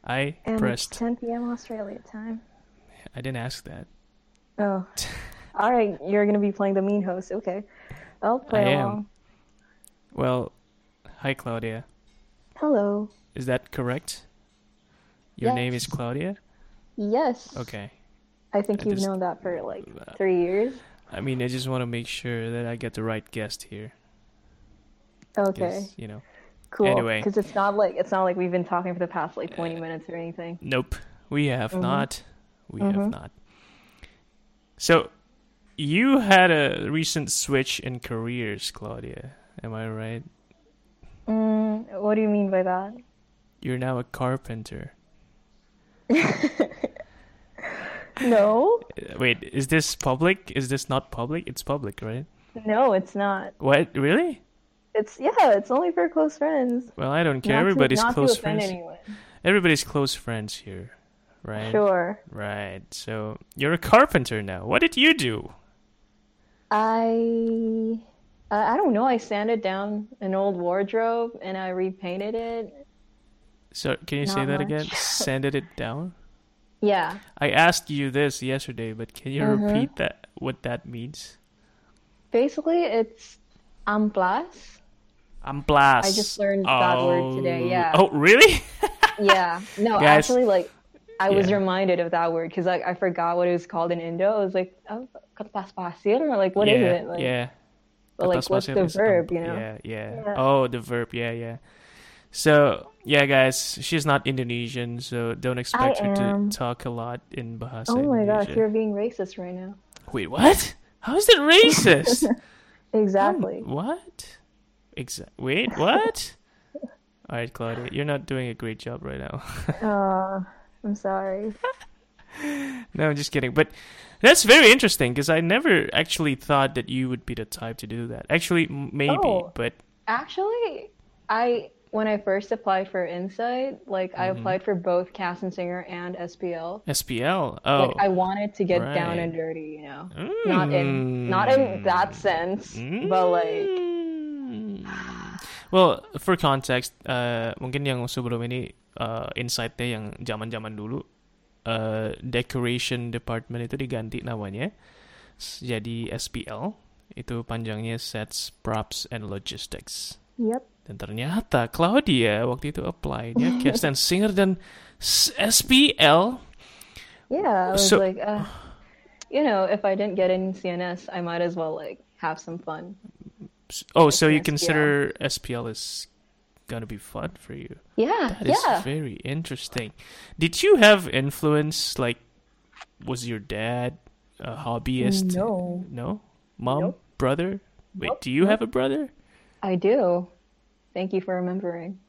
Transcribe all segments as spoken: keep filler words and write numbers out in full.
I And it's pressed. ten p m. Australia time. I didn't ask that. Oh, all right. You're gonna be playing the mean host. Okay, I'll I play am. along. Well, hi Claudia. Hello. Is that correct? Your name is Yes. Claudia? Yes. Okay. I I think you've just known that for like three years. I mean, I just want to make sure that I get the right guest here Okay. because, you know. Cool. Anyway, Because it's not like it's not like we've been talking for the past like twenty minutes or anything. nope. We have Mhm. not. We have Mhm. not. So, you had a recent switch in careers, Claudia. Am I right? Mm, what do you mean by that? You're now a carpenter. No. Uh, Wait, is this public? Is this not public? It's public, right? No, it's not. What? Really? It's yeah, it's only for close friends. Well, I don't care. Not to Everybody's not to close offend friends. anyone. Everybody's close friends here, right? Sure. Right. So, you're a carpenter now. What did you do? I uh, I don't know. I sanded down an old wardrobe and I repainted it. So, can you say Not that again? much. Sanded it down? Yeah. I asked you this yesterday, but can you Mm-hmm. repeat that? What that means? Basically, it's amplas. I just Amplas. learned that word today. Oh. Yeah. Oh, really? Yeah. No, Guys. actually, like I was Yeah. reminded of that word because like I forgot what it was called in Indo. I was like, oh, kertas pasir, or like what is Yeah. it? Like, Yeah. but like Kertas what's pasir the is verb? amp- You know? Yeah, yeah. Yeah. Oh, the verb. Yeah, yeah. So, yeah, guys, she's not Indonesian, so don't I expect her to am. talk a lot in Bahasa Oh my gosh, Indonesia. you're being racist right now. Wait, what? How is that racist? Um, Exactly. what? Exa- Wait, what? All right, Claudia, you're not doing a great job right now. Uh, I'm sorry. No, I'm just kidding. But that's very interesting because I never actually thought that you would be the type to do that. Actually, m- maybe, Oh, but actually, I when I first applied for Insight, like I mhm. applied for both Cast and Singer and S P L. S P L. Like Oh, I wanted to get down right. and dirty, you know. Not in not in that Mm. sense, but like Mm. Well, for context, uh, mungkin yang sebelum ini uh, insight-nya yang zaman-zaman dulu, uh, decoration department itu diganti namanya. S- Jadi S P L itu panjangnya Sets, Props, and Logistics. yep. Dan ternyata Claudia waktu itu apply-nya Cast and Singer dan s- S P L. Yeah, I was So, like, uh, you know, if I didn't get in C N S, I might as well like have some fun oh, like so in you S P L. consider S P L is gonna be fun for you? Yeah, That is yeah. very interesting. Did you have influence? Like, was your dad a hobbyist? No. No? Mom? Nope. Brother? Wait, Nope. do you have Nope. a brother? I do. Thank you for remembering.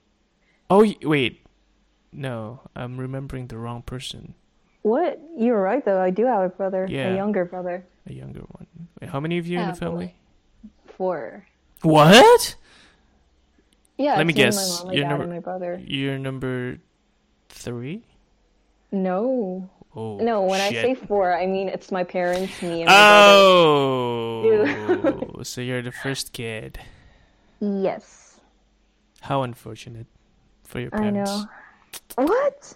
Oh, y- wait. No, I'm remembering the wrong person. What? You were right though. I do have a brother, a Yeah, younger brother. a younger one. Wait, how many of you in Yeah, the but family? like four. What? Yeah, Let me it's me and my guess. mom, my You're dad, number and my brother. you're number three? No. Oh, No, when I say shit. four, I mean it's my parents, me, and my brother. You. Oh, so you're the first kid. Yes, How unfortunate for your I parents. know. What?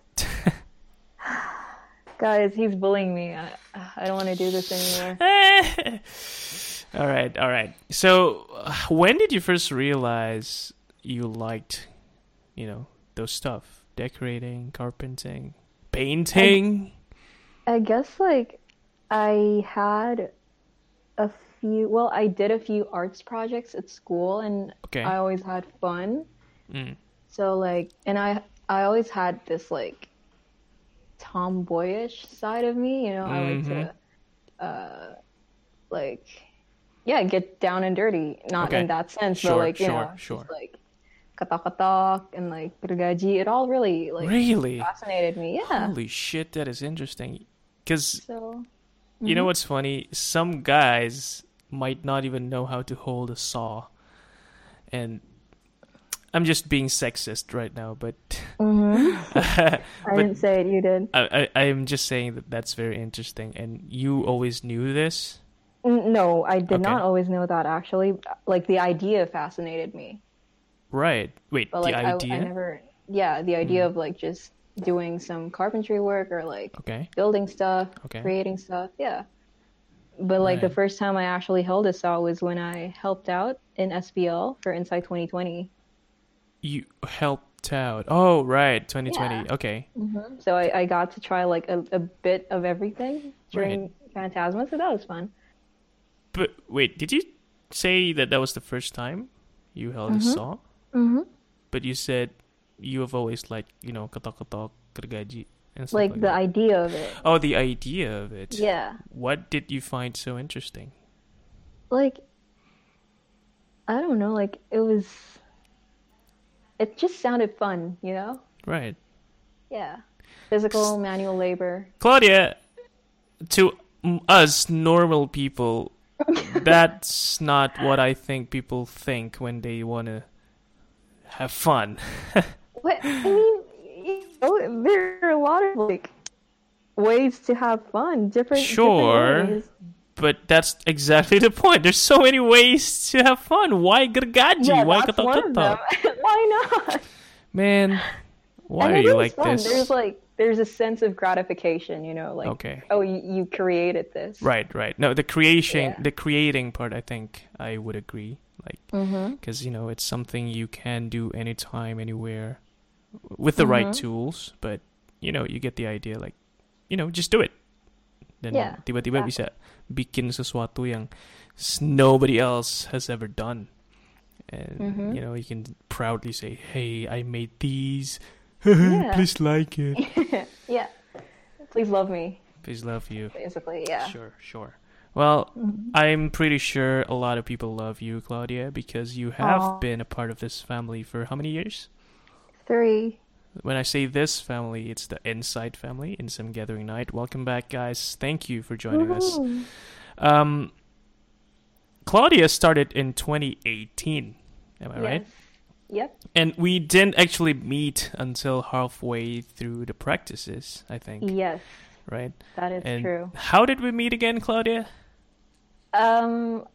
Guys, he's bullying me. I, I don't want to do this anymore. All right, all right. So, uh, when did you first realize you liked, you know, those stuff? Decorating, carpenting, I painting? I guess like I had a few, well, I did a few arts projects at school and Okay. I always had fun. Mm. So like, and I I always had this like tomboyish side of me, you know, I like Mm-hmm. to uh like yeah, get down and dirty. Not in Okay. that sense, but Sure, like, you sure, know, just sure. like katak-katak and like gergaji. It all really like Really? fascinated me. Yeah. Holy shit, that is interesting. Because So, you know mhm. what's funny? Some guys might not even know how to hold a saw. And I'm just being sexist right now, but Mhm. I but didn't say it, you did. I, I I'm just saying that that's very interesting. And you always knew this? N- No, I did not Okay. always know that actually. Like the idea fascinated me. Right. Wait, But the like I I idea? never yeah, the idea Mm. of like just doing some carpentry work or like Okay. building stuff, Okay. creating stuff. Yeah. But like the Right. first time I actually held a saw was when I helped out in S B L for Insight twenty twenty. You helped out. Oh, right. twenty twenty. Yeah. Okay. hmm So I, I got to try like a, a bit of everything during Phantasma, so that was fun. But wait, did you say that that was the first time you held a saw? hmm But you said you have always like, you know, ketok-ketok, gergaji, and stuff Like like the that. idea of it. Oh, the idea of it. Yeah. What did you find so interesting? Like, I don't know, like it was, it just sounded fun, you know? Right. Yeah. Physical, manual labor. Claudia, to mm, us normal people, that's not what I think people think when they want to have fun. What I mean, you know, there are a lot of like ways to have fun, different Sure. different ways. But that's exactly the point. There's so many ways to have fun. Why gergaji? Yeah, Why that's one of them. ketok-ketok? Why not? Man, why And are it you is like fun. this? There's like there's a sense of gratification, you know, like Okay. oh, you, you created this. Right, right. No, the creation, Yeah. the creating part, I think I would agree. Like, Mm-hmm. because you know, it's something you can do anytime, anywhere, with the right Mm-hmm. tools. But you know, you get the idea. Like, you know, just do it. Then Yeah, tiba-tiba exactly. bisa bikin sesuatu yang s- nobody else has ever done, and Mm-hmm. you know, you can proudly say, "Hey, I made these. Yeah. Please like it. Yeah. Please love me, Please love you." basically. Yeah. Sure, sure. Well, Mhm. I'm pretty sure a lot of people love you, Claudia, because you have Aw. been a part of this family for how many years? Three. When I say this family, it's the Insight family, in some Gathering Night. Welcome back, guys. Thank you for joining us. Woohoo. Um, Claudia started in twenty eighteen, am I right? Yes. Yep. And we didn't actually meet until halfway through the practices, I think, Yes, right? that is And true. how did we meet again, Claudia? Um,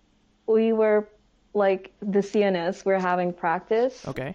we were like the C N S. We're having practice, Okay.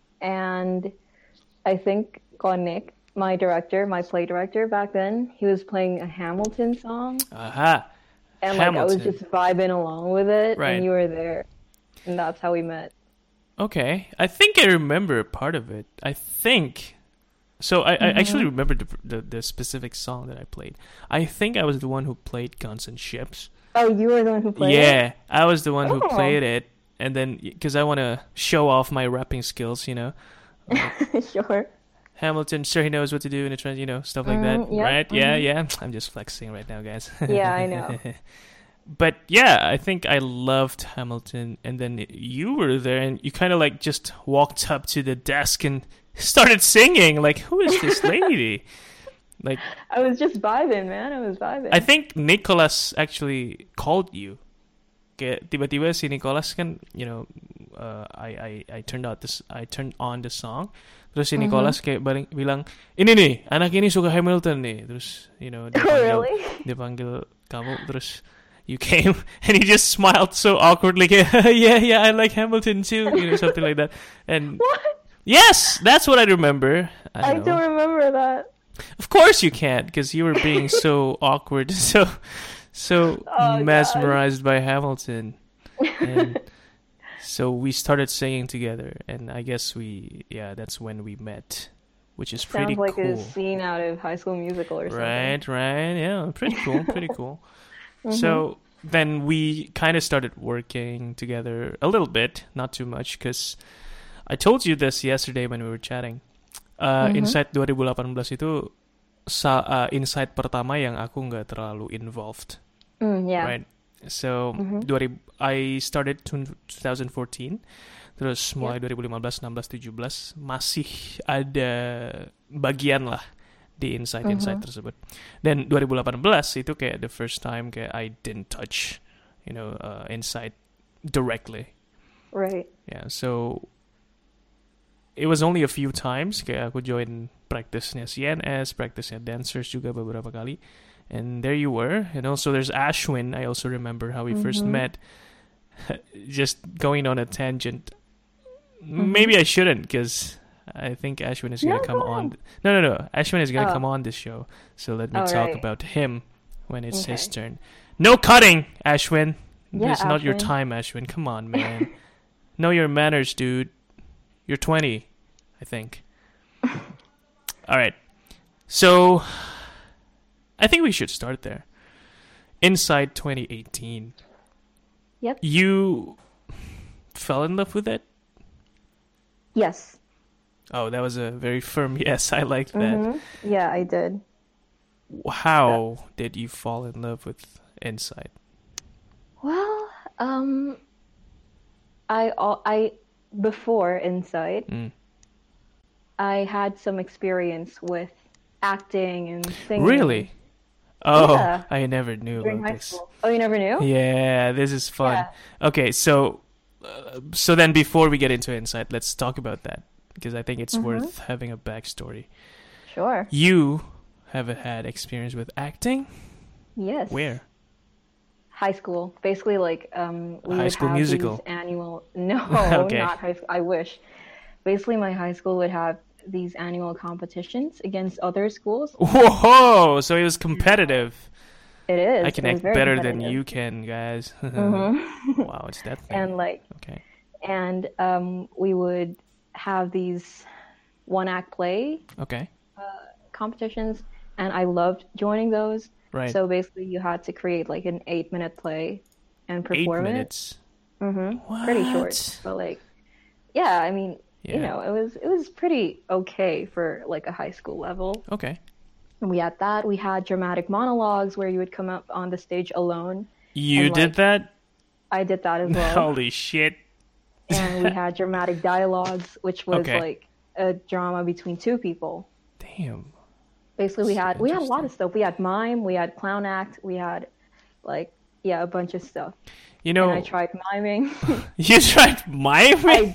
and I think Nick, my director, my play director back then, he was playing a Hamilton song, Aha. and like I was Hamilton. just vibing along with it, Right. and you were there, and that's how we met. Okay, I think I remember part of it. I think so. I, I actually Mm-hmm. remember the, the the specific song that I played. I think I was the one who played Guns and Ships. Oh, you were the one who played Yeah, I was the one who Oh. played it, and then because I want to show off my rapping skills, you know, it? Sure. Hamilton sure he knows what to do in a trend, you know, stuff like that, Mm, yeah, right? Yeah, mhm. yeah. I'm just flexing right now, guys. Yeah, I know. But yeah, I think I loved Hamilton, and then you were there, and you kind of like just walked up to the desk and started singing. Like, who is this lady? Like, I was just vibing, man. I was vibing. I think Nicholas actually called you. Kayak tiba-tiba si Nicholas kan, you know, uh, I I I turned out this, I turned on the song. Terus si Nicholas kayak baring, bilang, ini nih, anak ini suka Hamilton nih. Terus, you know, dia Oh, panggil, really? dia panggil kamu, terus you came, and he just smiled so awkwardly, kayak, yeah, yeah, I like Hamilton too, you know, something like that. And What? yes, that's what I remember. I I don't know. don't remember that. Of course you can't, because you were being so awkward, so so Oh, mesmerized by Hamilton, and so we started singing together, and I guess we, yeah, that's when we met, which is pretty Sounds like cool, a scene out of High School Musical or something. right? Right? Yeah, pretty cool, pretty cool. So then we kind of started working together a little bit, not too much, because I told you this yesterday when we were chatting. Uh, Insight twenty eighteen itu sa- uh, Insight pertama yang aku nggak terlalu involved, Mm, yeah. right? So twenty I started twenty fourteen, terus mulai twenty fifteen, sixteen, seventeen masih ada bagian lah di insight-insight tersebut. Dan twenty eighteen itu kayak the first time kayak I didn't touch, you know, uh, insight directly. Right. Yeah, so it was only a few times kayak aku join practice-nya C N S, practice-nya dancers juga beberapa kali. And there you were. And also there's Ashwin. I also remember how we first met. Just going on a tangent. Maybe I shouldn't, because I think Ashwin is No, gonna come go on. ahead. No, no, no. Ashwin is gonna Oh, come on this show. So let me all talk right. about him when it's his Okay. turn. No cutting, Ashwin. Yeah, This is not your Ashwin. time, Ashwin. Come on, man. Know your manners, dude. You're twenty, I think. All right. So I think we should start there. Inside twenty eighteen. Yep. You fell in love with it? Yes. Oh, that was a very firm yes. I liked that. Mm-hmm. Yeah, I did. How did you fall in love with Inside? Well, um, I al- I before Inside, Mm. I had some experience with acting and singing Really? Oh, Yeah. I never knew during about high this. school. Oh, you never knew? Yeah, this is fun. Yeah. Okay, so uh, so then before we get into Inside, let's talk about that because I think it's Mm-hmm. worth having a backstory. Sure. You have had experience with acting? Yes. Where? High school. Basically, like um, we High would School have Musical. these annual. No, Okay. not high school. I wish. Basically, my high school would have these annual competitions against other schools. Whoa! So it was competitive. It is. I can It was act very better than competitive. you can, guys. Mm-hmm. Wow, it's that thing. And like, Okay. and um, we would have these one act play Okay. competitions, and I loved joining those. Right. So basically, you had to create like an eight minute play and Eight perform it. minutes. Mm-hmm. Pretty short, What? but like, yeah, I mean, you Yeah. know, it was it was pretty okay for like a high school level. Okay. And we had that. We had dramatic monologues where you would come up on the stage alone. You And, did like, that? I did that as well. Holy shit. And we had dramatic dialogues, which was Okay. like a drama between two people. Damn. Basically, we So had we had a lot of interesting. stuff. We had mime, we had clown act, we had like yeah, a bunch of stuff. You And know, I tried miming. you tried miming? I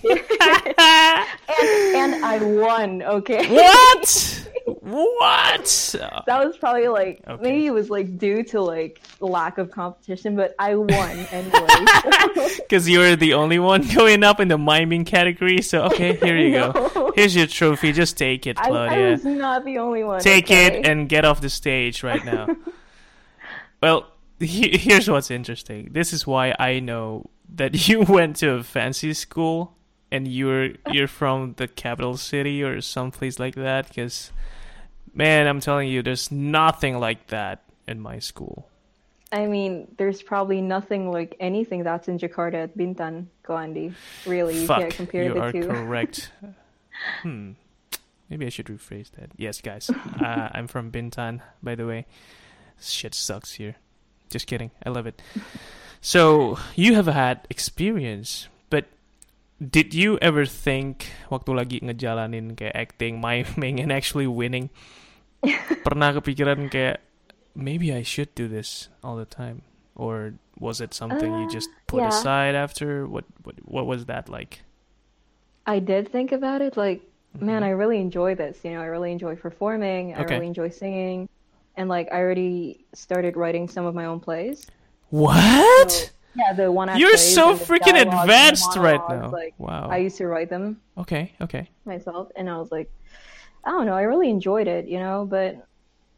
did. and, and I won, okay? What? What? That was probably like Okay. maybe it was like due to like lack of competition, but I won anyway. Because you were the only one going up in the miming category. So, okay, here you go. No. Here's your trophy. Just take it, I, I Claudia. was not the only one. Take okay? it and get off the stage right now. Well, he- here's what's interesting. This is why I know that you went to a fancy school and you're you're from the capital city or someplace like that. Because, man, I'm telling you, there's nothing like that in my school. I mean, there's probably nothing like anything that's in Jakarta at Bintan, Koandi. Really, you Fuck, can't compare you the are two. correct. hmm. Maybe I should rephrase that. Yes, guys. Uh, I'm from Bintan, by the way. Shit sucks here. Just kidding. I love it. So, you have had experience, but did you ever think waktu lagi ngejalanin kayak acting, miming, and actually winning, pernah kepikiran kayak, maybe I should do this all the time? Or was it something you Uh, just put yeah. aside after? What, what, what was that like? I did think about it, like, man, Mhm. I really enjoy this. You know, I really enjoy performing. I Okay. really enjoy singing, and like, I already started writing some of my own plays. What? So, yeah, the one act You're plays so and the freaking dialogues and the advanced right monologues, now. Like, Wow. I used to write them Okay, okay. myself, and I was like, I don't know, I really enjoyed it, you know, but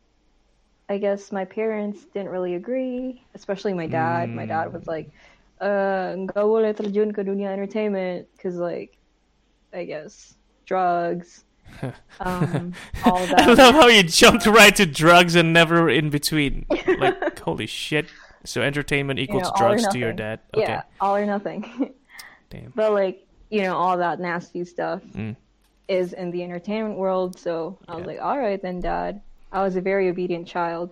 I guess my parents didn't really agree, especially my dad. My dad was like, uh, nggak boleh terjun ke dunia entertainment, because, like, I guess, drugs, um, all I that. love how you jumped right to drugs and never in between. Like, holy shit. So entertainment You equals know, all or drugs to your nothing. dad. Okay. Yeah, all or nothing. Damn. But, like, you know, all that nasty stuff Mm. is in the entertainment world, so I was Yeah. like, all right then, Dad. I was a very obedient child.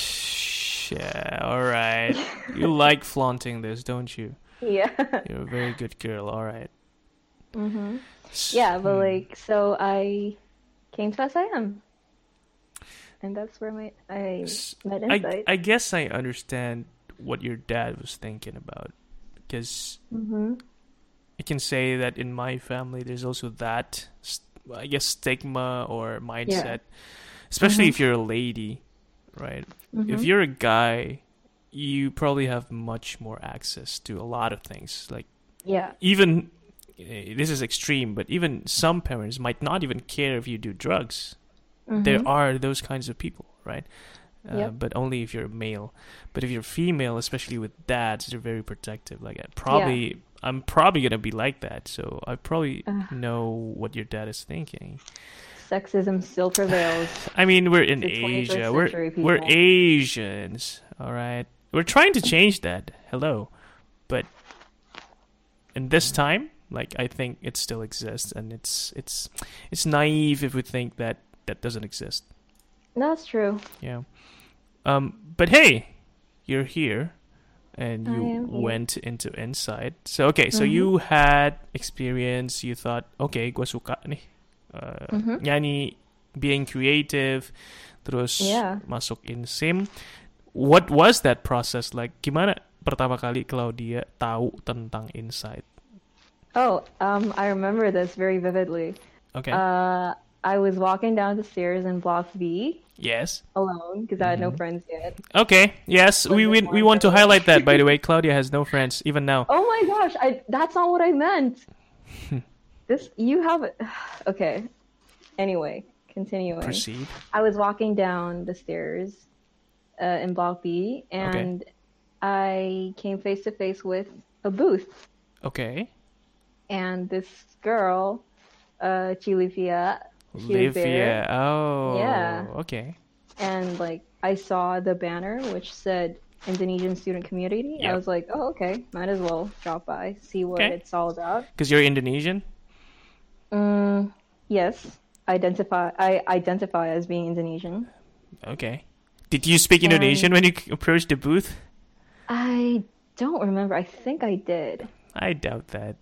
Yeah, alright. You like flaunting this, don't you? Yeah. You're a very good girl, alright. hmm Yeah, but Hmm. like, so I came to S I M, and that's where my I S- met I, Insight. I guess I understand what your dad was thinking about. Because hmm I can say that in my family, there's also that, st- I guess, stigma or mindset, especially Mhm. if you're a lady, right? hmm If you're a guy, you probably have much more access to a lot of things. Like, Yeah. even uh, this is extreme, but even some parents might not even care if you do drugs. Mm-hmm. There are those kinds of people, right? Uh, Yep. But only if you're male. But if you're female, especially with dads, they're very protective. Like I probably, I'm probably gonna be like that. So I probably Ugh. know what your dad is thinking. Sexism still prevails. I mean, we're in The twenty-first Asia. We're century we're people. Asians, all right. We're trying to change that. Hello, but in this time, like I think it still exists, and it's it's it's naive if we think that that doesn't exist. That's true. Yeah. Um. But hey, you're here, and I you am here. went into Insight. So okay, so Mhm. you had experience. You thought, okay, gua suka nih. Uh, Mhm. nyanyi, being creative, terus Yeah. masuk InSim. What was that process like? Gimana pertama kali Claudia tahu tentang Insight? Oh, um, I remember this very vividly. Okay. Uh, I was walking down the stairs in Block B yes. alone because I had no Mhm. friends yet. Okay. Yes, we we, we want to highlight that. By the way, Claudia has no friends even now. Oh my gosh, I that's not what I meant. This you have okay. Anyway, continuing. Proceed. I was walking down the stairs uh, in Block B, and I came face to face with a booth, Okay. and this girl, uh, Chilivia, she was there, Livia. Oh. Yeah. Okay. and like I saw the banner which said Indonesian Student Community. Yep. I was like, oh, okay, might as well drop by, see what Okay. it's all about. Because you're Indonesian. Mm, yes, identify. I identify as being Indonesian. Okay. Did you speak And- Indonesian when you approached the booth? I don't remember. I think I did. I doubt that.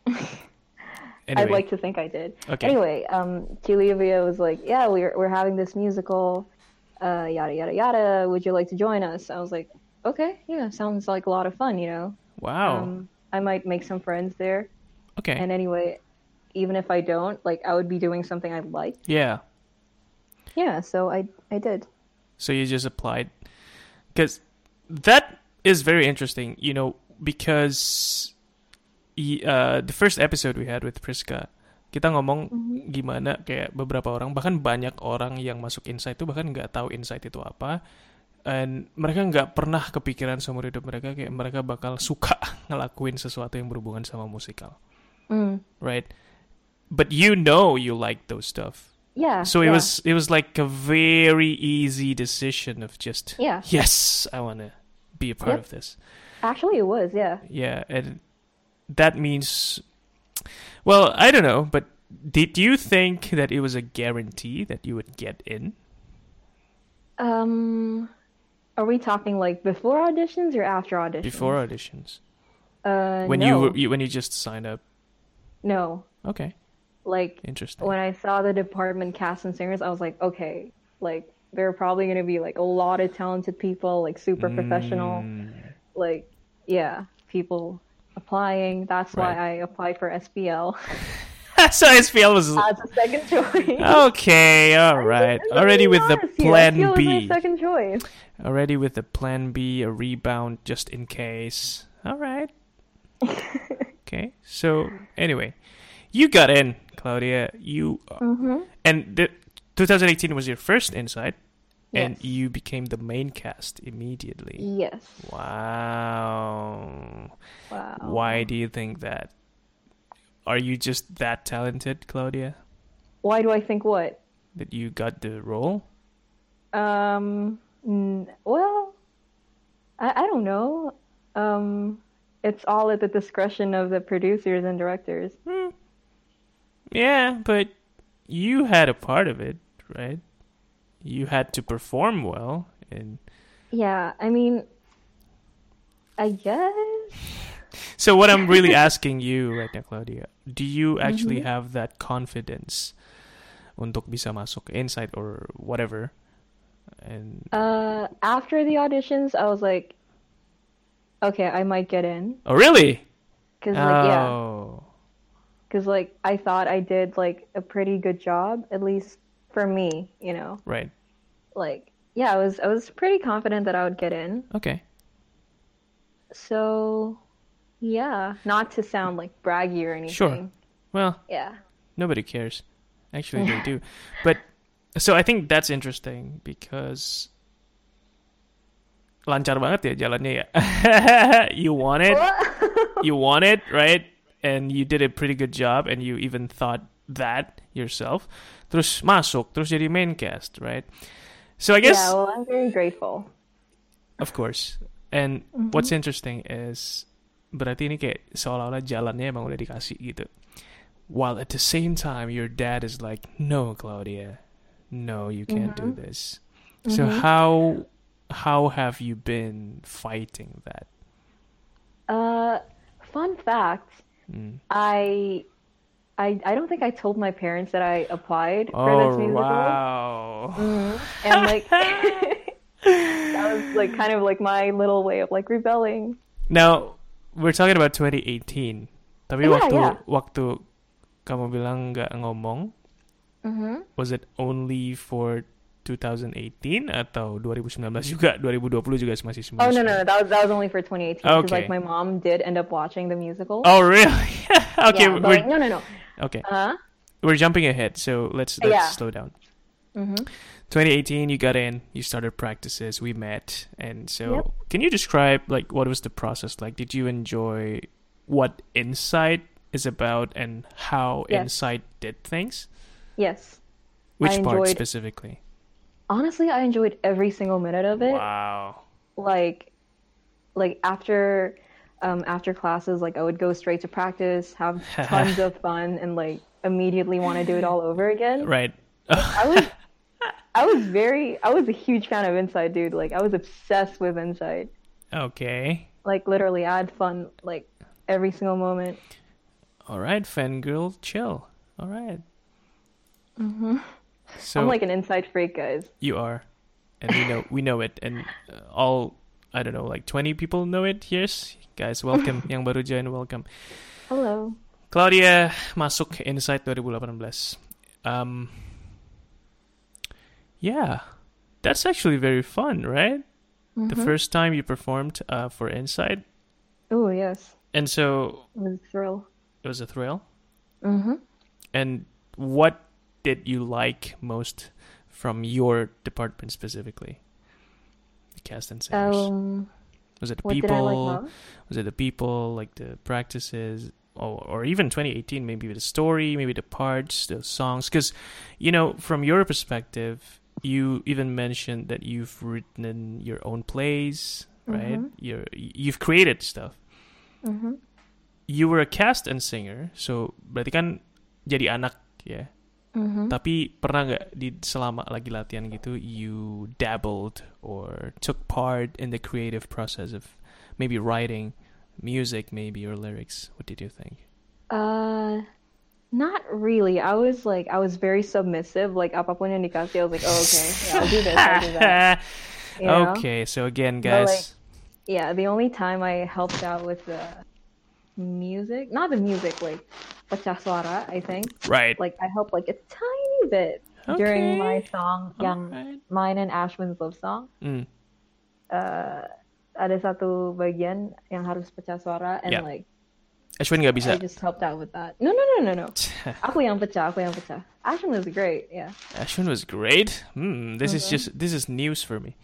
I'd Anyway. like to think I did. Okay. Anyway, um, Chilivia was like, "Yeah, we're we're having this musical, uh, yada yada yada. Would you like to join us?" I was like, "Okay, yeah, sounds like a lot of fun. You know, Wow. um, I might make some friends there. okay. And anyway, even if I don't, like, I would be doing something I like. yeah. Yeah, so I I did. So you just applied. Because that is very interesting, you know, because y- uh, the first episode we had with Priska, kita ngomong gimana kayak beberapa orang, bahkan banyak orang yang masuk Insight itu bahkan nggak tahu Insight itu apa. And mereka nggak pernah kepikiran seumur hidup mereka kayak mereka bakal suka ngelakuin sesuatu yang berhubungan sama musikal. Mm. Right? But you know you like those stuff. Yeah. So it yeah. was it was like a very easy decision of just Yeah. yes, I want to be a part Yep. of this. Actually, it was. Yeah. Yeah, and that means well, I don't know, but did you think that it was a guarantee that you would get in? Um, are we talking like before auditions or after auditions? Before auditions. Uh, When no. you, were- you when you just signed up. No. Okay, Like interesting. when I saw the department cast and singers, I was like, okay, like there are probably gonna be like a lot of talented people, like super professional, Mm, like yeah, people applying. That's why Right. I applied for S P L so S P L was as a second choice. okay. All right, I'm already being with the honest here. plan S P L was my B. second choice. Already with the plan B, a rebound just in case. All right. Okay. So anyway, you got in, Claudia. You Mm-hmm. and the twenty eighteen was your first Insight, and Yes. you became the main cast immediately. Yes. Wow. Wow. Why do you think that? Are you just that talented, Claudia, Why do I think what? that you got the role? Um. n- Well, I I don't know. Um. It's all at the discretion of the producers and directors. Hmm. Yeah, but you had a part of it, right? You had to perform well, and Yeah. I mean, I guess. so what I'm really asking you right now, Claudia, do you actually Mhm. have that confidence untuk bisa masuk ke Insight or whatever? And Uh. After the auditions, I was like, okay, I might get in. oh, really? Cause like yeah, Oh, cause like I thought I did like a pretty good job, at least for me. You know, right. like yeah, I was I was pretty confident that I would get in. Okay. So Yeah, not to sound like braggy or Sure. anything. Well, Yeah. nobody cares. Actually, they do. But so I think that's interesting because lancar banget ya jalannya ya. You want it, you want it, right? And you did a pretty good job, and you even thought that yourself. Terus masuk, terus jadi main cast, right? So I guess, Yeah, well, I'm very grateful. of course. And what's interesting is berarti ini kayak seolah-olah jalannya emang udah dikasih gitu. While at the same time, your dad is like, "No, Claudia, no, you can't do this." So how how have you been fighting that? Uh, fun fact, Mm. I, I, I don't think I told my parents that I applied for Oh this musical. wow! Mhm. And like, that was like kind of like my little way of like rebelling. Now we're talking about twenty eighteen. Tapi Yeah, waktu yeah. waktu kamu bilang nggak ngomong, Mm-hmm. was it only for twenty eighteen atau twenty nineteen juga, twenty twenty juga masih semua? Oh no, no, no, that was that was only for twenty eighteen because Okay. like my mom did end up watching the musical. Oh really? Okay, yeah, but, we're like, no, no, no. okay. Huh? We're jumping ahead, so let's let's Yeah. slow down. Mm-hmm. twenty eighteen, you got in, you started practices, we met, and so Yep. can you describe like what was the process like? Did you enjoy what Insight is about and how Yes. Insight did things? Yes. Which I part enjoyed- specifically? Honestly, I enjoyed every single minute of it. Wow. Like, like after, um, after classes, like I would go straight to practice, have tons of fun, and like immediately want to do it all over again. Right. I was, I was very, I was a huge fan of Inside, dude. Like I was obsessed with Inside. Okay. Like literally, I had fun like every single moment. All right, fangirl, chill. All right. Mm-hmm. So I'm like an Inside freak, guys. you are, and we know we know it, and uh, all I don't know, like twenty people know it. Yes, guys, welcome. Yang baru join, welcome. Hello. Claudia masuk Insight twenty eighteen. Um, yeah, that's actually very fun, right? The first time you performed uh, for Insight, Oh yes, and so it was a thrill. it was a thrill. Mm-hmm. And what did you like most from your department specifically? The cast and singers. Um, was it the what people? did I like most? Was it the people, like the practices, or, or even twenty eighteen, maybe the story, maybe the parts, the songs? Because, you know, from your perspective, you even mentioned that you've written your own plays, right? Mhm. You're, you've created stuff. Mm-hmm. You were a cast and singer, so berarti kan jadi anak, ya. Mm-hmm. Tapi pernah nggak di selama lagi latihan gitu, you dabbled or took part in the creative process of maybe writing music, maybe, or lyrics? What did you think? Uh, not really. I was like, I was very submissive. Like, apapun yang dikasih, I was like, oh, okay, yeah, I'll do this, I'll do that. You know? Okay, so again, But, guys. like, yeah, the only time I helped out with the music, not the music, like, pecah suara, I think. Right. Like, I helped like a tiny bit during my Okay. song, yang Alright. mine and Ashwin's love song. Mm. Uh, ada satu bagian yang harus pecah suara, and Yeah. like, Ashwin nggak bisa. I just helped out with that. No, no, no, no, no. Aku yang pecah, aku yang pecah. Ashwin was great, yeah. Ashwin was great. Hmm, this is just this is news for me.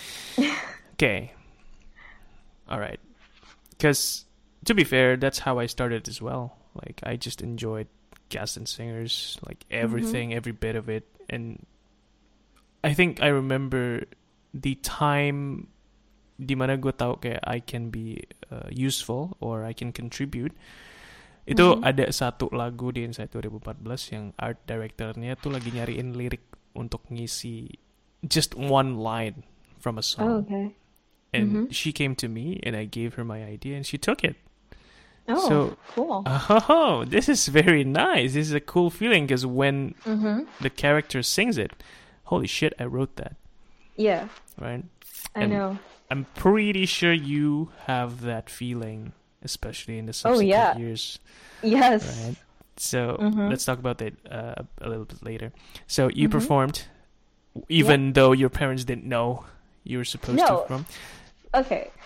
Okay. All right. Because to be fair, that's how I started as well. Like I just enjoyed cast and singers, like everything, every bit of it, and I think I remember the time di mana gue tahu kayak I can be uh, useful or I can contribute. Itu ada satu lagu di Insight twenty fourteen yang art directornya tuh lagi nyariin lirik untuk ngisi just one line from a song. Oh, okay. And she came to me and I gave her my idea and she took it. Oh, So- cool. Oh, this is very nice. This is a cool feeling because when Mm-hmm. the character sings it, holy shit, I wrote that, Yeah, right? I And know. I'm pretty sure you have that feeling, especially in the Oh, subsequent yeah. years, Yes. right? So Mhm. let's talk about that uh, a little bit later. So you Mhm. performed, even though your parents didn't know you were supposed to No. perform. Okay.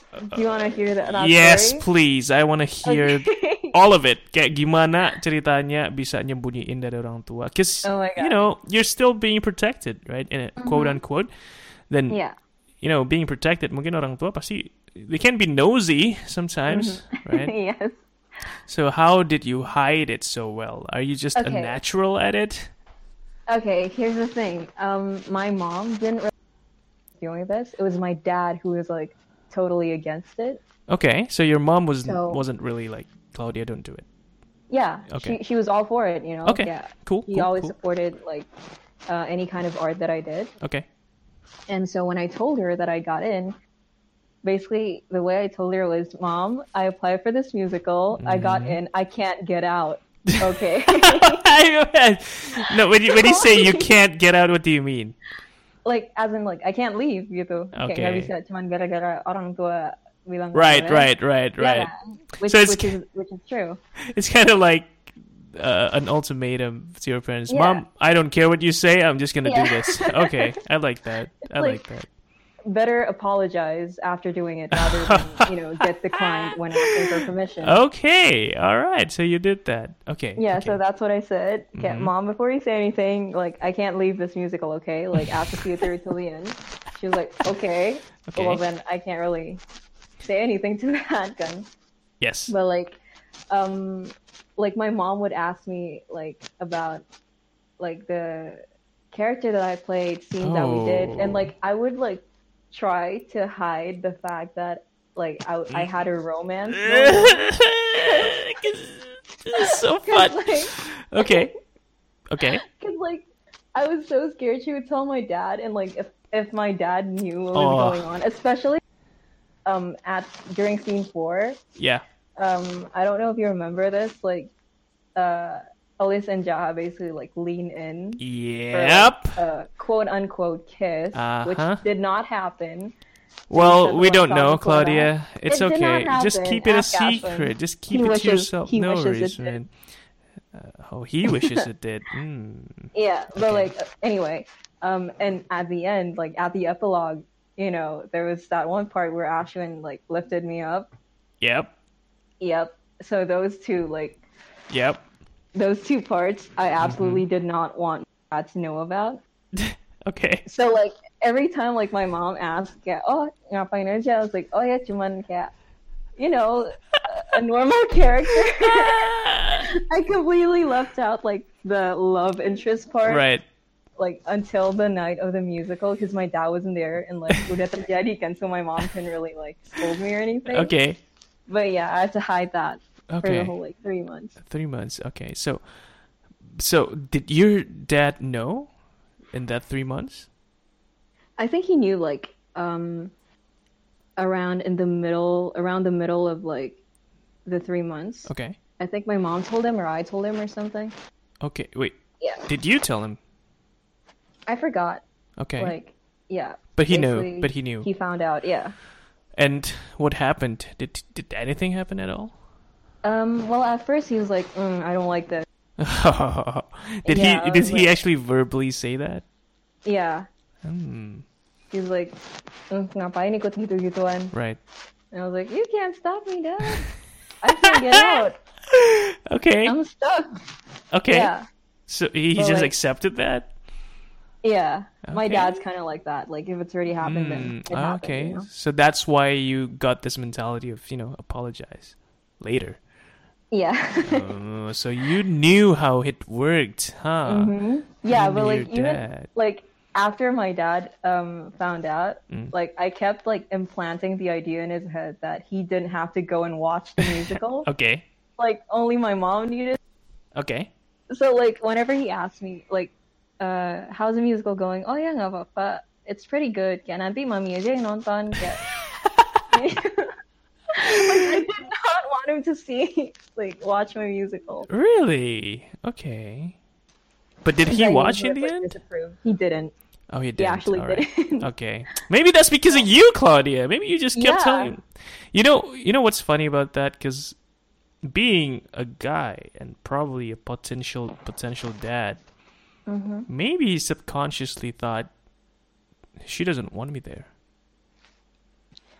Do you want to hear that, that Yes, story? please. I want to hear Okay. all of it. Kayak gimana ceritanya bisa nyembunyiin dari orang tua? Because, Oh my you God. know, you're still being protected, right? In a quote unquote. Then, Yeah. you know, being protected, mungkin orang tua pasti, they can be nosy sometimes, right? Yes. So how did you hide it so well? Are you just a Okay. natural at it? Okay, here's the thing. Um, my mom didn't really doing this. It was my dad who was like totally against it. Okay, so your mom was So- wasn't really like, Claudia, don't do it. Yeah, Okay. she she was all for it. You know. Okay, Yeah. cool, He cool, always cool. supported like uh, any kind of art that I did. Okay. And so when I told her that I got in, basically the way I told her was, "Mom, I applied for this musical. I got Mm-hmm. in. I can't get out." Okay. No, when you when you say you can't get out, what do you mean? Like as in like I can't leave gitu. Kayak Okay. nggak bisa cuman gara-gara orang tua bilang nggak Right, boleh. right, right, Yeah, right. which, So it's- which is which is true. It's kind of like uh, an ultimatum to your parents. Yeah. Mom, I don't care what you say. I'm just gonna do Yeah. this. Okay, I like that. I like, like- that. Better apologize after doing it rather than you know get declined when asking for permission. Okay, all right. So you did that. Okay. Yeah, okay. so that's what I said. Okay, Mhm. Mom, before you say anything, like I can't leave this musical, okay? Like I have to see it through till the end. She was like, okay. Okay. Well then I can't really say anything to that gun. Yes. But like um like my mom would ask me like about like the character that I played, scenes that we did, and Oh. like I would like try to hide the fact that like I I had a romance. This is so fun. like, Okay. Okay. Cause like I was so scared she would tell my dad, and like if if my dad knew what was Oh. going on, especially um at during scene four, Yeah. um I don't know if you remember this, like uh Alice and Jaha basically like lean in for Yep. like, a quote unquote kiss, which Uh-huh. did not happen. Well, said we the don't one know, song before Claudia. It's It did okay. not Just happen. keep it a Ask Ashlyn. secret. Just keep He it wishes- to yourself. he no wishes worries, it did. man. Uh, oh, he wishes it did. Mm. Yeah, but Okay. like anyway, um, and at the end, like at the epilogue, you know, there was that one part where Ashwin like lifted me up. Yep. Yep. So those two, like Yep. those two parts, I absolutely Mm-hmm. did not want Dad to know about. Okay. So like every time like my mom asked, kayak, oh ngapain aja, I was like, oh ya cuman kayak, you know, a, a normal character. I completely left out like the love interest part. Right. Like until the night of the musical because my dad wasn't there and like udah terjadi kan, so my mom couldn't really like scold me or anything. Okay. But yeah, I had to hide that for Okay. the whole like three months. Three months. Okay. So, so did your dad know in that three months? I think he knew like um around in the middle around the middle of like the three months. Okay. I think my mom told him or I told him or something. Okay. Wait. Yeah. Did you tell him? I forgot. Okay. Like yeah. But he knew. Basically, But he knew. He found out, yeah. And what happened? Did did anything happen at all? Um well at first he was like, mm, I don't like this. did Yeah, I he did was he like- actually verbally say that? Yeah. Hmm. He was like, mm, ngapain ikut gitu-gituan? Right. And I was like, you can't stop me, Dad. I can't get out. Okay. I'm stuck. Okay. Yeah. So he, he But, just like- accepted that? Yeah. My Okay. dad's kind of like that. Like, if it's already happened, then Mm, it happened. okay. You know? So that's why you got this mentality of, you know, apologize later. Yeah. Oh, so you knew how it worked, huh? hmm Yeah, You but knew like, your even, dad. like, after my dad um found out, Mm. like, I kept, like, implanting the idea in his head that he didn't have to go and watch the musical. Okay. Like, only my mom needed. Okay. So, like, whenever he asked me, like, uh, how's the musical going? Oh, yeah, nggak apa-apa. It's pretty good. Kaya nanti mami aja yang nonton. Kaya... like, I did not want him to see, like, watch my musical. Really? Okay. But did he I knew watch would, in the like, end? disapprove. He didn't. Oh, he He didn't. actually All right. didn't. Okay. Maybe that's because of you, Claudia. Maybe you just kept Yeah. telling. You know, you know what's funny about that? Because being a guy and probably a potential potential dad, Mm-hmm. maybe he subconsciously thought she doesn't want me there.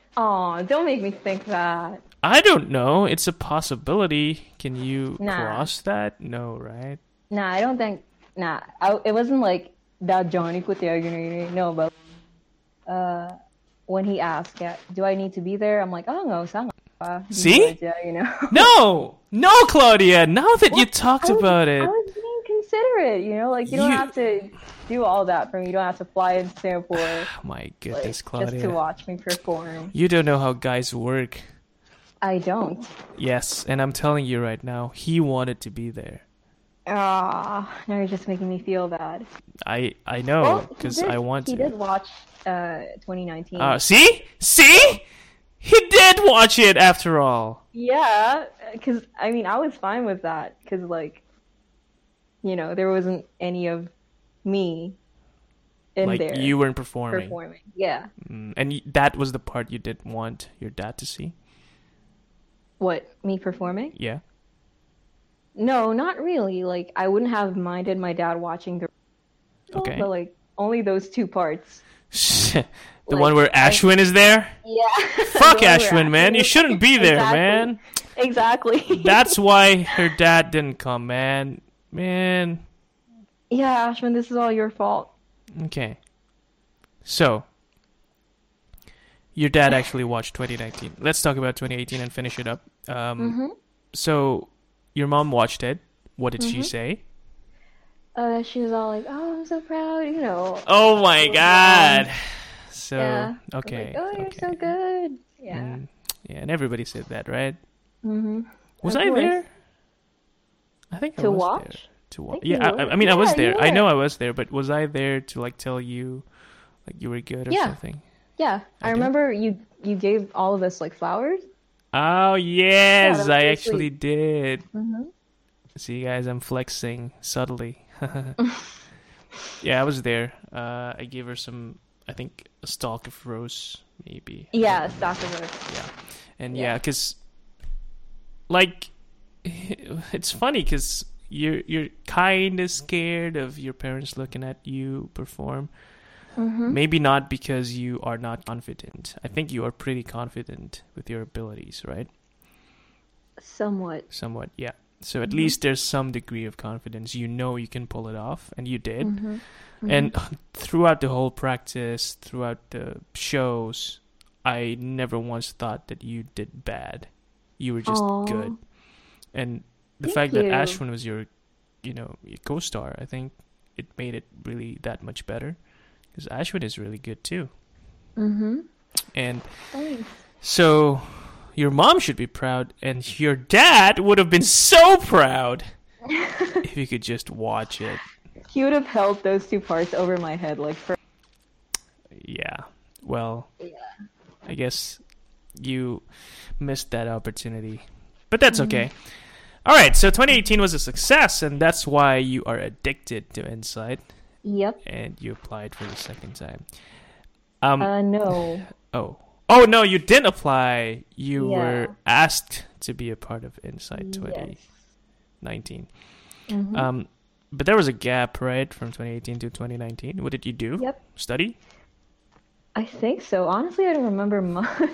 Oh, don't make me think that. I don't know. It's a possibility. Can you Nah. cross that? No, right? Nah, I don't think. Nah, I, it wasn't like that Johnny ko tayo gini. No, but uh, when he asked, yeah, do I need to be there? I'm like, oh no, sanga pa. See? Yeah, you know. No! No, Claudia! Now that you talked I was, about I it. was being considerate, you know, like you don't You- have to do all that for me. You don't have to fly in Singapore Oh my like, goodness, just to Claudia. watch me perform. You don't know how guys work. I don't. Yes, and I'm telling you right now, he wanted to be there. Ah, now you're just making me feel bad. I I know, Well, he because did- I want He to. did watch uh twenty nineteen. Uh, see? See? He did watch it after all. Yeah, because I mean, I was fine with that because, like, you know, there wasn't any of me in Like, there you weren't performing. performing. Yeah. Mm, and y- that was the part you didn't want your dad to see? What, me performing? Yeah. No, not really. Like, I wouldn't have minded my dad watching the, Okay. but like only those two parts. the Like, one where I- Ashwin is there? Yeah. Fuck The one where Ashwin, man. You Ashwin- shouldn't be there, Exactly. man. Exactly. That's why her dad didn't come, man. Man. Yeah, Ashwin, this is all your fault. Okay. So, your dad actually watched twenty nineteen. Let's talk about twenty eighteen and finish it up. Um, Mm-hmm. So, your mom watched it. What did she say? Uh, she was all like, "Oh, I'm so proud," you know. Oh my god. So, Yeah. I was okay. like, oh, you're okay. so good. Yeah. Mm, yeah, and everybody said that, right? Mm-hmm. Was Of I course. there? I think I To was watch? there. To watch. think you Yeah, I, were. I mean, I was Yeah, you there. I know were. I was there, but was I there to like tell you, like you were good or Yeah. something? Yeah, I Okay. remember you you gave all of us like flowers. Oh yes, that was I so actually did. Mm-hmm. See, guys, I'm flexing subtly. Yeah, I was there. Uh, I gave her some, I think, a stalk of rose, maybe. Yeah, stock of us. Yeah, and Yeah. yeah, because like it's funny because you're you're kind of scared of your parents looking at you perform. Mm-hmm. Maybe not because you are not confident. I think you are pretty confident with your abilities, right? Somewhat. Somewhat, yeah. So at Mhm. least there's some degree of confidence. You know you can pull it off, and you did. Mm-hmm. And throughout the whole practice, throughout the shows, I never once thought that you did bad. You were just Aw. good. And the Thank fact that you. Ashwin was your, you know, your co-star, I think it made it really that much better. Because Ashwin is really good too. Mm-hmm. And Thanks. so your mom should be proud, and your dad would have been so proud if you could just watch it. He would have held those two parts over my head like for. Yeah. Well, Yeah. I guess you missed that opportunity. But that's okay. All right, so twenty eighteen was a success, and that's why you are addicted to Insight, Yep. and you applied for the second time. Um. Uh, no. oh. Oh, no, you didn't apply. You Yeah. were asked to be a part of Insight Yes. twenty nineteen. Mhm. Um, but there was a gap, right, from twenty eighteen to twenty nineteen. What did you do? Yep. Study? I think so. Honestly, I don't remember much.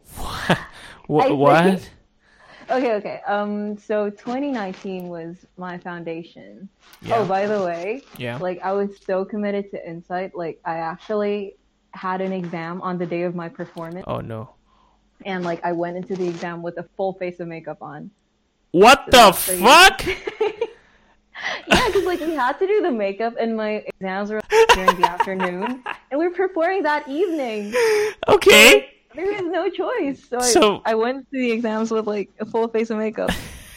Wha- I what? think- Okay, okay. Um, so twenty nineteen was my foundation. Yeah. Oh, by the way, yeah. like I was so committed to Insight, like I actually had an exam on the day of my performance, Oh, no. and like I went into the exam with a full face of makeup on. What So the that's pretty- fuck? Yeah, because like we had to do the makeup, and my exams were during the afternoon, and we were performing that evening. Okay. There was no choice, so, So- I, I went to the exams with like a full face of makeup.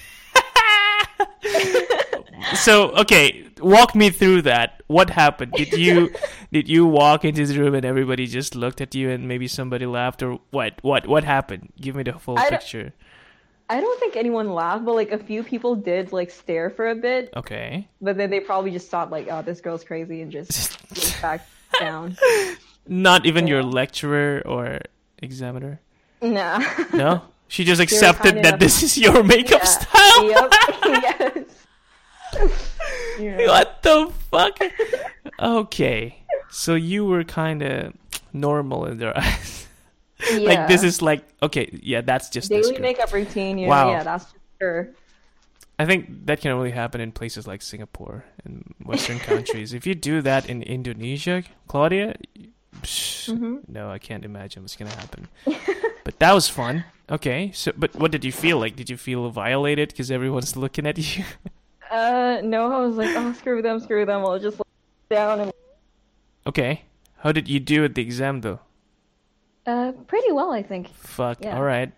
So, okay, walk me through that. What happened? Did you did you walk into the room and everybody just looked at you and maybe somebody laughed, or what? What what happened? Give me the full I don't- picture. I don't think anyone laughed, but like a few people did like stare for a bit, Okay. but then they probably just thought like, "Oh, this girl's crazy," and just went back down. Not even your Yeah. lecturer or examiner? Nah. No? She just were accepted kind that enough this not- is your makeup Yeah. style? Yep. Yes. Yeah. What the fuck? Okay. So you were kind of normal in their eyes. Like this is like okay, yeah, that's just daily makeup routine. You wow. know, yeah, that's just her. I think that can only happen in places like Singapore and Western countries. If you do that in Indonesia, Claudia, psh, mm-hmm. no, I can't imagine what's gonna happen. But that was fun. Okay, so but what did you feel like? Did you feel violated because everyone's looking at you? uh, no, I was like, oh, screw them, screw them. I'll just lay down and. Okay, how did you do at the exam though? Uh, pretty well, I think. Fuck. Yeah. All right.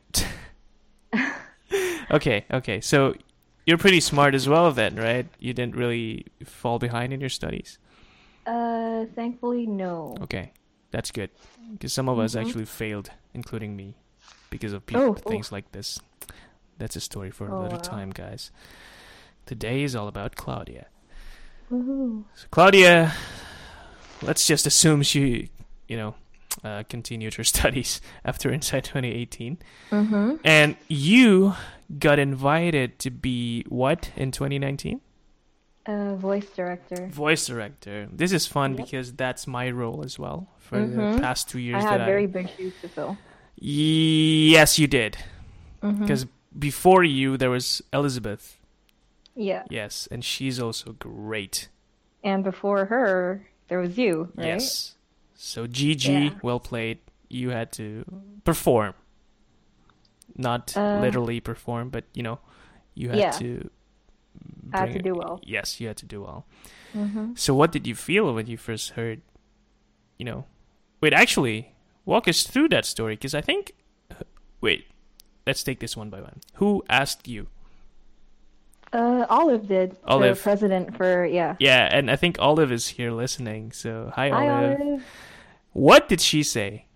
okay. Okay. So. You're pretty smart as well then, right? You didn't really fall behind in your studies? Uh, thankfully, no. Okay, that's good. Because some of mm-hmm. us actually failed, including me, because of people, oh, things oh. like this. That's a story for oh, another wow. time, guys. Today is all about Claudia. Woohoo. So Claudia, let's just assume she, you know, uh, continued her studies after Insight twenty eighteen. Mm-hmm. And you got invited to be what in twenty nineteen? Uh, voice director. Voice director. This is fun yep. because that's my role as well for mm-hmm. the past two years. I had that very I... big shoes to fill. Yes, you did. Because mm-hmm. before you, there was Elizabeth. Yeah. Yes, and she's also great. And before her, there was you, right? Yes. So Gigi, yeah. well played. You had to perform. Not uh, literally perform, but, you know, you had yeah. to... I had to do well. Yes, you had to do well. Mm-hmm. So what did you feel when you first heard, you know... Wait, actually, walk us through that story, because I think... Wait, let's take this one by one. Who asked you? Uh, Olive did. Olive. The president for, yeah. Yeah, and I think Olive is here listening, so hi, hi Olive. Olive. What did she say?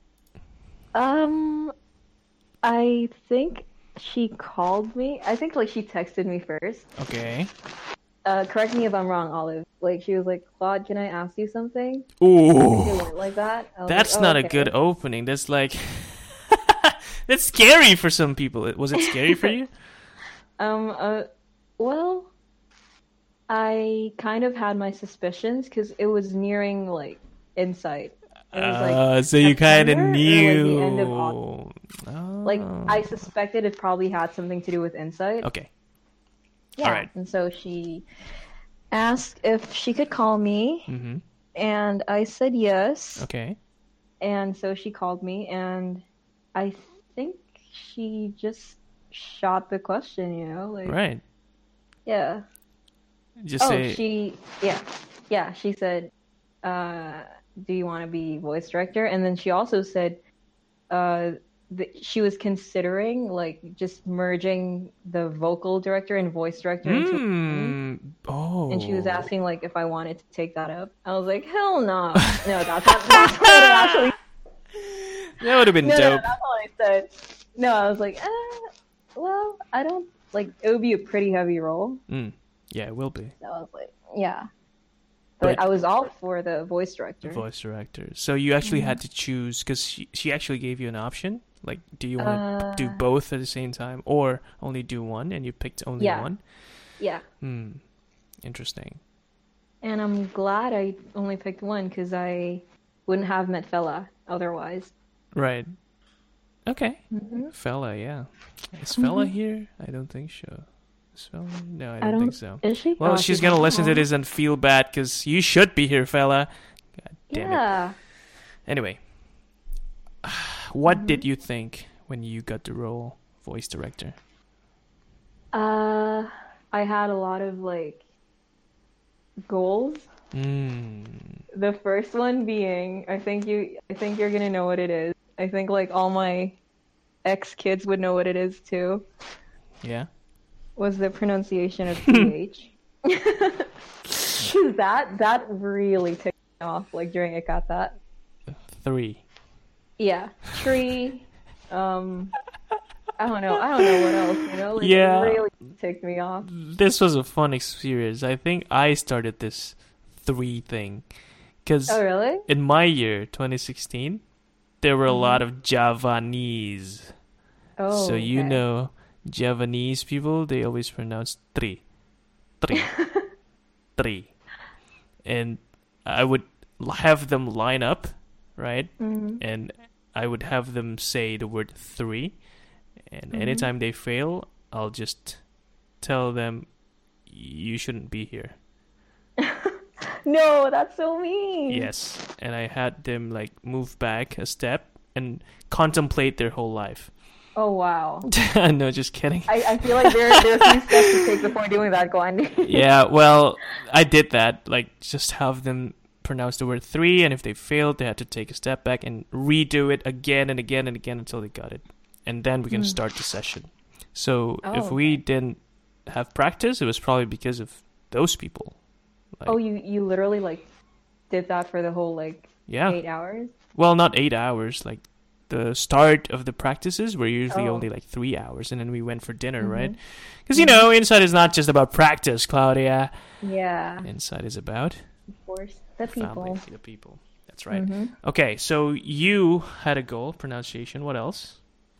Um, I think she called me. I think, like, she texted me first. Okay. Uh, correct me if I'm wrong, Olive. Like, she was like, Claude, can I ask you something? Ooh. It went like that. That's like, oh, not okay. a good opening. That's like... That's scary for some people. Was it scary for you? um, uh, well, I kind of had my suspicions because it was nearing, like, Insight. It was like uh, so you kind of knew. Like, the end of August. Oh. Like, I suspected it probably had something to do with Insight. Okay. Yeah. All right. And so she asked if she could call me, mm-hmm. and I said yes. Okay. And so she called me, and I think she just shot the question, you know? Like, right. Yeah. Just oh, say... she, yeah. Yeah, she said, uh, do you want to be voice director? And then she also said uh, that she was considering, like, just merging the vocal director and voice director mm. into one. Oh. And she was asking, like, if I wanted to take that up. I was like, hell no. No, that's not, that's what I actually... That would have been no, dope. No, that's all I said. No, I was like, eh, well, I don't, like, it would be a pretty heavy role. Mm. Yeah, it will be. So I was like, yeah. But, but I was all for the voice director. The voice director. So you actually mm-hmm. had to choose, because she, she actually gave you an option? Like, do you want to uh, do both at the same time, or only do one, and you picked only yeah. one? Yeah. Hmm. Interesting. And I'm glad I only picked one, because I wouldn't have met Fela otherwise. Right. Okay. Mm-hmm. Fela, yeah. Is Fela mm-hmm. here? I don't think so. Is Fela? No, I don't, I don't think so. Is she? Well, oh, she's going to listen to this and feel bad, because you should be here, Fela. God damn yeah. it. Anyway. What mm-hmm. did you think when you got the role voice director? Uh, I had a lot of, like, goals. Mm. The first one being, I think you, I think you're gonna know what it is. I think, like, all my ex kids would know what it is too. Yeah. Was the pronunciation of P H. that that really ticked me off. Like during I got that. Three. Yeah, tree. Um, I don't know. I don't know what else. You know, like, yeah. It really ticked me off. This was a fun experience. I think I started this three thing, because oh really? In my year, twenty sixteen, there were a lot of Javanese. Oh. So you okay. know, Javanese people, they always pronounce three, three, three, and I would have them line up, right? Mm-hmm. And I would have them say the word three, and Mhm. anytime they fail, I'll just tell them, you shouldn't be here. No, that's so mean. Yes, and I had them like move back a step and contemplate their whole life. Oh wow. No, just kidding. I, I feel like there there are a few steps to take before doing that, Glenn. Yeah, well, I did that. Like, just have them pronounce the word three, and if they failed, they had to take a step back and redo it again and again and again until they got it. And then we can Mm. start the session. So Oh, if we didn't have practice, it was probably because of those people. Like, Oh, you you literally like did that for the whole like yeah. eight hours? Well, not eight hours. Like, the start of the practices were usually Oh. only like three hours, and then we went for dinner, Mhm. right? Because, you know, Inside is not just about practice, Claudia. Yeah, Inside is about of course. The people. family, the people. That's right. Mhm. Okay, so you had a goal, pronunciation. What else?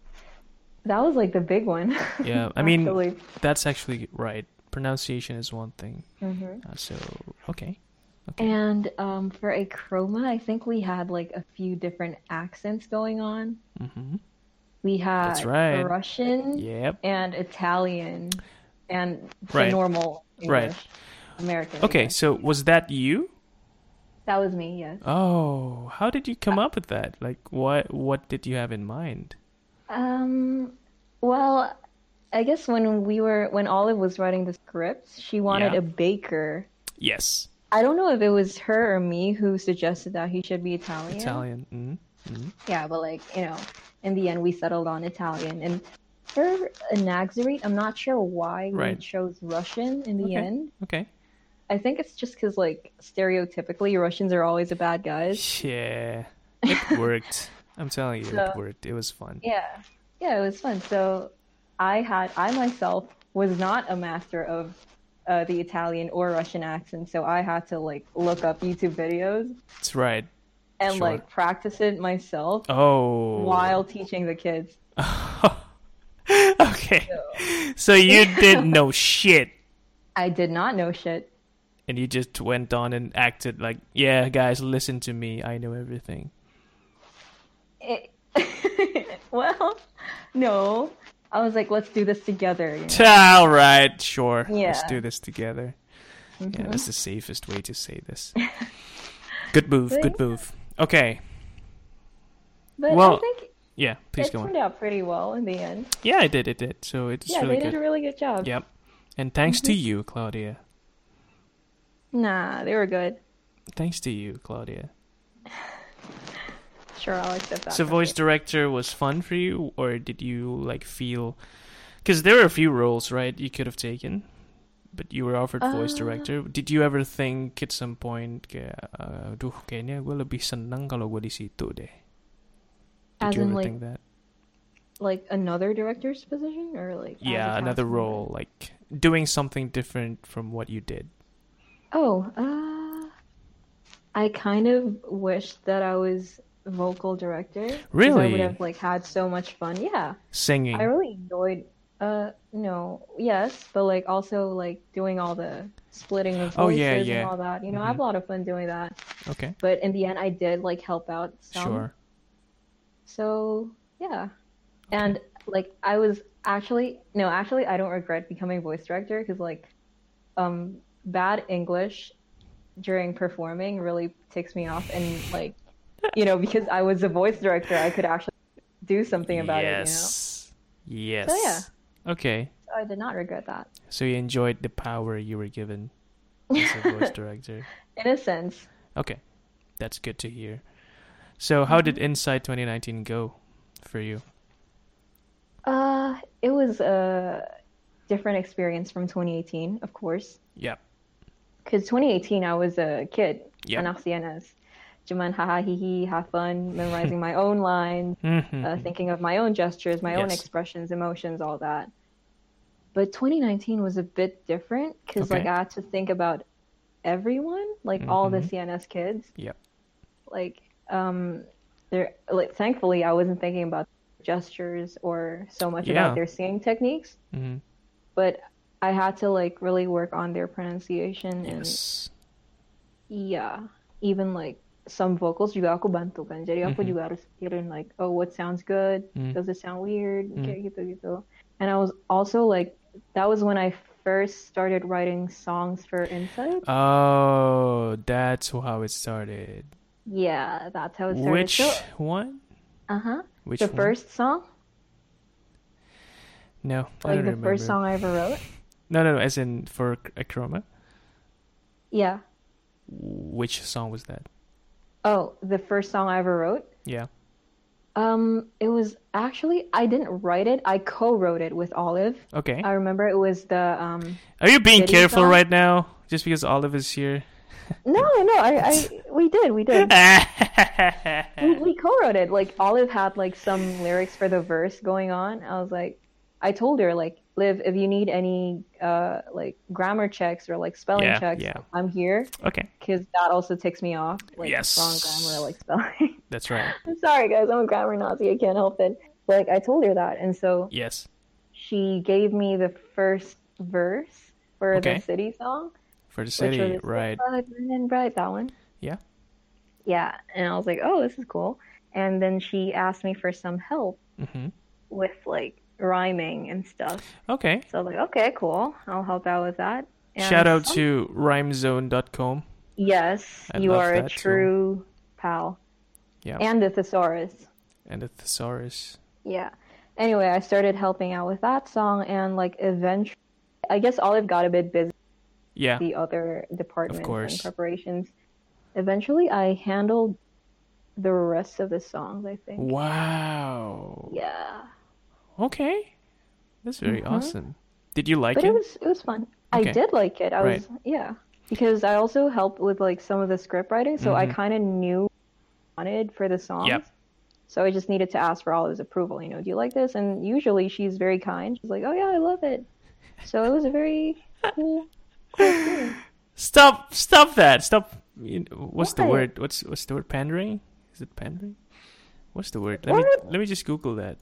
That was like the big one. Yeah, I mean, actually. that's actually right. Pronunciation is one thing. Mhm. Uh, so, okay. Okay. And um, for a chroma, I think we had like a few different accents going on. Mm-hmm. We had That's right. Russian Yep. and Italian and the Right. normal Right. English, American. I Okay, guess. so was that you? That was me, yes. Oh, how did you come up with that? Like, what what did you have in mind? Um, well, I guess when we were when Olive was writing the scripts, she wanted Yeah. a baker. Yes, I don't know if it was her or me who suggested that he should be Italian. Italian. Mm-hmm. Mm-hmm. Yeah, but like, you know, in the end we settled on Italian. And for a Naxarite, I'm not sure why we Right. chose Russian in the Okay. end. Okay. I think it's just because like stereotypically Russians are always the bad guys. Yeah, it worked. I'm telling you, it So- worked. It was fun. Yeah. Yeah, it was fun. So I had I myself was not a master of uh, the Italian or Russian accent, so I had to like look up YouTube videos That's right. and Sure. like practice it myself Oh. while teaching the kids. Okay. So So you didn't know shit, I did not know shit. and you just went on and acted like, yeah, guys, listen to me. I know everything. It, well, no. I was like, let's do this together. You know? All right, sure. Let's Yeah. do this together. Yeah, Mhm. that's the safest way to say this. Good move. But Good yeah. move. Okay. But Well, I think Yeah, please it go turned on. out pretty well in the end. Yeah, I did. It did. So it's Yeah, really they did good. a really good job. Yep. And thanks to Mm-hmm. you, Claudia. Nah, they were good. Thanks to you, Claudia. Sure, I'll accept that. So, from voice you. director was fun for you, or did you like feel? Because there were a few roles, right? You could have taken, but you were offered voice Uh, director. Did you ever think at some point, kayak, uh, duh, kayaknya gue lebih senang kalau gue di situ deh. Did As you in, ever like, think that? like another director's position, or like as a Yeah, cast another member? role, like doing something different from what you did. Oh, uh, I kind of wish that I was vocal director. 'cause I Really? would have like had so much fun. Yeah, Singing. I really enjoyed. Uh, no, yes, but like also like doing all the splitting of Oh, voices yeah, and yeah. all that. You know, I have Mhm. a lot of fun doing that. Okay. But in the end, I did like help out some. Sure. So yeah, and like I was actually no, actually I don't regret becoming voice director because like um bad English during performing really ticks me off, and like you know because I was a voice director, I could actually do something about yes. Yes. So, yeah. Okay. it. You know, so I did not regret that So you enjoyed the power you were given as a voice director. in a sense. Okay. That's good to hear. So how did Mm-hmm. Inside twenty nineteen go for you? Uh, it was a different experience from twenty eighteen, of course, Yep. because twenty eighteen I was a kid. Yep. Anak C N S. Cuman haha hihi, have fun, memorizing my own lines, Mhm. uh, thinking of my own gestures, my own Yes. expressions, emotions, all that. But twenty nineteen was a bit different because like Okay. I had to think about everyone, like all the Mhm. C N S kids. Yep. Like um, there, like thankfully I wasn't thinking about gestures or so much Yeah. about their singing techniques, Mhm. but I had to like really work on their pronunciation and Yes. yeah, even like some vocals juga aku bantu kan. Jadi aku Mhm. juga harus pikirin like, oh, what sounds good? Mm. Does it sound weird? Mm. Kayak gitu-gitu. And I was also like, that was when I first started writing songs for Insight. Oh, that's how it started. Yeah, that's how it started. Which So, one? uh-huh. Which The one? first song, No, I like don't the remember. first song I ever wrote. No, no, no, as in for Acroma. Yeah. Which song was that? Oh, the first song I ever wrote. Yeah. Um, it was actually I didn't write it. I co-wrote it with Olive. Okay. I remember it was the um. Are you being City careful song? right now? Just because Olive is here? No, no, I, I, we did, we did. we, we co-wrote it. Like Olive had like some lyrics for the verse going on. I was like, I told her like, Liv, if you need any uh like grammar checks or like spelling Yeah, checks, yeah. I'm here. Okay. Because that also ticks me off. Like Yes. wrong grammar, like spelling. That's right. I'm sorry, guys. I'm a grammar Nazi. I can't help it. But like I told her that, and so Yes. she gave me the first verse for Okay. the City song. For the Which city, was right. Bright and bright, that one. Yeah. Yeah, and I was like, oh, this is cool. And then she asked me for some help Mm-hmm. with like rhyming and stuff. Okay. So I was like, okay, cool. I'll help out with that. And Shout out some- to rhymezone dot com. Yes, I you love are a that tool. true pal. Yeah. And the thesaurus. And the thesaurus. Yeah. Anyway, I started helping out with that song, and like eventually, I guess Olive got a bit busy Yeah. with the other departments course. and preparations. Eventually, I handled the rest of the songs, I think. Wow. Yeah. Okay. That's very Mhm. awesome. Did you like But it? it was it was fun. Okay. I did like it. I Right. was yeah. Because I also helped with like some of the script writing, so I Mhm. kind of knew what I wanted for the songs. Yep. So I just needed to ask for Olive's approval, you know, do you like this? And usually she's very kind. She's like, "Oh yeah, I love it." So it was a very cool cool experience. Stop! Stop that! Stop! You know, what's the What? word? What's what's the word? Pandering? Is it pandering? What's the word? Let me What? let me just Google that.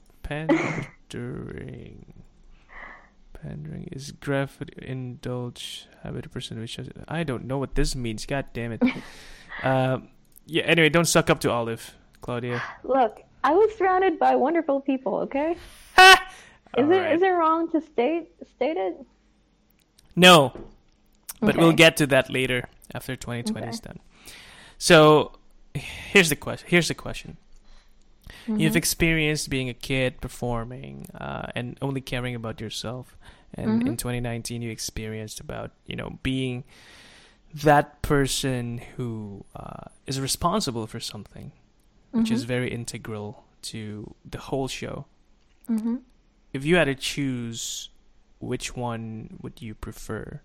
Pandering. Pandering is graph indulge habit a person which I don't know what this means. God damn it. um. Yeah. Anyway, don't suck up to Olive, Claudia. Look, I was surrounded by wonderful people, okay? Ha! Is it Alright. is it wrong to state state it? No, but we'll Okay. get to that later after twenty twenty is done. So, here's the question. Here's the question. You've experienced being a kid performing uh, and only caring about yourself, and in twenty nineteen you experienced about you know being that person who uh, is responsible for something, which is very integral to the whole show. Mm-hmm. If you had to choose, which one would you prefer?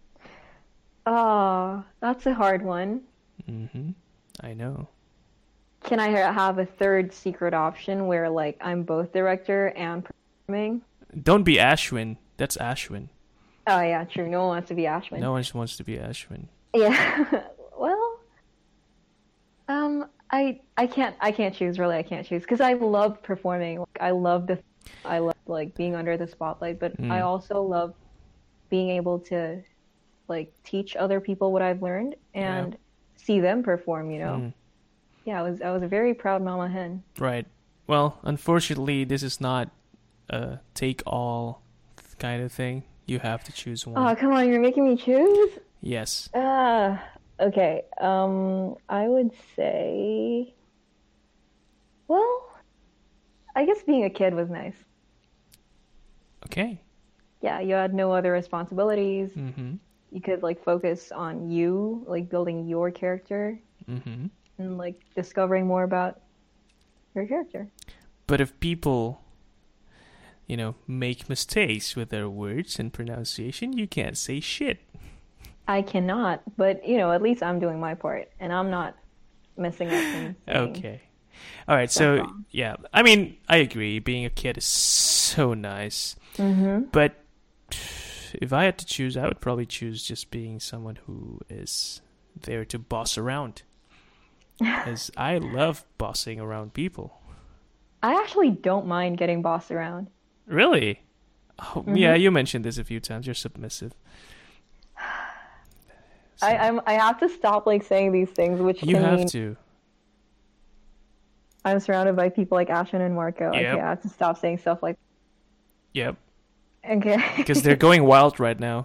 Oh, that's a hard one. Mm-hmm. I know. Can I ha- have a third secret option where like I'm both director and performing? Don't be Ashwin. That's Ashwin. Oh yeah, true. No one wants to be Ashwin. No one just wants to be Ashwin. Yeah. Well, um, I I can't I can't choose really. I can't choose because I love performing. Like, I love the I love like being under the spotlight, but Mm. I also love being able to like teach other people what I've learned and see them perform. You know. Mm. Yeah, I was I was a very proud mama hen. Right. Well, unfortunately, this is not a take-all kind of thing. You have to choose one. Oh, come on, you're making me choose? Yes. Ah, okay. Um, I would say, well, I guess being a kid was nice. Okay. Yeah, you had no other responsibilities. Mm-hmm. You could like focus on you, like building your character Mm-hmm. and like discovering more about your character. But if people, you know, make mistakes with their words and pronunciation, you can't say shit. I cannot, but you know, at least I'm doing my part and I'm not messing up and saying Okay. All right. stuff So, wrong. yeah. I mean, I agree. Being a kid is so nice. Mm-hmm. But if I had to choose, I would probably choose just being someone who is there to boss around. Because I love bossing around people. I actually don't mind getting bossed around. Really? Oh, yeah, you mentioned this a few times. You're submissive. So I, I'm I have to stop like saying these things, which you can have mean to. I'm surrounded by people like Ashwin and Marco. Yep. Okay, I have to stop saying stuff like Yep. okay. Because they're going wild right now.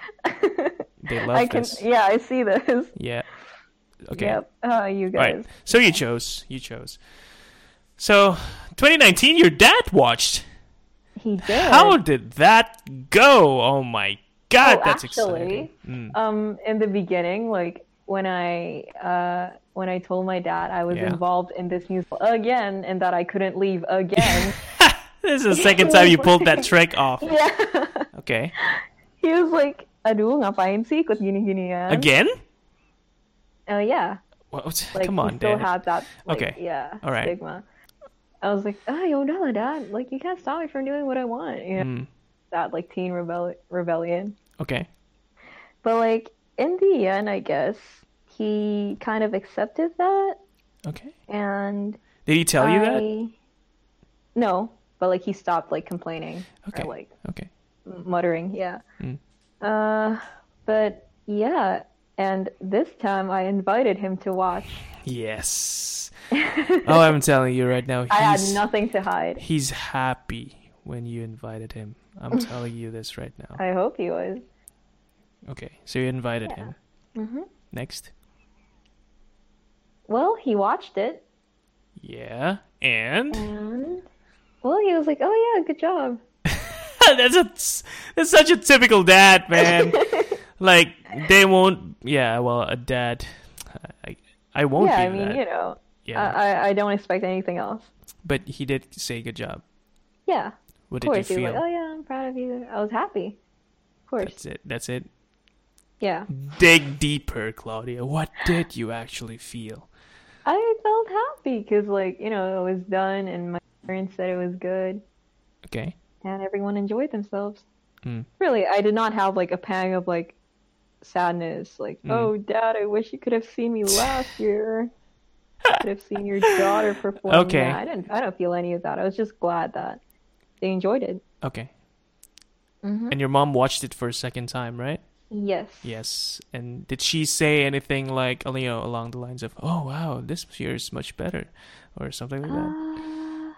They love I can this. yeah, I see this. Yeah. Okay. Yep. Uh, you All guys. right. So you chose. You chose. So twenty nineteen, your dad watched. He did. How did that go? Oh my God, Oh, that's actually, exciting. Mm. Um, in the beginning, like when I uh when I told my dad I was Yeah. involved in this musical again and that I couldn't leave again. This is the second time you pulled that trick off. Yeah. Okay. He was like, aduh, ngapain sih ikut gini-ginian? Again? Uh, yeah. What? Like, Come he on, still Dad. had that, like, Okay. yeah, All right. stigma. I was like, ah, yo, no, Dad. Like, you can't stop me from doing what I want. You know, Mm. that, like, teen rebel- rebellion. Okay. But, like, in the end, I guess, he kind of accepted that. Okay. And Did he tell you that? I... No, but, like, he stopped, like, complaining. Okay. Or, like, Okay. muttering, yeah. Mm. Uh, but, yeah. And this time, I invited him to watch. Yes. Oh, I'm telling you right now, he's, I had nothing to hide. he's happy when you invited him. I'm telling you this right now. I hope he was. Okay, so you invited Yeah. him. hmm Next. Well, he watched it, Yeah, and and well, he was like, "Oh yeah, good job." that's a that's such a typical dad, man. Like they won't. Yeah, well, a dad. I I won't yeah, be I mean, that. you know, Yeah, I, I I don't expect anything else. but he did say good job. Yeah, What of did you course. He was feel? like, "Oh yeah, I'm proud of you." I was happy. Of course. That's it. That's it. Yeah, Dig deeper, Claudia. What did you actually feel? I felt happy because, like, you know, it was done, and my parents said it was good, Okay. and everyone enjoyed themselves. Mm. Really, I did not have like a pang of like sadness, like, Mm. "Oh, Dad, I wish you could have seen me last year. Could have seen your daughter perform." Okay. Nah, I didn't. I don't feel any of that. I was just glad that they enjoyed it. Okay. Mm-hmm. And your mom watched it for a second time, right? Yes. Yes. And did she say anything like, you know, along the lines of, "Oh wow, this year is much better," or something like that? Uh,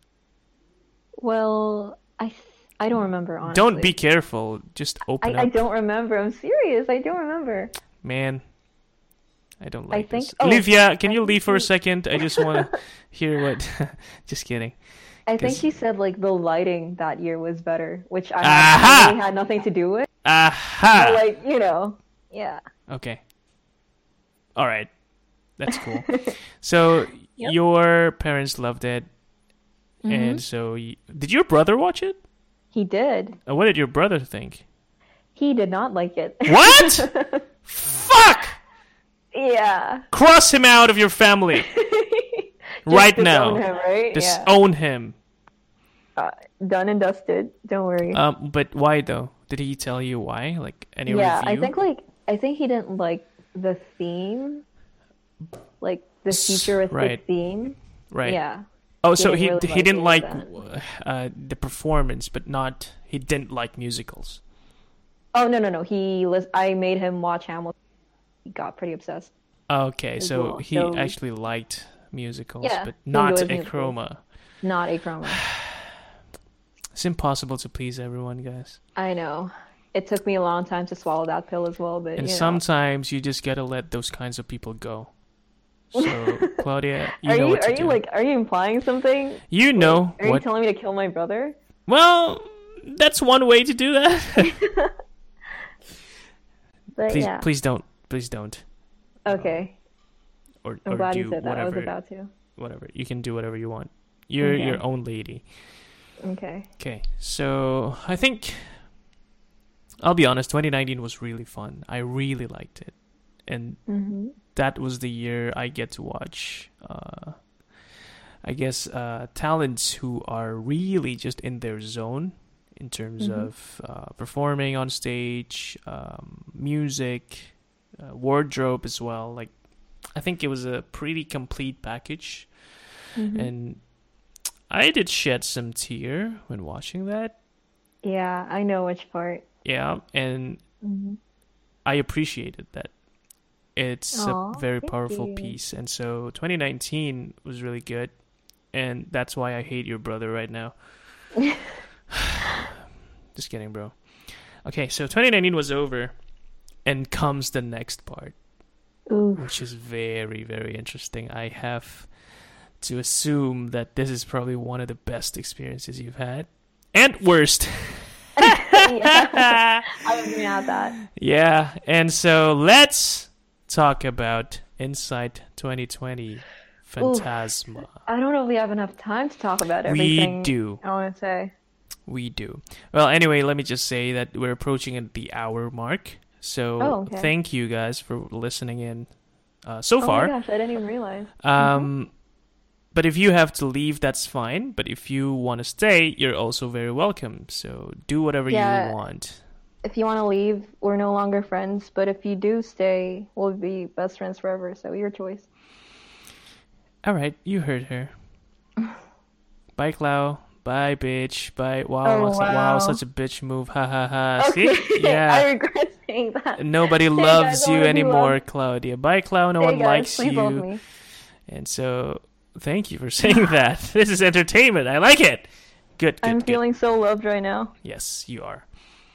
well, I th- I don't remember honestly. Don't be careful. Just open I, I up, don't remember. I'm serious. I don't remember. man. I don't I like think- this. oh, Olivia, can I you think leave for a she- second? I just want to hear what. Just kidding. I think 'Cause- she said like the lighting that year was better, which I Aha! had, really had nothing to do with. Aha. But like, you know, yeah. Okay. All right. That's cool. So Yep. your parents loved it, and so y- did your brother watch it? He did. Uh, what did your brother think? He did not like it. What? Fuck! Yeah. Cross him out of your family Just right disown now. him, right? yeah. Disown him. Uh, done and dusted. Don't worry. Um, but why though? Did he tell you why? Like any yeah, review? I think like I think he didn't like the theme, like the S- futuristic right. theme. right. Yeah. Oh, so didn't he really he like didn't any like of uh, the performance, but not he didn't like musicals. Oh no no no. He lis- I made him watch Hamilton. He got pretty obsessed. Okay, As so well, he so- actually liked musicals, Yeah, but he not enjoys a musicals. chroma. Not a chroma. It's impossible to please everyone, guys. I know. It took me a long time to swallow that pill as well, but And you know. sometimes you just gotta let those kinds of people go. So, Claudia, you are know you what to are you do. like are you implying something? you know Are you what? telling me to kill my brother? Well, that's one way to do that. But please, yeah. please don't. Please don't. Okay. Or, I'm or glad do you said that. I whatever. was about to. Whatever. You can do whatever you want. You're Okay. your own lady. Okay. Okay, so I think I'll be honest. twenty nineteen was really fun. I really liked it, and Mhm. that was the year I get to watch. Uh, I guess uh, talents who are really just in their zone in terms Mhm. of uh, performing on stage, um, music, uh, wardrobe as well. Like, I think it was a pretty complete package, Mhm. and I did shed some tear when watching that. Yeah, I know which part. Yeah, and Mhm. I appreciated that It's Aw, a very thank powerful you. piece. And so twenty nineteen was really good. And that's why I hate your brother right now. Just kidding, bro. Okay, so twenty nineteen was over. And comes the next part, Ooh. which is very, very interesting. I have to assume that this is probably one of the best experiences you've had. And worst. Yeah, I would agree on that. Yeah, and so let's talk about Insight twenty twenty Phantasma. Oof. I don't know if we have enough time to talk about We everything. do. I want to say. We do. Well, anyway, let me just say that we're approaching the hour mark. So Oh, okay. thank you guys for listening in uh, so Oh far. my gosh, I didn't even realize. Um, But if you have to leave, that's fine. But if you want to stay, you're also very welcome. So do whatever Yeah. you want. If you want to leave, we're no longer friends. But if you do stay, we'll be best friends forever. So your choice. All right, you heard her. Bye, Clau. Bye, bitch. Bye. Wow, Oh, su- wow, wow. such a bitch move. Ha ha ha. Okay. See? Yeah. I regret saying that. Nobody Hey, loves guys, I you wanna be anymore, loved. Claudia. Bye, Clau. No Hey, one guys, likes please love you. me. And so, thank you for saying that. This is entertainment. I like it. Good, good, I'm good. feeling so loved right now. Yes, you are.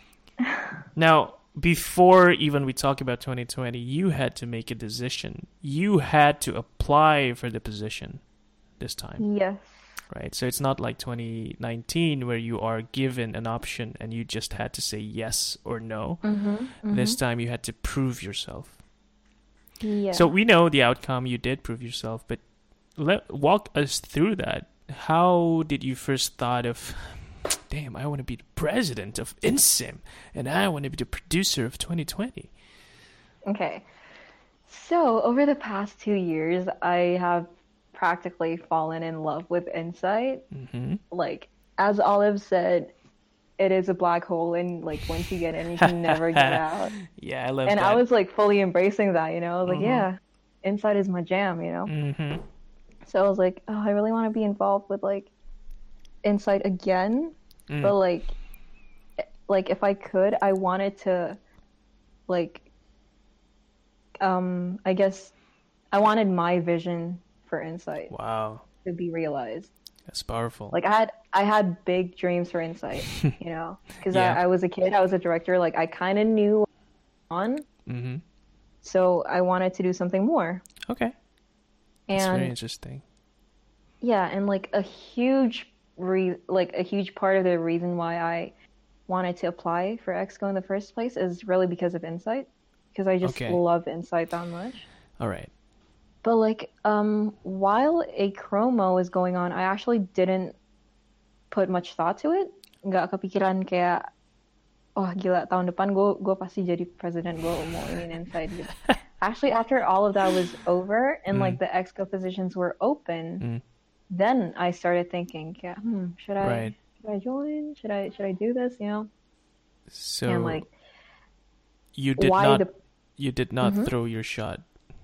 Now, before even we talk about twenty twenty, you had to make a decision. You had to apply for the position this time, Yes. right? So it's not like twenty nineteen where you are given an option and you just had to say yes or no. Mm-hmm. This time you had to prove yourself. Yeah. So we know the outcome. You did prove yourself, but let walk us through that. How did you first thought of, damn, I want to be the president of InSim, and I want to be the producer of twenty twenty? Okay. So, over the past two years, I have practically fallen in love with Insight. Mm-hmm. Like, as Olive said, it is a black hole, and like once you get in, you can never get out. Yeah, I love And that. I was like fully embracing that, you know? I was like, Mhm. yeah, Insight is my jam, you know? Mm-hmm. So I was like, oh, I really want to be involved with like Insight again, Mm. but like, like if I could, I wanted to, like, um, I guess I wanted my vision for Insight Wow, to be realized. that's powerful. Like I had, I had big dreams for Insight, you know, because Yeah. I, I was a kid, I was a director, like I kind of knew what I was on, Mm-hmm. so I wanted to do something more. Okay, that's And very interesting. yeah, and like a huge re like a huge part of the reason why I wanted to apply for Exco in the first place is really because of Insight, because I just Okay. love Insight that much. All right. But like um while a chromo was going on, I actually didn't put much thought to it. Nggak kepikiran kayak oh gila tahun depan gue gue pasti jadi president, gue mau ini Insight gitu. Actually, after all of that was over and like the Exco positions were open, Mm. then I started thinking, yeah, hmm, should I Right. should I join? Should I should I do this? You know, So and like you did why not the you did not Mhm. throw your shot.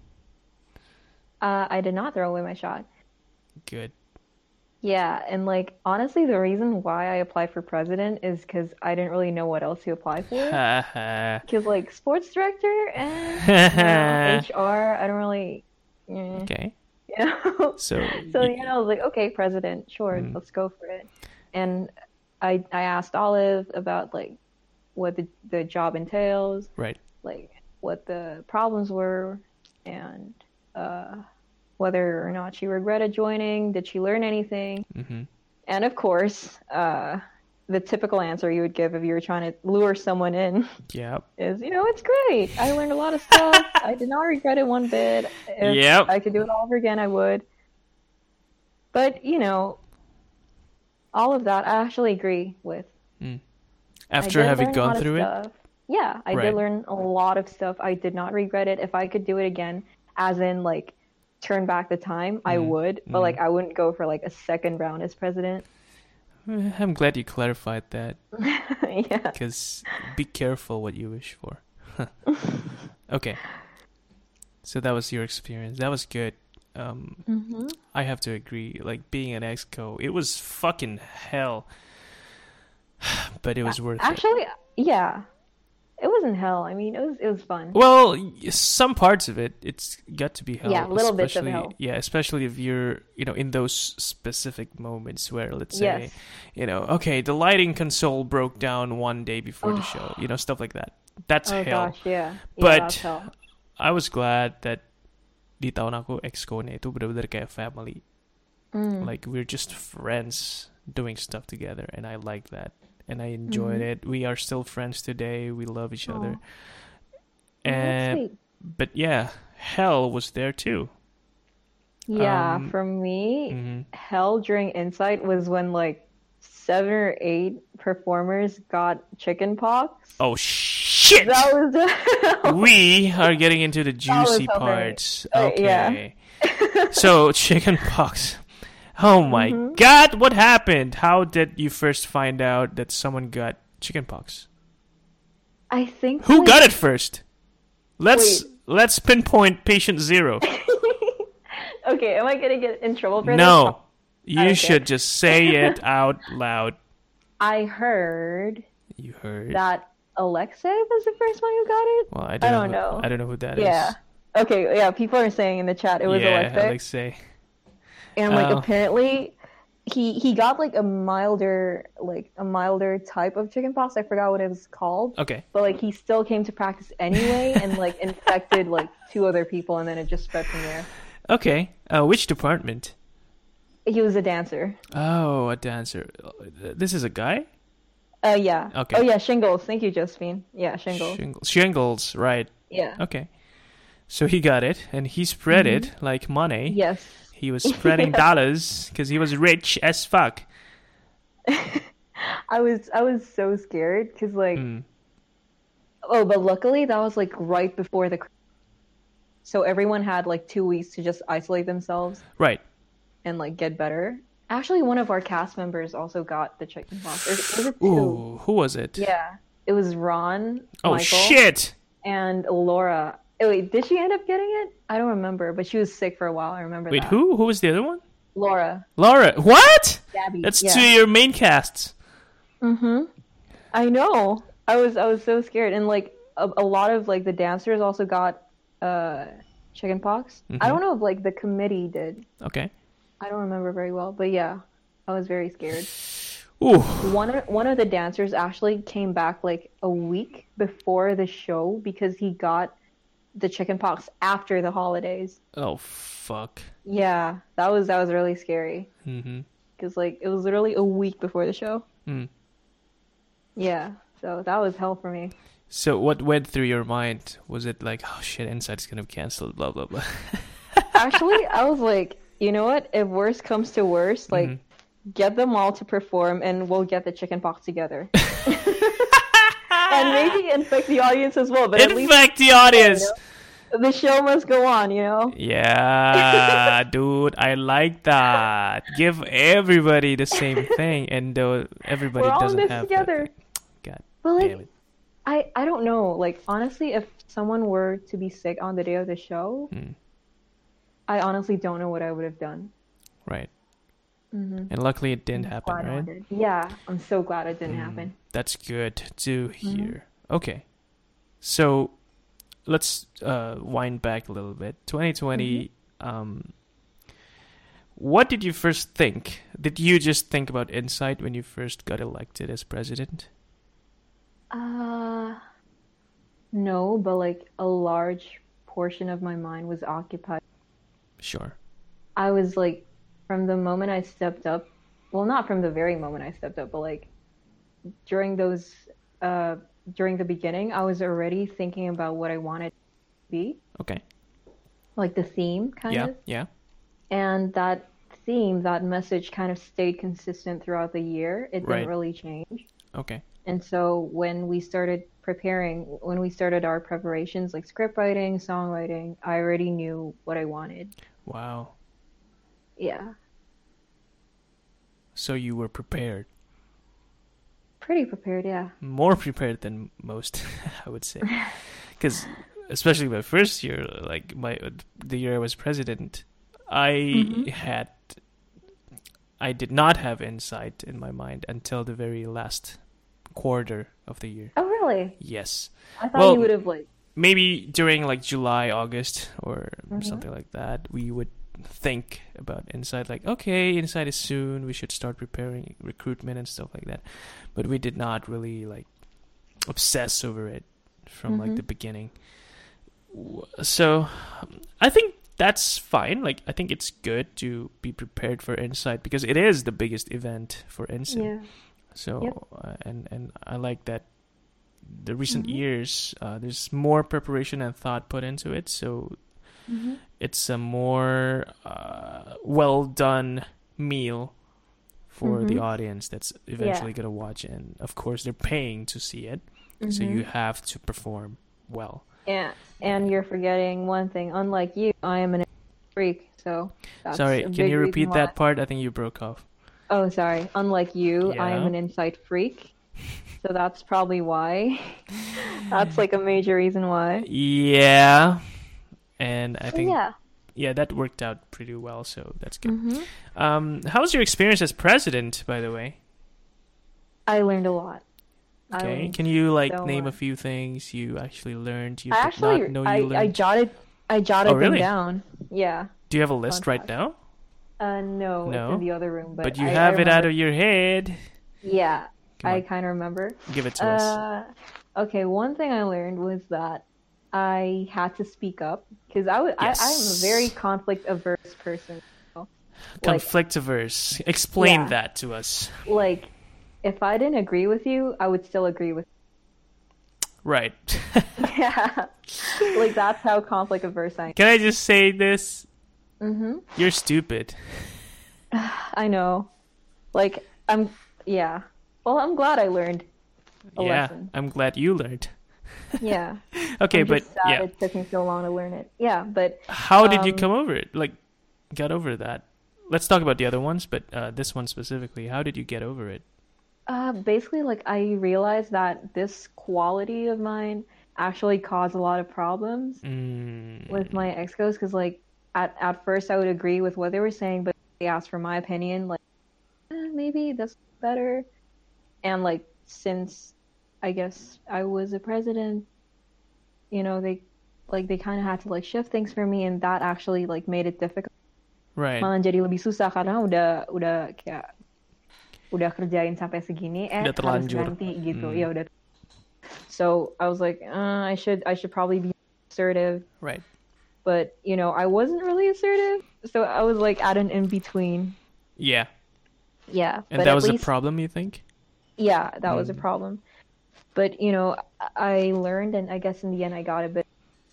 uh, I did not throw away my shot. Good. Yeah, and like honestly, the reason why I applied for president is because I didn't really know what else to apply for. Ha ha. Because like sports director and H R, I don't really, eh, Okay. you know. So So y- you know, I was like, okay, president, sure, Mm. let's go for it. And I I asked Olive about like what the the job entails, right. like what the problems were, and uh, whether or not she regretted joining. Did she learn anything? Mm-hmm. And of course, uh, the typical answer you would give if you were trying to lure someone in Yep. is, you know, it's great. I learned a lot of stuff. I did not regret it one bit. If Yep. I could do it all over again, I would. But, you know, all of that I actually agree with. Mm. I After did having learn a lot gone of through it, stuff. Yeah, I Right. did learn a lot of stuff. I did not regret it. If I could do it again, as in like turn back the time, I Mm, would. But mm. like I wouldn't go for like a second round as president. Eh, I'm glad you clarified that, Yeah. because be careful what you wish for. Okay. So that was your experience. That was good. Um, hmm I have to agree. Like being an exco, it was fucking hell, but it was worth it. Actually, yeah. it wasn't hell. I mean, it was it was fun. Well, y- some parts of it, it's got to be hell. Yeah, little bits of especially- hell. Yeah, especially if you're, you know, in those specific moments where, let's say, Yes. you know, okay, the lighting console broke down one day before the show, you know, stuff like that. That's Oh hell. gosh, yeah. Yeah, But- that's hell. I was glad that di tahun aku exco-nya itu benar-benar kayak family. Mm. Like we're just friends doing stuff together, and I like that, and I enjoyed Mhm. it. We are still friends today. We love each other. Aw. Oh, that's And sweet. but yeah, hell was there too. Yeah, um, for me, hmm hell during Insight was when like seven or eight performers got chicken pox. Oh shit! That was We are getting into the was juicy so funny. parts. Uh, yeah. Okay. So chicken pox. Oh my Mhm. god, what happened? How did you first find out that someone got chicken pox? I think Who like, got it first? Let's Wait. let's pinpoint patient zero. Okay, am I gonna get in trouble for this? No. You Okay. should just say it out loud. I heard You heard. that Alexei was the first one who got it. Well, I don't, I don't know. know. I don't know who that is. Yeah. Okay, yeah, people are saying in the chat it was yeah, Alexei. Alexei. And like Oh. apparently he he got like a milder like a milder type of chickenpox. I forgot what it was called. Okay. But like he still came to practice anyway and like infected like two other people and then it just spread from there. Okay. Uh, which department? He was a dancer. Oh, a dancer. This is a guy? Uh yeah. Okay. Oh yeah, shingles. Thank you, Josephine. Yeah, shingles. Shingles. Shingles, right. Yeah. Okay. So he got it, and he spread Mm-hmm. it like money. Yes. He was spreading Yeah. dollars because he was rich as fuck. I was I was so scared because like Mm. oh, but luckily that was like right before the so everyone had like two weeks to just isolate themselves Right. and like get better. Actually, one of our cast members also got the chickenpox. Or was it two? Ooh, who was it? Yeah, it was Ron, Oh, Michael, shit! and Laura. Oh, wait, did she end up getting it? I don't remember, but she was sick for a while. I remember Wait, that. who? Who was the other one? Laura. Laura. What? Gabby. That's yeah. two of your main casts. Mm-hmm. I know. I was I was so scared, and like a, a lot of like the dancers also got uh chickenpox. Mhm. I don't know if like the committee did. Okay. I don't remember very well, but yeah, I was very scared. Ooh. One of, one of the dancers actually came back like a week before the show because he got the chickenpox after the holidays. Oh, fuck. Yeah, that was that was really scary Mm-hmm. because like it was literally a week before the show. Mm. Yeah, so that was hell for me. So what went through your mind? Was it like, oh shit, Inside's gonna be canceled, blah, blah, blah? Actually, I was like, you know what? If worst comes to worst, like Mhm. get them all to perform and we'll get the chickenpox together. And maybe infect the audience as well, but at least Infect the audience! the show must go on, you know? Yeah, dude, I like that. Give everybody the same thing, and though everybody We're all in doesn't this have together. that. God But like, damn it. I, I don't know. Like, honestly, if someone were to be sick on the day of the show, Mm, I honestly don't know what I would have done. right. Mm-hmm. And luckily it didn't happen, right? Yeah, I'm so glad it didn't Mm, happen. That's good to Mm-hmm. hear. Okay. So let's uh, wind back a little bit. twenty twenty, Mm-hmm. um, what did you first think? Did you just think about Insight when you first got elected as president? Uh, no, but like a large portion of my mind was occupied. Sure. I was like, from the moment I stepped up, well, not from the very moment I stepped up, but like during those, uh, during the beginning, I was already thinking about what I wanted to be, Okay. like the theme kind Yeah, of. yeah. And that theme, that message kind of stayed consistent throughout the year. It didn't Right. really change. Okay. And so when we started preparing, when we started our preparations, like script writing, songwriting, I already knew what I wanted. Wow. Yeah, So you were prepared. pretty prepared, yeah. More prepared than most, I would say. Because especially my first year, like my the year I was president, I Mhm. had I did not have Insight in my mind until the very last quarter of the year. Oh, really? Yes. I thought Well, you would have like. maybe during like July, August, or Mhm. something like that, we would think about Inside, like, okay, Inside is soon, we should start preparing recruitment and stuff like that. But we did not really like obsess over it from like Mhm. the beginning. W- So I think that's fine. Like, I think it's good to be prepared for Inside because it is the biggest event for Ensign. Yeah. So Yep. uh, and and I like that the recent Mhm. years uh, there's more preparation and thought put into it. So Mhm. it's a more uh, well done meal for the Mhm. audience that's eventually gonna watch, and of course they're paying to see it, so you Mhm. have to perform well. Yeah, and you're forgetting one thing. Unlike you, I am an freak, so that's Sorry, a can big you reason repeat why. that part? I think you broke off. Oh, sorry. Unlike you, I am Yeah. an insight freak, so that's probably why. That's like a major reason why. Yeah, and I So think yeah. yeah that worked out pretty well, so that's good. Mhm. Um, how was your experience as president, by the way? I learned a lot. I Okay, learned can you like so name a much. few things you actually learned you I did actually not know I you I learned? jotted I Oh, jotted them really? down. Yeah. Do you have a Fun list right fact. now? Uh no, it's in No, the other room, but, but you I I have it out remember. of your head. Yeah, Come I on, kind of remember. give it to us. Uh, okay, one thing I learned was that I had to speak up because I, w- I I'm a very Yes. conflict averse person. you know? Like Conflictiverse. Explain yeah, that to us. like if I didn't agree with you, I would still agree with Right. you. Yeah. Like that's how conflict averse I Can I just say this? am. Mm-hmm. You're stupid. I know. Like I'm yeah. Well, I'm glad I learned a Yeah, lesson. I'm glad you learned. Yeah. Okay, I'm but just sad yeah, it took me so long to learn it. Yeah, but how did you um come over it? Like, got over that? Let's talk about the other ones, but uh, this one specifically, how did you get over it? Uh, basically, like I realized that this quality of mine actually caused a lot of problems Mm, with my ex-cos because, like, at at first I would agree with what they were saying, but they asked for my opinion, like, eh, maybe that's better. And like, since I guess I was a president, you know, they like they kind of had to like shift things for me, and that actually like made it difficult. right. Malah jadi lebih susah karena udah udah kayak udah kerjain sampai segini eh Udah harus terlanjur. ganti gitu. Mm, Ya udah. So I was like, uh, I should I should probably be assertive, right. but you know, I wasn't really assertive. So I was like at an in between. Yeah. Yeah, And but that at was a least problem, you think? yeah, that was a Mm. problem. But you know, I I learned, and I guess in the end I got a bit.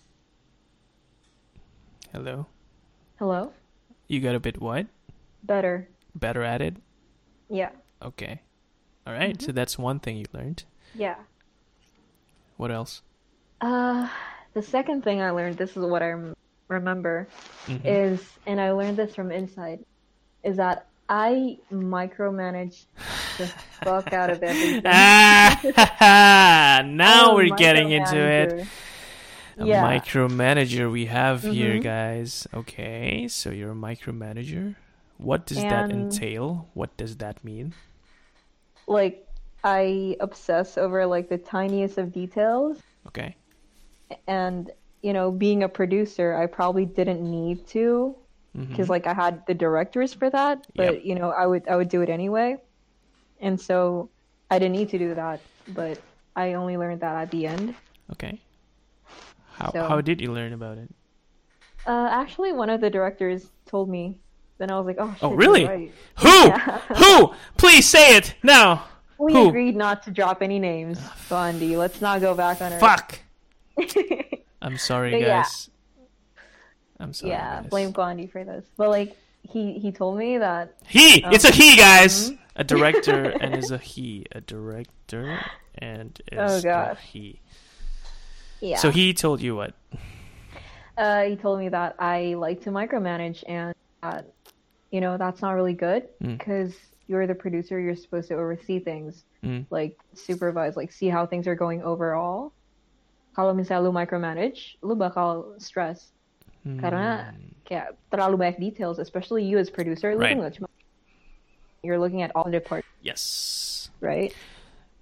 Hello? Hello? You got a bit what? Better. Better at it? Yeah. Okay. All right, so that's one thing you learned. Yeah. What else? Uh, the second thing I learned, this is what I rem- remember, Mhm. is, and I learned this from Inside, is that I micromanage the fuck out of everything. Ah, now I'm a we're getting into it. micromanager. A Yeah. micromanager we have here, Mhm. guys. Okay, so you're a micromanager. What does that And entail? What does that mean? like I obsess over like the tiniest of details, Okay. and you know, being a producer, I probably didn't need to because Mhm. like I had the directors for that, but Yep. you know, I would I would do it anyway. And so I didn't need to do that, but I only learned that at the end. Okay. How So how did you learn about it? uh, actually, one of the directors told me. Then I was like, oh shit, Oh, you're really? right. Who? Yeah. Who? Please say it now. We Who? agreed not to drop any names, Bondi. Let's not go back on our. Fuck. I'm sorry, But yeah. guys. I'm sorry, Yeah, guys. blame Bondi for this. But like, he he told me that. He. Um, It's a he, guys. mhm. A director and is a he. A director and Oh is a gosh. he. Yeah. So he told you what? Uh, he told me that I like to micromanage, and that, you know, that's not really good Mm. because you're the producer. You're supposed to oversee things, Mm. like supervise, like see how things are going overall. Kalau misalnya lu micromanage, lu bakal stress karena Hmm. kayak terlalu banyak details, especially you as producer. Lu Right. tuh nggak cuma you're looking at all the parts, Yes. right?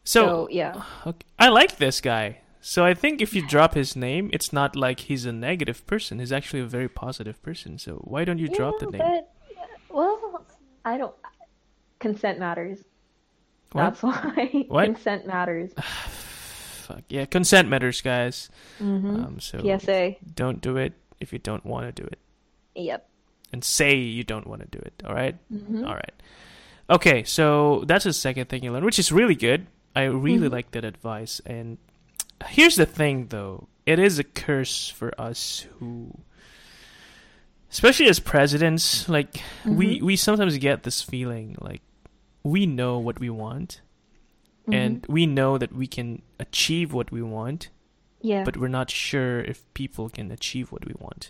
So, So yeah, okay, I like this guy. So I think if you drop his name, it's not like he's a negative person. He's actually a very positive person. So why don't you drop the yeah, name? but well, I don't. Consent matters. What? That's why What? consent matters. Fuck yeah, consent matters, guys. Mm-hmm. Um, so P S A. don't do it if you don't want to do it, Yep. and say you don't want to do it. All right. Mm-hmm. All right. Okay, so that's the second thing you learn, which is really good. I really Mm-hmm. like that advice. And here's the thing, though. It is a curse for us who, especially as presidents, like we Mm-hmm. we sometimes get this feeling like we know what we want and Mm-hmm. we know that we can achieve what we want, Yeah. but we're not sure if people can achieve what we want.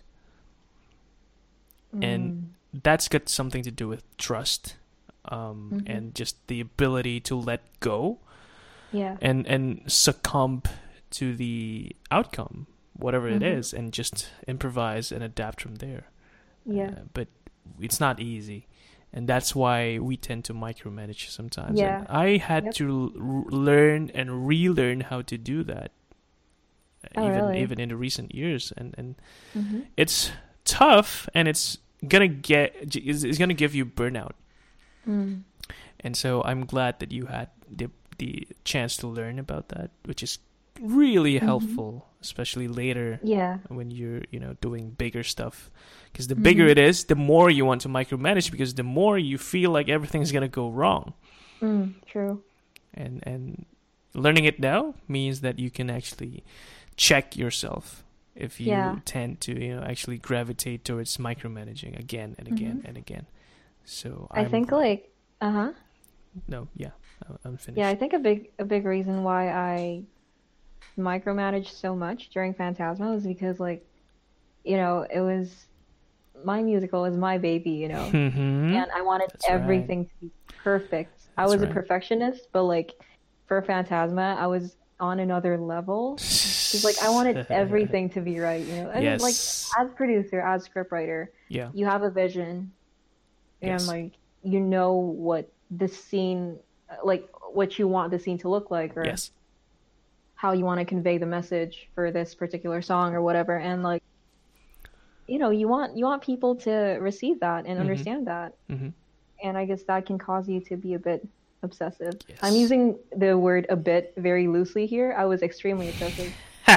And Mm. that's got something to do with trust, um, Mm-hmm. and just the ability to let go Yeah. and and succumb to the outcome, whatever it Mm-hmm. is, and just improvise and adapt from there. Yeah. Uh, but it's not easy, and that's why we tend to micromanage sometimes. Yeah. And I had Yep. to l- learn and relearn how to do that, uh, Oh, even really? even in the recent years, and and Mm-hmm. it's tough, and it's gonna get it's, it's gonna give you burnout. Mm. And so I'm glad that you had the the chance to learn about that, which is really Mm-hmm. helpful, especially later Yeah. when you're, you know, doing bigger stuff. Because the bigger Mm-hmm. it is, the more you want to micromanage, because the more you feel like everything's gonna go wrong. Mm. True. And and learning it now means that you can actually check yourself if you Yeah. tend to, you know, actually gravitate towards micromanaging again and again Mm-hmm. and again. So I I'm think like uh huh. no, yeah, I- I'm finished. Yeah, I think a big a big reason why I micromanaged so much during Phantasma was because like, you know, it was my musical was my baby, you know, Mm-hmm. and I wanted That's right. everything to be perfect. I That's was a right. perfectionist, but like for Phantasma, I was on another level. It's like I wanted everything to be right, you know. And like Yes. as producer, as scriptwriter, Yeah. you have a vision and Yes. like you know what the scene like what you want the scene to look like or Yes. how you want to convey the message for this particular song or whatever and like you know you want you want people to receive that and Mm-hmm. understand that Mm-hmm. and I guess that can cause you to be a bit obsessive. Yes. I'm using the word a bit very loosely here. I was extremely obsessive.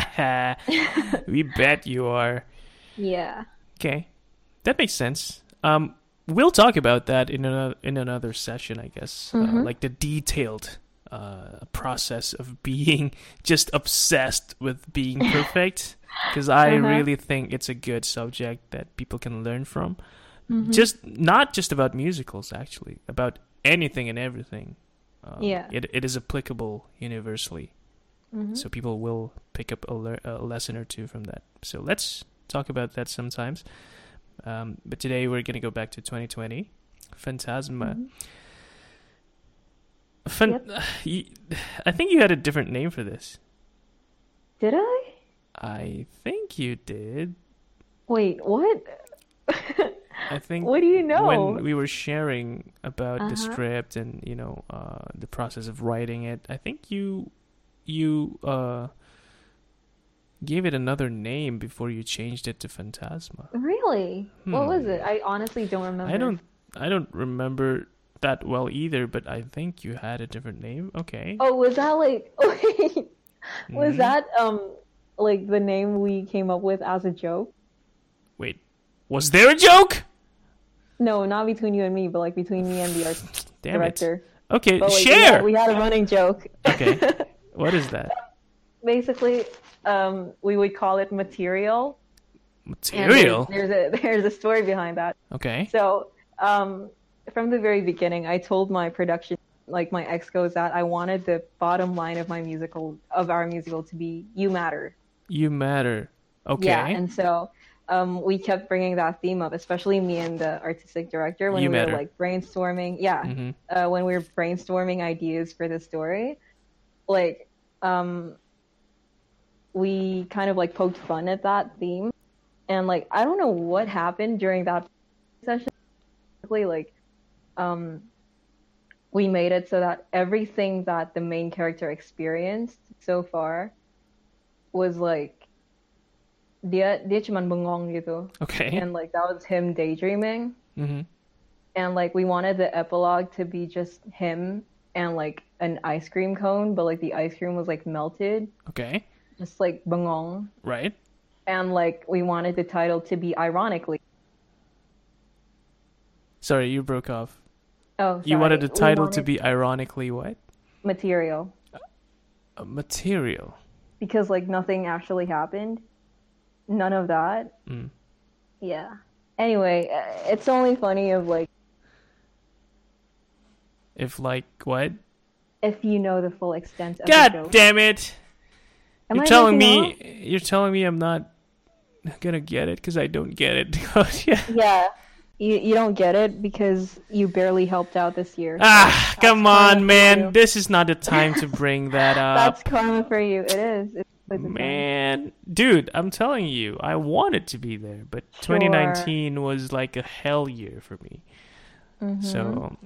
We bet you are. Yeah. Okay, that makes sense. Um, we'll talk about that in another in another session, I guess. Mm-hmm. Uh, like the detailed uh process of being just obsessed with being perfect, because I Uh-huh. really think it's a good subject that people can learn from. Mm-hmm. Just not just about musicals, actually, about anything and everything. Um, Yeah. it it is applicable universally. Mm-hmm. So people will pick up a, le- a lesson or two from that. So let's talk about that sometimes. Um, but today we're gonna go back to twenty twenty, Phantasma. Mhm. Fan- Yep. you, I think you had a different name for this. Did I? I think you did. Wait, what? I think What do you know? when we were sharing about the Uh-huh. script and, you know, uh, the process of writing it, I think you you uh, gave it another name before you changed it to Phantasma. Really? What was Hmm. it? I honestly don't remember. I don't I don't remember that well either, but I think you had a different name. Okay. Oh, was that like wait, was Mhm. that um like the name we came up with as a joke? Wait. Was there a joke? No, not between you and me, but like between me and the art Damn director. it. Okay, But like, we share. had, we had a running joke. Okay. What is that? Basically, um, we would call it material. And Material. there's, there's a there's a story behind that. Okay. So, um, from the very beginning, I told my production, like my excos, that I wanted the bottom line of my musical, of our musical, to be "You Matter." You matter. Okay. Yeah, and so um, we kept bringing that theme up, especially me and the artistic director when You we Matter. were like brainstorming. Yeah, Mhm. uh, when we were brainstorming ideas for the story, like um, we kind of like poked fun at that theme, and like I don't know what happened during that session. Basically, like um, we made it so that everything that the main character experienced so far was like dia dia cuman bengong gitu. Okay. And like that was him daydreaming. Mm-hmm. And like we wanted the epilogue to be just him and like an ice cream cone, but like the ice cream was like melted. Okay. Just like bengong. Right. And like we wanted the title to be ironically. Sorry, you broke off. Oh, sorry. You wanted the title wanted to be ironically what? material. A material. Because like nothing actually happened. None of that. Mm. Yeah. Anyway, uh, it's only funny of like If like what? if you know the full extent of the God joke. damn it! Am You're I telling making me you're telling me I'm not gonna get it because I don't get it. yeah. Yeah. You you don't get it because you barely helped out this year. Ah, So come that's karma on, for man. you. This is not the time to bring that That's up. karma for you. It is. It's it's a Man, dude, I'm telling you, I wanted to be there, but Sure. twenty nineteen was like a hell year for me. Mhm. So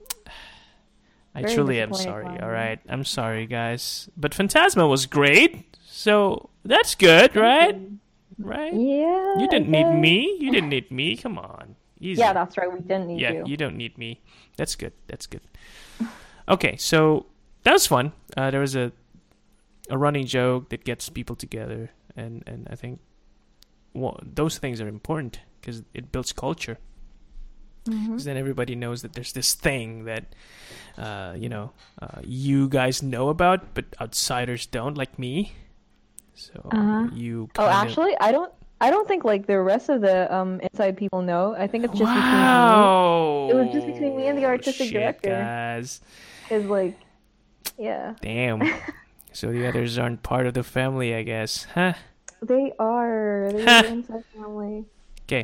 I Very truly am disappointed sorry. by All that. right, I'm sorry, guys. But Phantasma was great, so that's good, right? Right? Yeah. You didn't I need guess. me. You didn't need me. Come on, easy. Yeah, that's right. We didn't need yeah, you. you don't need me. That's good. That's good. Okay, so that was fun. Uh, there was a a running joke that gets people together, and and I think well, those things are important because it builds culture. Mhm. Because then everybody knows that there's this thing that uh, you know uh, you guys know about, but outsiders don't, like me. So Uh-huh. you. Oh, Kinda... actually, I don't. I don't think like the rest of the um inside people know. I think it's just wow. between me. It was just between me and the artistic Shit, director. guys. Is like, yeah, Damn. So the others aren't part of the family, I guess, huh? they are. They're Huh. the inside family. Okay.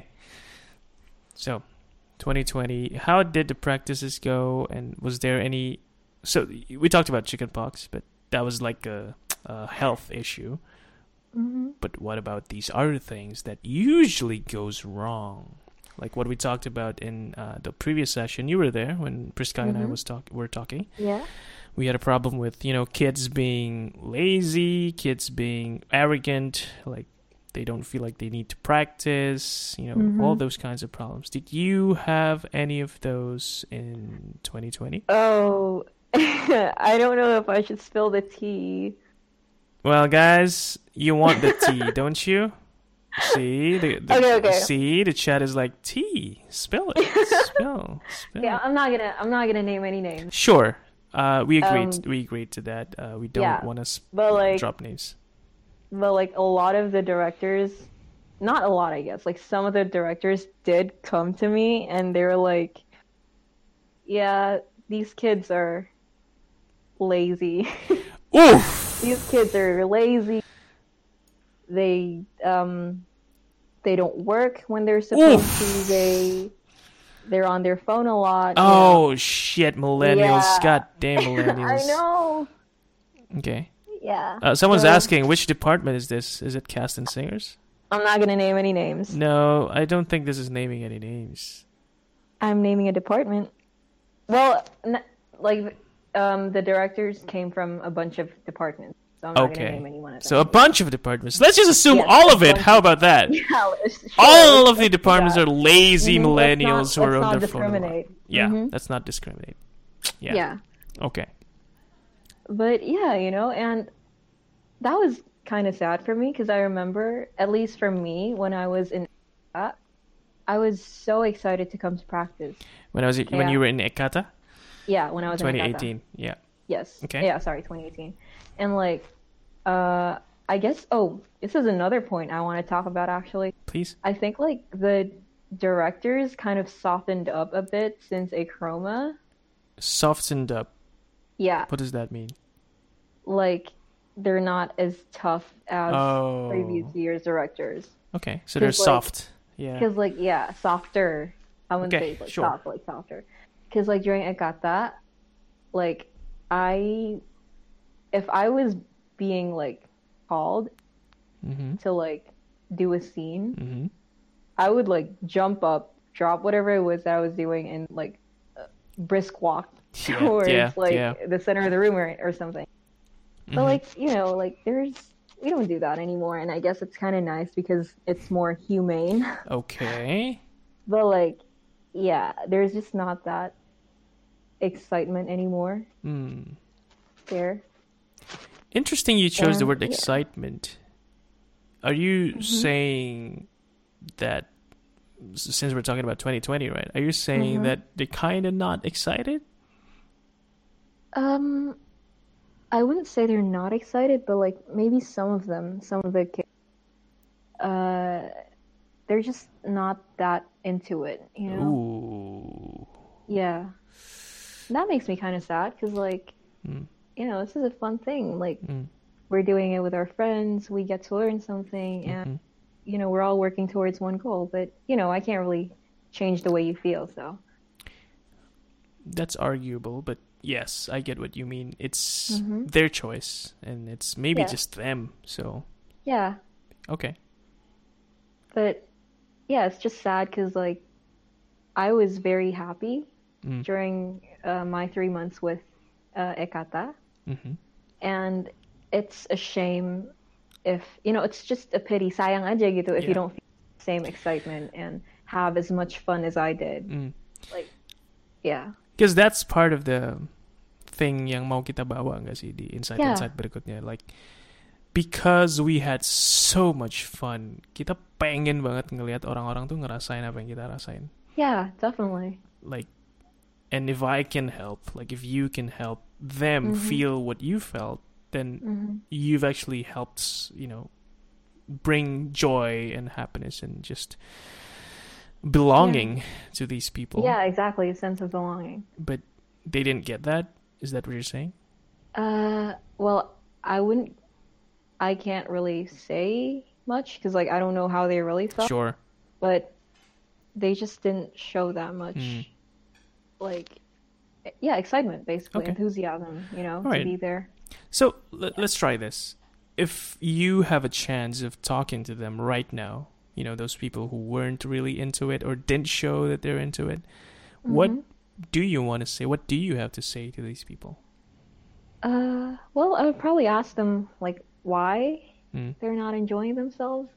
So, twenty twenty. How did the practices go? And was there any? So we talked about chickenpox, but that was like a, a health issue. Hmm. But what about these other things that usually goes wrong? Like what we talked about in uh, the previous session. You were there when Priska and I Mhm. was talk were talking. Yeah. We had a problem with, you know, kids being lazy, kids being arrogant, like they don't feel like they need to practice, you know, Mhm. all those kinds of problems. Did you have any of those in twenty twenty? Oh, I don't know if I should spill the tea. Well, guys, you want the tea, don't you? See, the, the Okay, okay. see, the chat is like tea. Spill it, spill, spill. Yeah, I'm not gonna. I'm not gonna name any names. Sure. Uh, we agreed. Um, we agreed to that. Uh, we don't yeah, want to but like, drop names. but like a lot of the directors, not a lot, I guess. Like some of the directors did come to me and they were like, "Yeah, these kids are lazy. Oof. These kids are lazy. They um, they don't work when they're supposed Oof. to. They they're on their phone a lot. you know." Oh shit, millennials! Yeah. Goddamn millennials! I know. Okay. Yeah. Uh, someone's So, asking, which department is this? Is it cast and singers? I'm not gonna name any names. No, I don't think this is naming any names. I'm naming a department. Well, n- like um, the directors came from a bunch of departments, so I'm not Okay. gonna name anyone of them. So a bunch of departments. Let's just assume Yes, all a of it. bunch How of- about that? Yeah, let's- sure, All of the let's do departments that. are lazy Mhm, let's millennials not- who are let's on not their phone. a lot. discriminate. Yeah, Mhm. let's not discriminate. Yeah. Yeah, Okay. but yeah, you know, and that was kind of sad for me because I remember, at least for me, when I was in, I was so excited to come to practice. When I was when Yeah. you were in Ekata, Yeah, when I was in twenty Ekata. eighteen. Yeah. Yes. Okay. Yeah, sorry, twenty eighteen. And like, uh, I guess, oh, this is another point I want to talk about actually. Please. I think like the directors kind of softened up a bit since Achroma. Softened up. Yeah, What does that mean? like they're not as tough as Oh. previous year's directors. Okay, so they're 'Cause, like- soft. Yeah. Because like, yeah, softer. I wouldn't Okay, say like sure. soft, like softer. Because like during Ekata, like I, if I was being like called Mm-hmm. to like do a scene, Mm-hmm. I would like jump up, drop whatever it was that I was doing, and like uh, brisk walk Yeah, towards yeah, like yeah. the center of the room or, or something. But Mhm. like, you know, like there's we don't do that anymore, and I guess it's kind of nice because it's more humane. Okay. But like, yeah, there's just not that excitement anymore Hmm. there. Interesting you chose the And word yeah. excitement. Are you Mhm. saying that, s- since we're talking about twenty twenty, right? Are you saying Mhm. that they're kind of not excited? Um, I wouldn't say they're not excited, but like maybe some of them, some of the kids, uh, they're just not that into it, you know? Ooh. Yeah. And that makes me kind of sad because like, Mm, you know, this is a fun thing. Like mm, we're doing it with our friends, we get to learn something, and mm-hmm. you know, we're all working towards one goal, but you know, I can't really change the way you feel, so. That's arguable, but yes, I get what you mean. It's Mhm. their choice, and it's maybe Yeah. just them. So, Yeah. okay. But yeah, it's just sad because like I was very happy Mm, during uh, my three months with uh, Ekata, mm-hmm. and it's a shame if you know it's just a pity sayang aja gitu if you Yeah. don't feel the same excitement and have as much fun as I did. Mm. Like, yeah, Because that's part of the thing yang mau kita bawa nggak sih di yeah, insight-insight berikutnya. Like, because we had so much fun, kita pengen banget ngelihat orang-orang tuh ngerasain apa yang kita rasain. yeah, definitely. Like, and if I can help, like if you can help them Mhm, feel what you felt, then mhm. you've actually helped, you know, bring joy and happiness and just Yeah, belonging to these people. yeah, exactly. A sense of belonging. But they didn't get that. Is that what you're saying? Uh, well, I wouldn't. I can't really say much because like I don't know how they really felt, Sure. but they just didn't show that Mm. much like yeah, excitement basically, Okay. enthusiasm, you know, All to right. be there. So let, let's try this. If you have a chance of talking to them right now, you know, those people who weren't really into it or didn't show that they're into it, what Hmm. do you want to say? What do you have to say to these people? Uh, well, I would probably ask them like why Mm. they're not enjoying themselves,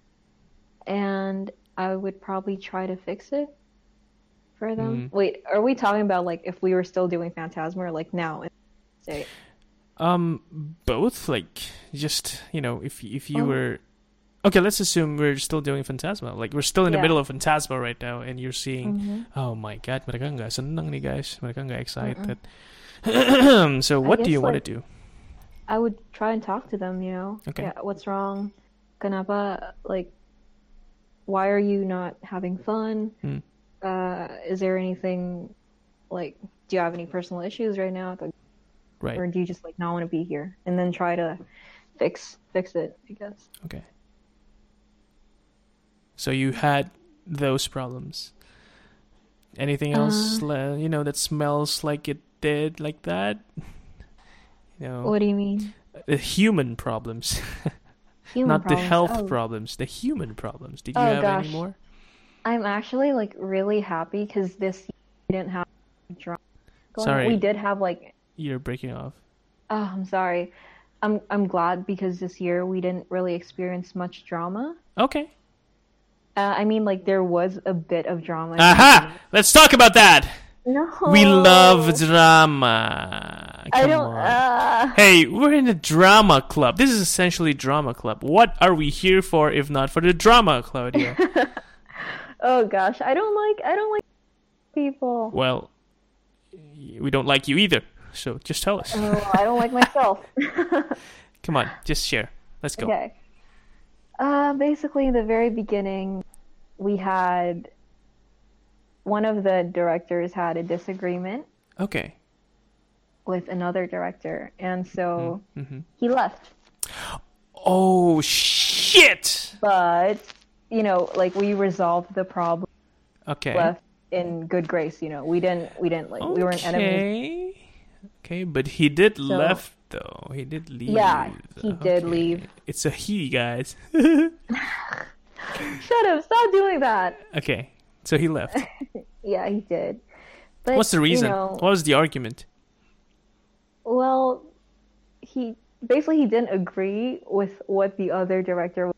and I would probably try to fix it for them. Mm. Wait, are we talking about like if we were still doing Phantasma or like now? Say, Um, both. Like, just, you know, if if you well, were okay, let's assume we're still doing Phantasma. Like, we're still in the yeah. middle of Phantasma right now, and you're seeing, Hmm. oh my god, mereka nggak seneng nih guys, mereka nggak excited. Mm-mm. So, I what do guess you want to like do? I would try and talk to them, you know. Okay. Yeah, what's wrong? Kenapa? Like, why are you not having fun? Mm. Uh, is there anything like, do you have any personal issues right now? Like, Right. or do you just like not want to be here? And then try to fix fix it, I guess. Okay. So you had those problems. Anything else, Uh, le- you know, that smells like it did like that? You know, what do you mean? the human problems, Human not the problems. health Oh, problems, the human problems. Did you oh have any gosh. more? I'm actually like really happy because this year we didn't have drama going on. We Sorry, did have like, you're breaking off. oh, I'm sorry. I'm I'm glad because this year we didn't really experience much drama. Okay. Uh, I mean, like there was a bit of drama in the Aha! beginning. Let's talk about that. We love No, drama. I Come don't. on. Uh, Hey, we're in a drama club. This is essentially drama club. What are we here for if not for the drama, Claudia? oh gosh, I don't like. I don't like people. Well, we don't like you either. So just tell us. Oh, I don't like myself. Come on, just share. Let's go. Okay. Uh, basically, in the very beginning, we had one of the directors had a disagreement Okay. with another director, and so Mm-hmm. he left. Oh, shit! But you know, like we resolved the problem, Okay. left in good grace. You know, we didn't, we didn't like, we weren't enemies. Okay. Okay, but he did So left though. He did leave. yeah, he did Okay. leave. It's a he, guys. Shut up! Stop doing that. Okay, so he left. Yeah, he did. But, What's the reason? You know, what was the argument? well, he basically he didn't agree with what the other director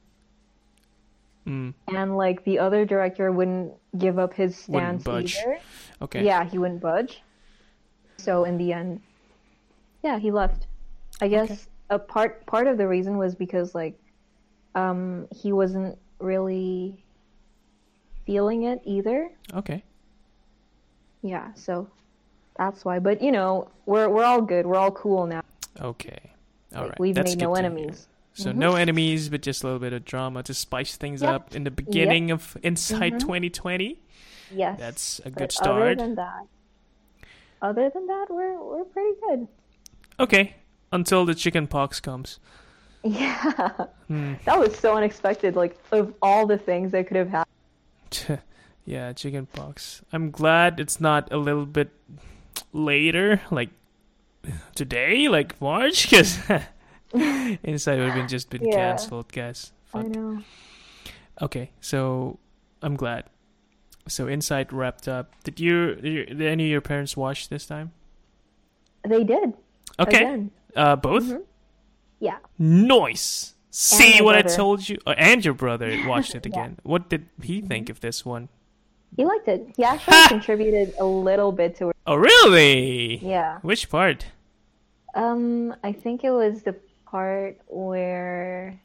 Mm. and like the other director wouldn't give up his Wouldn't stance budge. either. Okay. Yeah, he wouldn't budge. So in the end, yeah, he left. I guess Okay. a part part of the reason was because like um he wasn't really feeling it either. Okay. Yeah, so that's why. But you know, we're we're all good. We're all cool now. Okay. All Like, right. we've That's made good no to hear. enemies. So Mhm. no enemies, but just a little bit of drama to spice things Yep. up in the beginning of Inside Mhm. twenty twenty. Yes. That's a But good Other start. than that, other than that, we're we're pretty good. Okay. Until the chicken pox comes. Yeah. Hmm. That was so unexpected. Like of all the things that could have happened. Yeah, chicken pox. I'm glad it's not a little bit later, like today, like March, because Inside would have been just been Yeah. cancelled, guys. I Fuck. know. Okay, so I'm glad. So Inside wrapped up. Did you? Did, you, did any of your parents watch this time? They did. Okay, Again. uh, both. Mhm. Yeah. Nice. See my what I brother. told you? Oh, and your brother watched it Yeah. again. What did he think of this one? He liked it. He actually Ha! contributed a little bit to it. Oh, really? Yeah. Which part? Um, I think it was the part where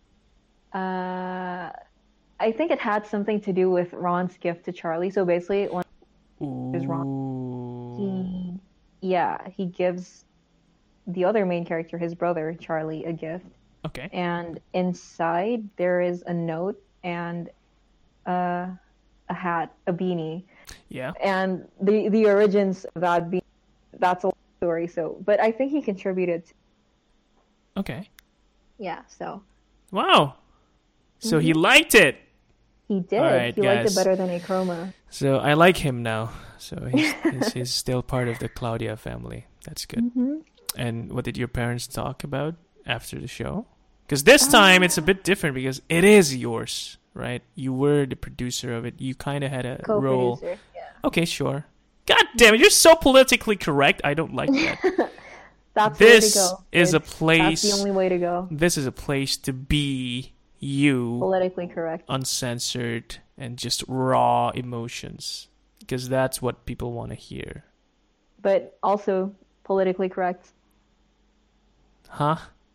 uh I think it had something to do with Ron's gift to Charlie. So basically when was Ooh. he yeah, he gives the other main character, his brother, Charlie, a gift. Okay. And inside there is a note and uh, a hat, a beanie. Yeah. And the the origins of that beanie, that's a long story. So, but I think he contributed. To, Okay. yeah, so Wow. So Mm-hmm. he liked it. he did. All right, he liked guys. it better than Achroma. So I like him now. So he's, he's, he's still part of the Claudia family. That's good. Mm-hmm. And what did your parents talk about after the show? Because this time it's a bit different because it is yours, right? You were the producer of it. You kind of had a role. Co-producer. Yeah. Okay, sure. God damn it, you're so politically correct. I don't like that. That's This the way to go. is a It's- place. That's the only way to go. This is a place to be you, Politically correct. uncensored, and just raw emotions. Because that's what people want to hear. But also politically correct. Huh?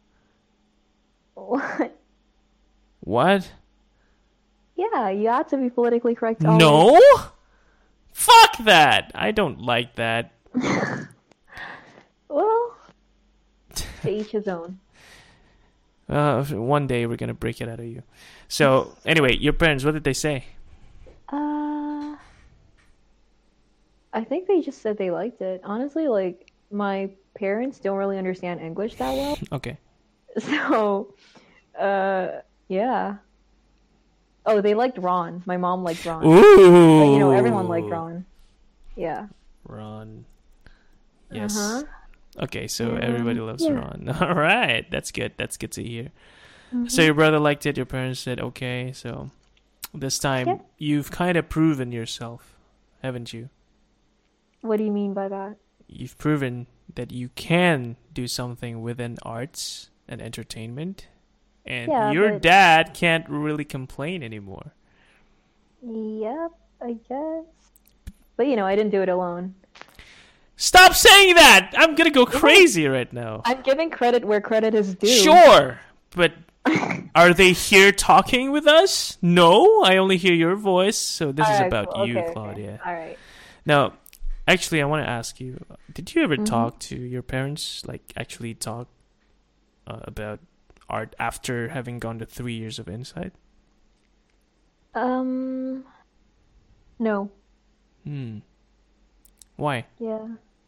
What? What? Yeah, you have to be politically correct. always. No? Fuck that! I don't like that. Well, to each his own. Uh, one day we're gonna break it out of you. So, anyway, your parents, what did they say? Uh, I think they just said they liked it. Honestly, like my parents don't really understand English that well, Okay. so uh, yeah. Oh, they liked Ron. My mom liked Ron. Ooh! But, you know, everyone liked Ron. Yeah. Ron. Yes. Uh-huh. Okay, so Yeah. everybody loves Yeah. Ron. All right, that's good. That's good to hear. Mm-hmm. So your brother liked it. Your parents said okay. So this time Yeah. you've kind of proven yourself, haven't you? What do you mean by that? You've proven that you can do something within arts and entertainment, and Yeah, your but- dad can't really complain anymore. Yep, I guess. But you know, I didn't do it alone. Stop saying that! I'm gonna go crazy right now. I'm giving credit where credit is due. Sure, but are they here talking with us? No, I only hear your voice, so this is Alright, about cool. you, Okay, okay. Claudia. All right. Now, actually, I want to ask you: did you ever Mhm. talk to your parents? Like, actually talk uh, about art after having gone to three years of Insight? Um, no. Hmm. Why? Yeah.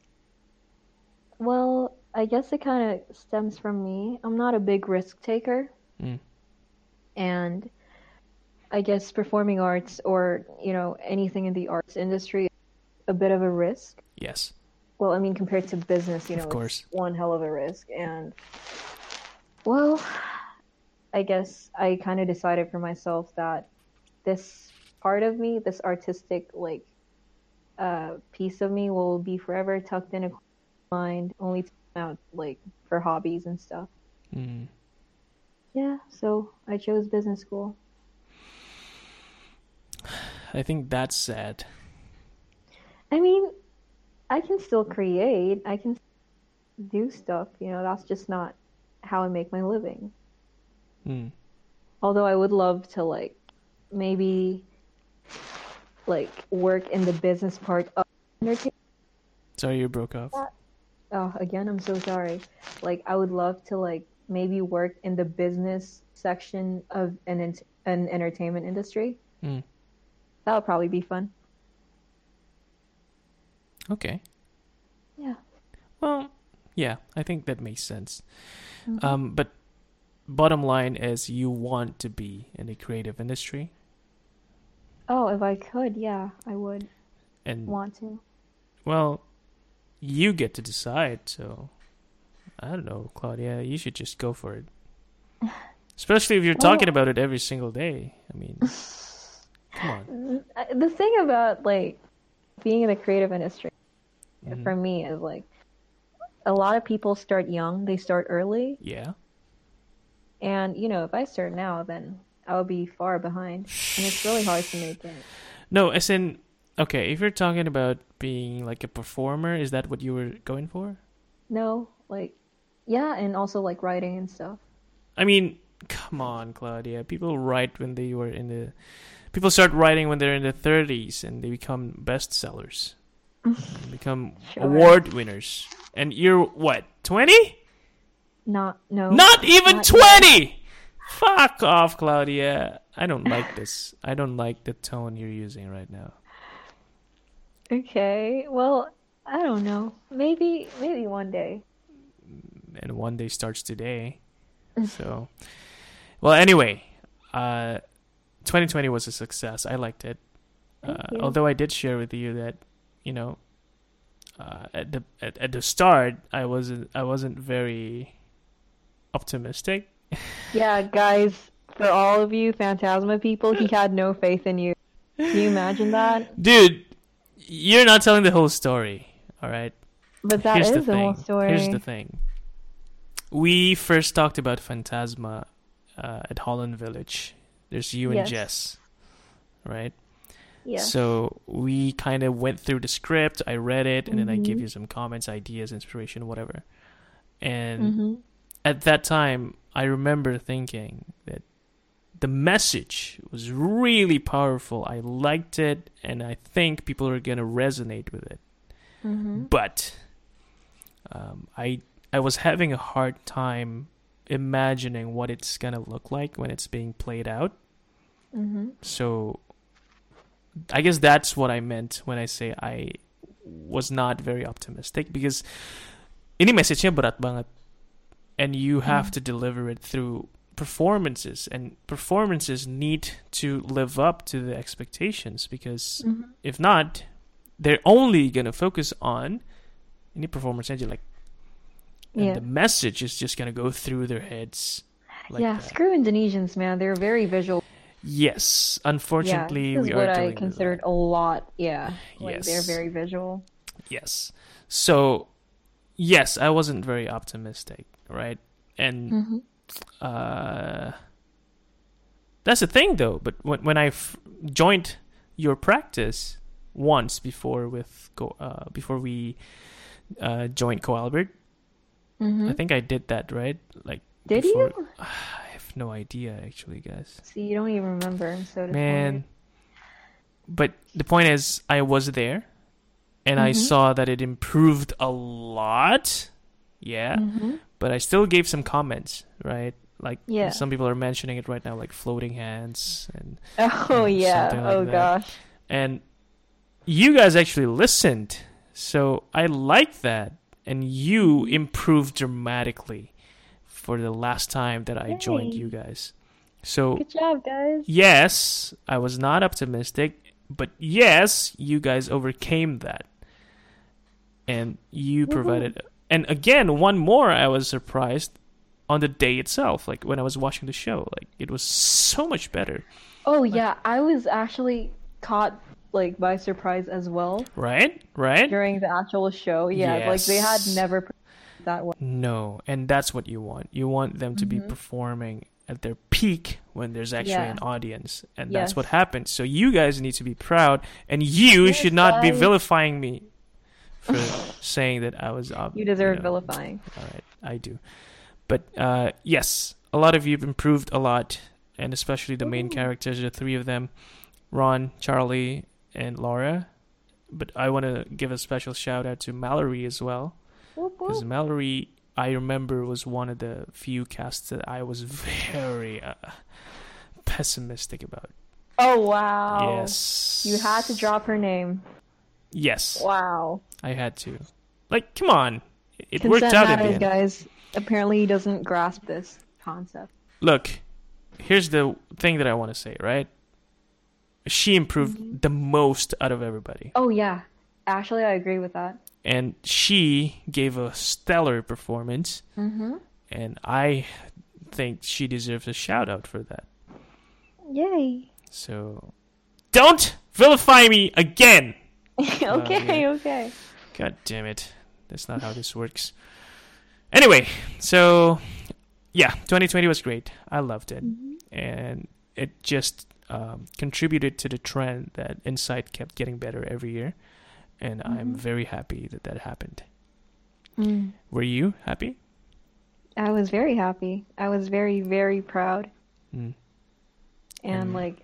Well, I guess it kind of stems from me. I'm not a big risk taker, Hmm. and I guess performing arts or, you know, anything in the arts industry is a bit of a risk. Yes. Well, I mean, compared to business, you know, Of course. it's one hell of a risk. And, well, I guess I kind of decided for myself that this part of me, this artistic, like, uh, piece of me will be forever tucked in a mind, only taken out like for hobbies and stuff. Mm. Yeah, so I chose business school. I think that's sad. I mean, I can still create. I can do stuff. You know, that's just not how I make my living. Mm. Although I would love to like maybe like work in the business part of entertainment. Sorry, you broke off. Oh, again, I'm so sorry. Like I would love to like maybe work in the business section of an ent- an entertainment industry. Mm. That would probably be fun. Okay. Yeah. Well, yeah, I think that makes sense. Mm-hmm. Um, but bottom line is you want to be in the creative industry. Oh, if I could, yeah, I would And want to. well, you get to decide, so I don't know, Claudia, you should just go for it. Especially if you're Well, talking about it every single day. I mean, come on. the thing about like being in the creative industry Mhm. for me is like a lot of people start young, they start early, Yeah. and you know, if I start now, then I would be far behind, and it's really hard to make it. No, as in, okay, if you're talking about being like a performer, is that what you were going for? No, like, yeah, and also like writing and stuff. I mean, come on, Claudia. People write when they were in the. People start writing when they're in their thirties and they become bestsellers, and become Sure. award winners. And you're what, twenty? Not, no, Not even not yet. twenty! Fuck off, Claudia. I don't like this. I don't like the tone you're using right now. Okay, well, I don't know. Maybe, maybe one day. And one day starts today. So, well, anyway, uh, twenty twenty was a success. I liked it. Thank Uh, you. although I did share with you that, you know, uh, at the at, at the start, I wasn't I wasn't very optimistic. Yeah, guys, for all of you Phantasma people, he had no faith in you. Can you imagine that? Dude, you're not telling the whole story. All right. But that Here's is the the thing. whole story. Here's the thing. We first talked about Phantasma uh, at Holland Village. There's you and Yes. Jess, right? Yeah. So we kind of went through the script. I read it, and then I give Mhm. you some comments, ideas, inspiration, whatever. And Mm-hmm. at that time, I remember thinking that the message was really powerful. I liked it, and I think people are gonna resonate with it. Mm-hmm. But um, I I was having a hard time imagining what it's gonna look like when it's being played out. Mm-hmm. So I guess that's what I meant when I say I was not very optimistic, because ini message-nya berat banget, and you have to deliver it through performances, and performances need to live up to the expectations, because Mm-hmm. if not, they're only gonna focus on any performance aja, like, and Yeah. the message is just gonna go through their heads. Like Yeah, that. screw Indonesians, man. They're very visual. Yes, Yeah, unfortunately, this is we what are I dealing with considered that. a lot. Yeah, like they're Yes. very visual. Yes. So, yes, I wasn't very optimistic, right? And Mm-hmm. uh, that's the thing, though. But when when I f- joined your practice once before with go uh, before we uh, joined Co-Albert, Mm-hmm. I think I did that, right? Like, Did before, you? I have no idea, actually, guys. See, you don't even remember. I'm so disappointed. Man. But the point is, I was there, and I Mhm. saw that it improved a lot. Yeah. Mm-hmm. But I still gave some comments, right? Like, Yeah. some people are mentioning it right now, like floating hands, and Oh Mm, yeah. something like Oh that. gosh. and you guys actually listened, so I like that, and you improved dramatically for the last time that I joined Yay. you guys. So Good job, guys. yes, I was not optimistic, but yes, you guys overcame that, and you Woohoo. provided. And again, one more, I was surprised on the day itself, like when I was watching the show, like it was so much better. Oh yeah, I was actually caught like by surprise as well Right? Right? during the actual show. Yeah, like they had Yes. never performed that way. No, and that's what you want. You want them to be Mm-hmm. performing at their peak when there's actually Yeah. an audience, and Yes. that's what happens. So you guys need to be proud, and you Yes, should not be guys. vilifying me for saying that I was up. You deserve know. vilifying. All right, I do. But uh, yes, a lot of you have improved a lot, and especially the main Woohoo. characters, the three of them, Ron, Charlie, and Laura. But I want to give a special shout out to Mallory as well. Whoop, Because whoop. Mallory, I remember, was one of the few casts that I was very uh, pessimistic about. Oh wow. Yes. You had to drop her name. Yes, Wow. I had to. Like, come on. It Consent worked out in the matters, end. guys. Apparently he doesn't grasp this concept. Look, here's the thing that I want to say, right? She improved Mm-hmm. the most out of everybody. Oh yeah. Actually, I agree with that. And she gave a stellar performance. Mm-hmm. And I think she deserves a shout out for that. Yay. So, don't vilify me again! okay, yeah. okay. God damn it. That's not how this works. Anyway, so, yeah, twenty twenty was great. I loved it. Mm-hmm. And it just um, contributed to the trend that Insight kept getting better every year. And I'm Mm-hmm. very happy that that happened. Mm. Were you happy? I was very happy. I was very, very proud. Mm. And Mm. like,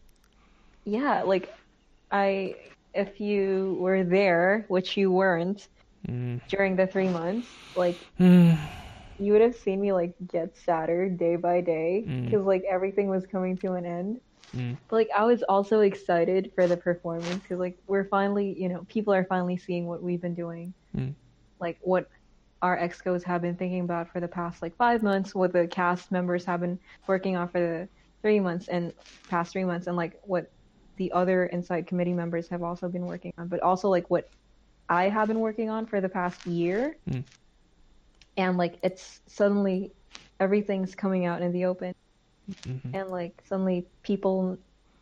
yeah, like I, if you were there, which you weren't Mm. during the three months, like Mm. you would have seen me like get sadder day by day Mm. because like everything was coming to an end. Mm. But like I was also excited for the performance because like we're finally, you know, people are finally seeing what we've been doing, Mm. like what our excos have been thinking about for the past like five months, what the cast members have been working on for the three months and past three months, and like what the other Inside committee members have also been working on, but also like what I have been working on for the past year. Mm. And like it's suddenly everything's coming out in the open. Mhm. And like suddenly people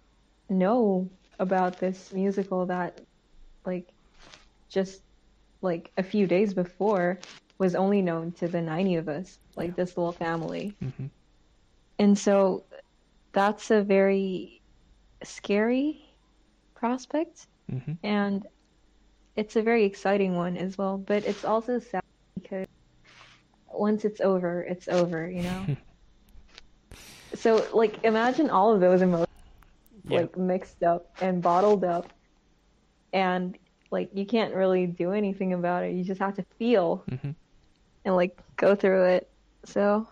know about this musical that like just like a few days before was only known to the ninety of us, like this little family. Mhm. And so that's a very scary prospect, Mhm. and it's a very exciting one as well, but it's also sad because once it's over, it's over, you know? So like imagine all of those emotions Yeah. like mixed up and bottled up, and like you can't really do anything about it. You just have to feel Mhm. and like go through it. So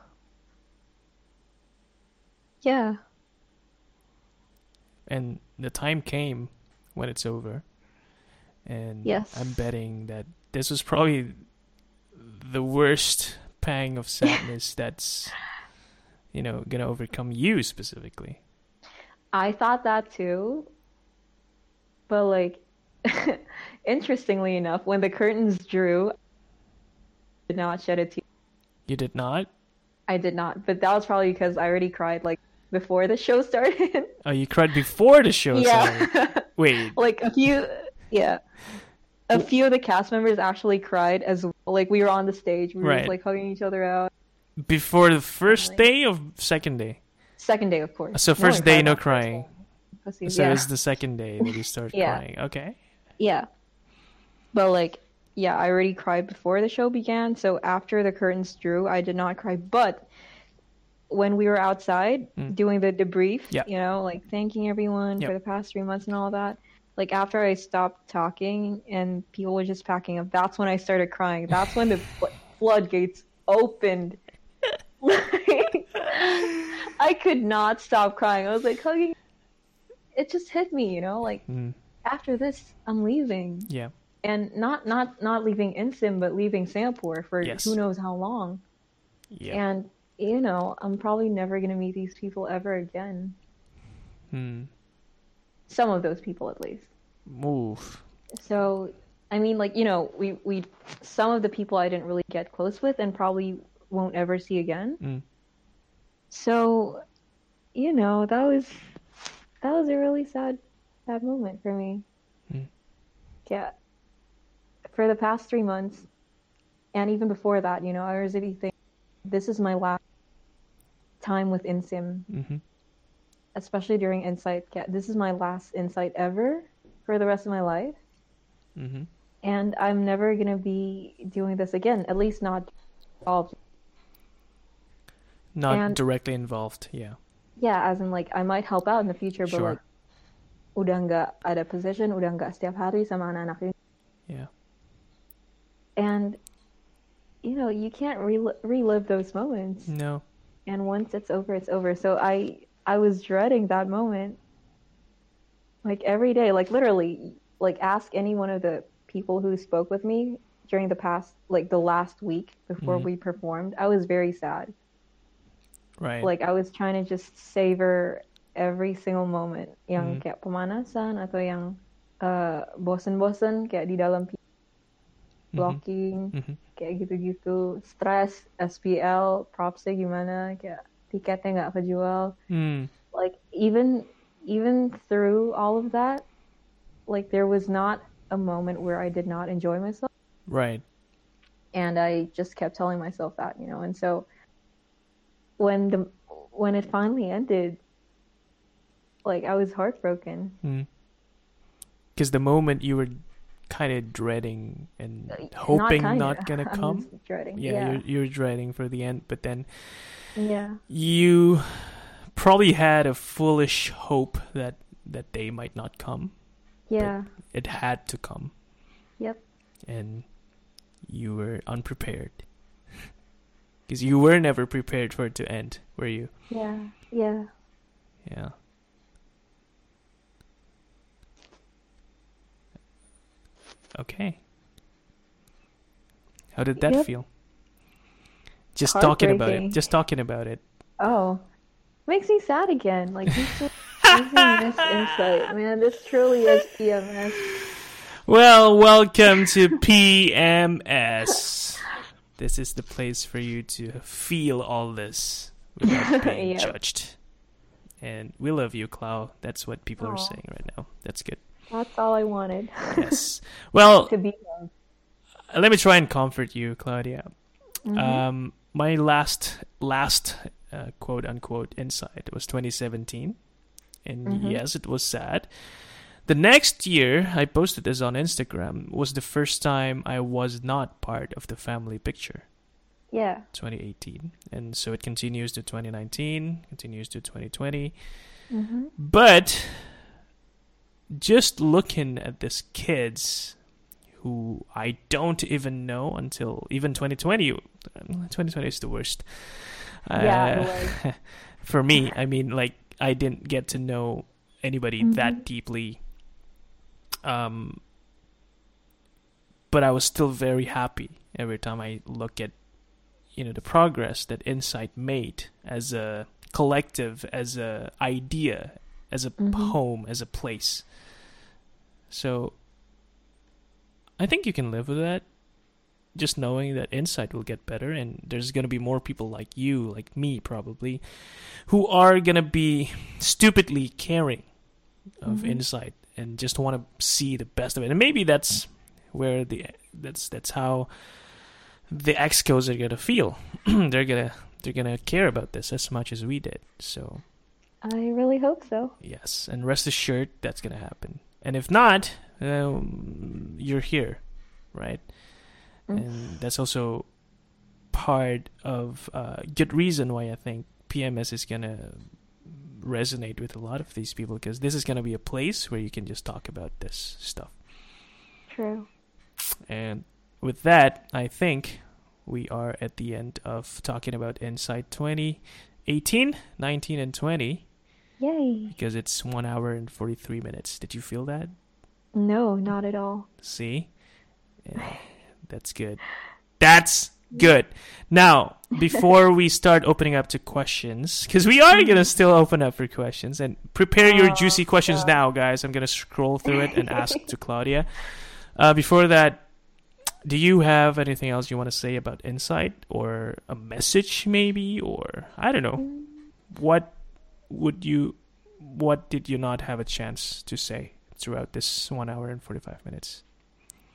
yeah. And the time came when it's over. And Yes. I'm betting that this was probably the worst pang of sadness that's, you know, gonna overcome you specifically. I thought that too. But like interestingly enough, when the curtains drew, I did not shed a tear. You did not? I did not, but that was probably because I already cried like before the show started. Oh, you cried before the show started. Yeah. Wait. Like a few, yeah. A few of the cast members actually cried as well. Like we were on the stage, we were Right. just like hugging each other out. Before the first Finally. day or second day? Second day, of course. So first one day, cried no on first crying. day. Pussies, So yeah. it's the second day that you start Yeah. crying. Okay. Yeah. But like, yeah, I already cried before the show began. So after the curtains drew, I did not cry. But when we were outside Mm. doing the debrief, Yeah. you know, like thanking everyone Yep. for the past three months and all that, like after I stopped talking and people were just packing up, that's when I started crying. That's when the fl- floodgates opened. Like, I could not stop crying. I was like hugging. It just hit me, you know, like Mm. after this, I'm leaving. Yeah. And not not not leaving Insim, but leaving Singapore for Yes. who knows how long. Yeah. And you know, I'm probably never gonna meet these people ever again. Hmm. Some of those people, at least. Move. So, I mean, like you know, we we some of the people I didn't really get close with, and probably won't ever see again. Mm. So, you know, that was that was a really sad sad moment for me. yeah, for the past three months, and even before that, you know, I was really thinking, this is my last time with InSim, Mm-hmm. especially during Insight. Yeah, this is my last Insight ever for the rest of my life. Mm-hmm. And I'm never going to be doing this again, at least not involved. Not And- directly involved, yeah. Yeah, as in like I might help out in the future, but Sure. like udah nggak ada position, udah nggak setiap hari sama anak-anak ini. Yeah. And you know, you can't rel- relive those moments. No. And once it's over, it's over. So I I was dreading that moment. Like every day, like literally, like ask any one of the people who spoke with me during the past, like the last week before Mhm. we performed. I was very sad. Right. Like I was trying to just savor every single moment Mhm. yang kayak pemanasan atau yang uh, bosen-bosen kayak di dalam Mhm. blocking Mhm. kayak gitu-gitu, stres, S P L, propsnya gimana, kayak tiketnya nggak kejual. Mm. Like even even through all of that, like there was not a moment where I did not enjoy myself, Right. and I just kept telling myself that, you know. And so when the when it finally ended, like I was heartbroken. Because the moment you were kind of dreading and Not hoping kinda. not gonna I come. was dreading. Yeah, Yeah. You're, you're dreading for the end, but then Yeah. you probably had a foolish hope that that they might not come. Yeah. It had to come, Yep. and you were unprepared. Because you were never prepared for it to end, were you? Yeah. Yeah. Yeah. Okay. How did that Yep. feel? Just talking about it. Heartbreaking. Just talking about it. Oh, makes me sad again. Like this just makes me miss Insight, man. This truly is P M S. Well, welcome to P M S. This is the place for you to feel all this without being Yep. judged. And we love you, Clau. That's what people are Aw. saying right now. That's good. That's all I wanted. Yes. Well, To be loved. let me try and comfort you, Claudia. Mhm. Um, my last last uh, quote unquote insight was twenty seventeen, and Mhm. yes, it was sad. The next year, I posted this on Instagram, was the first time I was not part of the family picture. Yeah. twenty eighteen, and so it continues to twenty nineteen, continues to twenty twenty. Mhm. But just looking at these kids who I don't even know until even twenty twenty. twenty twenty is the worst. Yeah, Uh, for me, I mean, like, I didn't get to know anybody Mhm. that deeply. Um, but I was still very happy every time I look at, you know, the progress that Insight made as a collective, as a idea, as a Mhm. home, as a place. So I think you can live with that. Just knowing that Insight will get better, and there's going to be more people like you, like me probably, who are going to be stupidly caring of Mhm. Insight and just want to see the best of it. And maybe that's where the that's that's how the Excos are going to feel. they're going to they're going to care about this as much as we did. So, I really hope so. yes, and rest assured that's going to happen. And if not, um, you're here, right? Mm. And that's also part of a uh, good reason why I think P M S is going to resonate with a lot of these people, because this is going to be a place where you can just talk about this stuff. True. And with that, I think we are at the end of talking about Insight twenty eighteen, nineteen, and twenty, Yay. because it's one hour and forty-three minutes. Did you feel that? No, not at all. See? Yeah, that's good. That's good. Now, before we start opening up to questions, because we are going to still open up for questions, and prepare your Oh, juicy questions God. now, guys. I'm going to scroll through it and ask to Claudia. Uh, before that, do you have anything else you want to say about Insight, or a message maybe, or I don't know. What would you, what did you not have a chance to say throughout this one hour and forty-five minutes?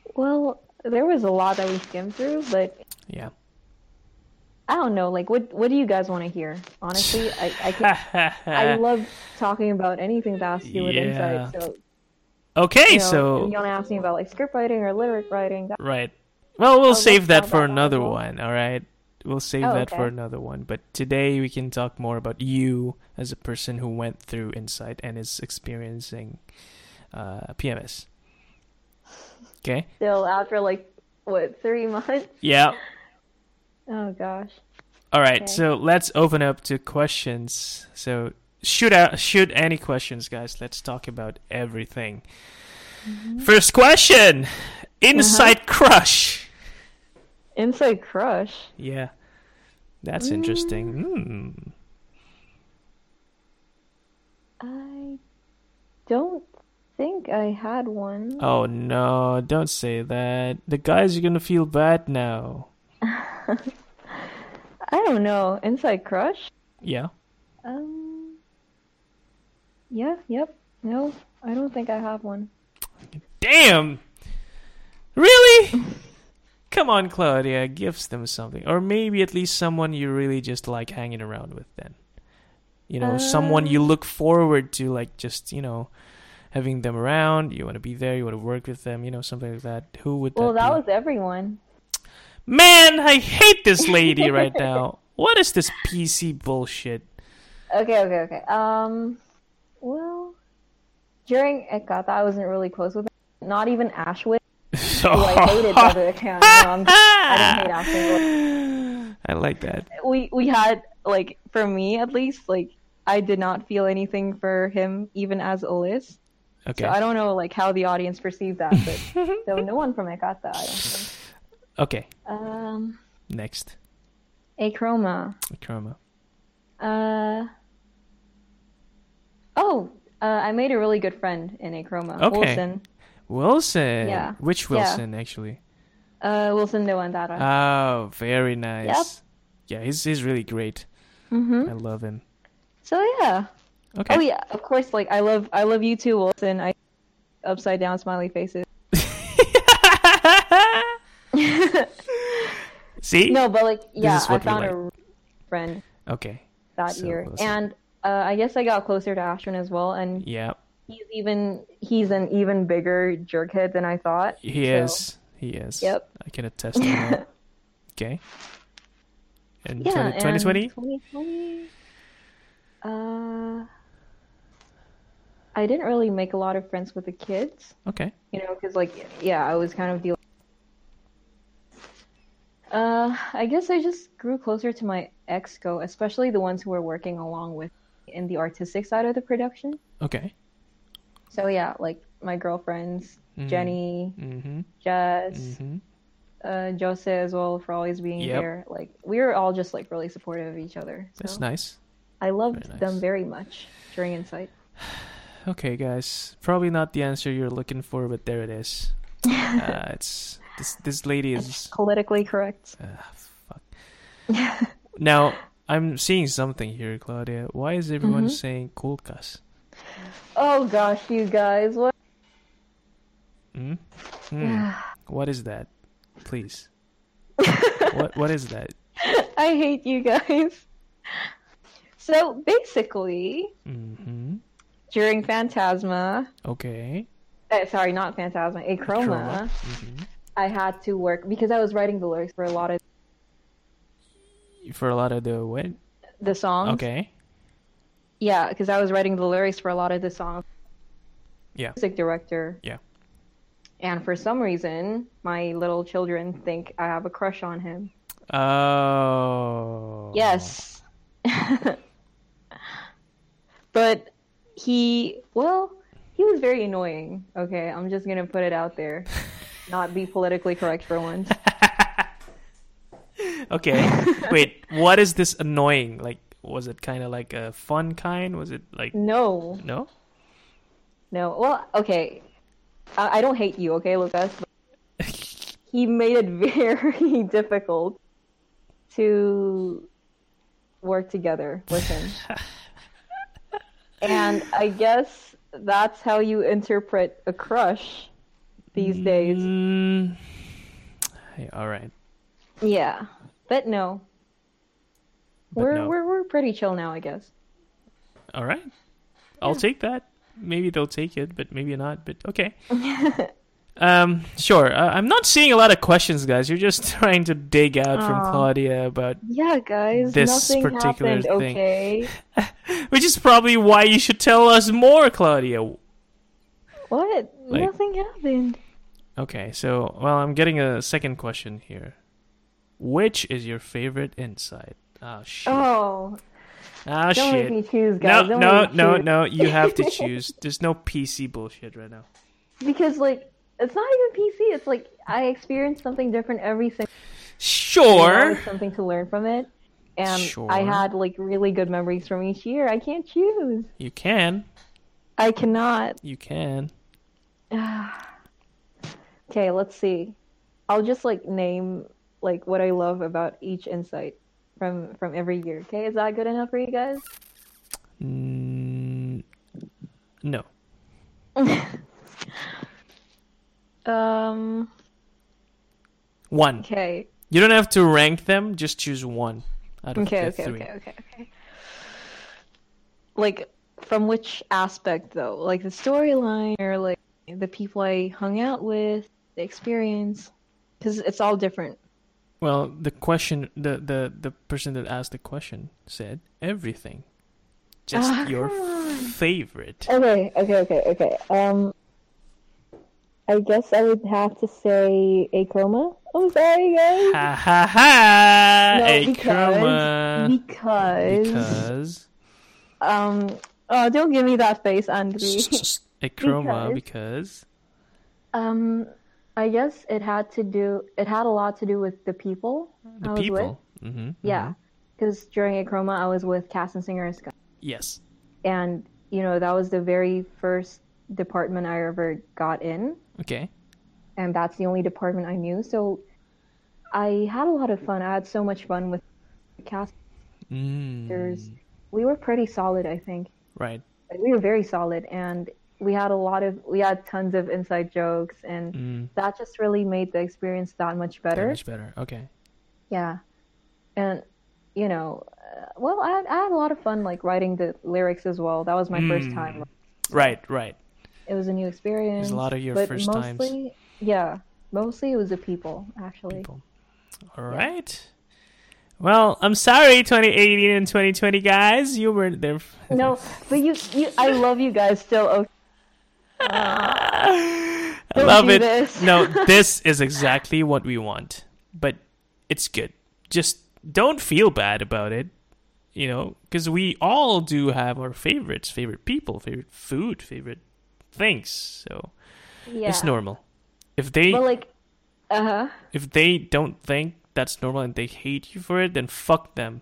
Well, there was a lot that we skimmed through, but Yeah. I don't know. Like, what what do you guys want to hear? Honestly, I I can I love talking about anything that has to do with Yeah. insight. So, Okay, you know, if so you want to ask me about like script writing or lyric writing, that, right. Well, we'll I'll save let's that talk for about that as another well. one, all right? We'll save Oh, that for okay. another one. But today we can talk more about you as a person who went through Insight and is experiencing uh, P M S. Okay? Still after like what three months? Yeah. Oh gosh. All right. Okay. So let's open up to questions. So shoot out, shoot any questions, guys. Let's talk about everything. Mm-hmm. First question: Insight Uh-huh. crush. Inside crush. Yeah, that's Mm. interesting. Hmm. I don't think I had one. Oh no! Don't say that. The guys are gonna feel bad now. I don't know. Inside crush? Yeah. Um. Yeah. Yep. No, I don't think I have one. Damn. Really? Come on, Claudia. Give them something, or maybe at least someone you really just like hanging around with. Then, you know, someone you Um. look forward to, like just you know, having them around. You want to be there. You want to work with them. You know, something like that. Who would Well, that that be? was everyone. Man, I hate this lady right now. What is this P C bullshit? Okay. Okay. Okay. Um. Well, during Ekata, I wasn't really close with her. Not even Ashwin, who I hated by the account. No, I'm just, I didn't hate Ashwin. I like that. We we had like for me at least like I did not feel anything for him even as Ulyss. Okay. So I don't know like how the audience perceived that, but so no one from Ekata, I don't think. Okay. Um, Next. Achroma. Chroma. Uh. Oh, uh, I made a really good friend in Achroma. Okay. Wilson. Wilson. Yeah. Which Yeah. Wilson, actually? Uh, Wilson Dewandara. Oh, very nice. Yep. Yeah, he's he's really great. Mm-hmm. I love him. So yeah. Okay. Oh yeah, of course. Like I love, I love you too, Wilson. I upside down smiley faces. See? No, but like yeah, is I what we found like. a friend Okay. that So, year, Wilson. and uh, I guess I got closer to Ashton as well. And Yeah. he's even he's an even bigger jerkhead than I thought. He so, is. He is. Yep. I can attest to that. Okay. And Yeah, twenty twenty? and twenty twenty. Uh, I didn't really make a lot of friends with the kids, Okay. you know, because like yeah, I was kind of dealing. Uh, I guess I just grew closer to my exco, especially the ones who were working along with me in the artistic side of the production. Okay. So yeah, like my girlfriends, Mhm. Jenny, Mm-hmm. Jess, Mm-hmm. uh, Jose as well for always being Yep. there. Like we were all just like really supportive of each other. So That's nice. I loved Very nice. them very much during Insight. Okay, guys. Probably not the answer you're looking for, but there it is. Uh, it's this this lady is Politically correct. uh, fuck. Now I'm seeing something here, Claudia. Why is everyone Mhm. saying Kulkas? Oh gosh, you guys, what? Hmm? Hmm. What is that? Please. What what is that? I hate you guys. So basically, Mm-hmm. during Phantasma, Okay. uh, sorry, not Phantasma, Achroma, Mm-hmm. I had to work because I was writing the lyrics for a lot of For a lot of the what? the songs. Okay. Yeah, because I was writing the lyrics for a lot of the songs. Yeah. Music director. Yeah. And for some reason, my little children think I have a crush on him. Oh. Yes. But he, well, he was very annoying. Okay, I'm just gonna put it out there. Not be politically correct for once. Okay. Wait, what is this annoying? Like, was it kind of like a fun kind? Was it like No, no? no. Well, okay. I, I don't hate you, okay, Lucas? But he made it very difficult to work together with him. And I guess that's how you interpret a crush. these days. Mm, hey, all right. Yeah, but no, But we're no. we're we're pretty chill now, I guess. All right. I'll Yeah. take that. Maybe they'll take it, but maybe not. But okay. Um, sure. Uh, I'm not seeing a lot of questions, guys. You're just trying to dig out from Aw. Claudia about Yeah, guys, this nothing particular happened. thing. Okay. Which is probably why you should tell us more, Claudia. What? Like- Nothing happened. Okay, so, well, I'm getting a second question here. Which is your favorite insight? Oh, shit. Oh, Ah, don't shit. make me choose, No, guys. Don't no, make me no, choose. no. You have to choose. There's no P C bullshit right now. Because like it's not even P C. It's like I experience something different every single. Sure. Always something to learn from it, and Sure. I had like really good memories from each year. I can't choose. You can. I cannot. You can. Okay, let's see. I'll just like name like what I love about each insight from from every year. Okay, is that good enough for you guys? Mm, no. Um. One. Okay. You don't have to rank them. Just choose one out of Okay. the Okay. three. Okay. Okay. Okay. Like from which aspect though? Like the storyline or like the people I hung out with, the experience, because it's all different. Well, the question, the, the, the person that asked the question said everything. Just Ah, your come on. favorite. Okay. Okay. Okay. Okay. Um. I guess I would have to say Acroma. I'm sorry, guys. Ha ha ha! No, A because chroma. because Because. um. Oh, don't give me that face, Andri. A chroma Because- because. Um, I guess it had to do. It had a lot to do with the people The I was with. people. Mm-hmm, Yeah, mm-hmm. because during Acroma, I was with Cass and Singer and Scott, Yes. and you know that was the very first department I ever got in, Okay. and that's the only department I knew. So I had a lot of fun. I had so much fun with the cast. There's- Mm, We were pretty solid, I think. right. Like, we were very solid, and we had a lot of we had tons of inside jokes, and Mm, that just really made the experience that much that better. much better. Okay. Yeah, and you know, uh, well, I had, I had a lot of fun like writing the lyrics as well. That was my first Mm. time. Right, right. It was a new experience. There's a lot of your but first times. mostly, yeah, mostly it was the people actually. People. All right. Well, I'm sorry, twenty eighteen and twenty twenty guys. You were there. No, but you, you, I love you guys still. Okay. I Don't love do it. this. No, this is exactly what we want. But it's good. Just don't feel bad about it. You know, because we all do have our favorites, favorite people, favorite food, favorite things. So Yeah. it's normal. If they But like, uh huh. if they don't think that's normal and they hate you for it, then fuck them.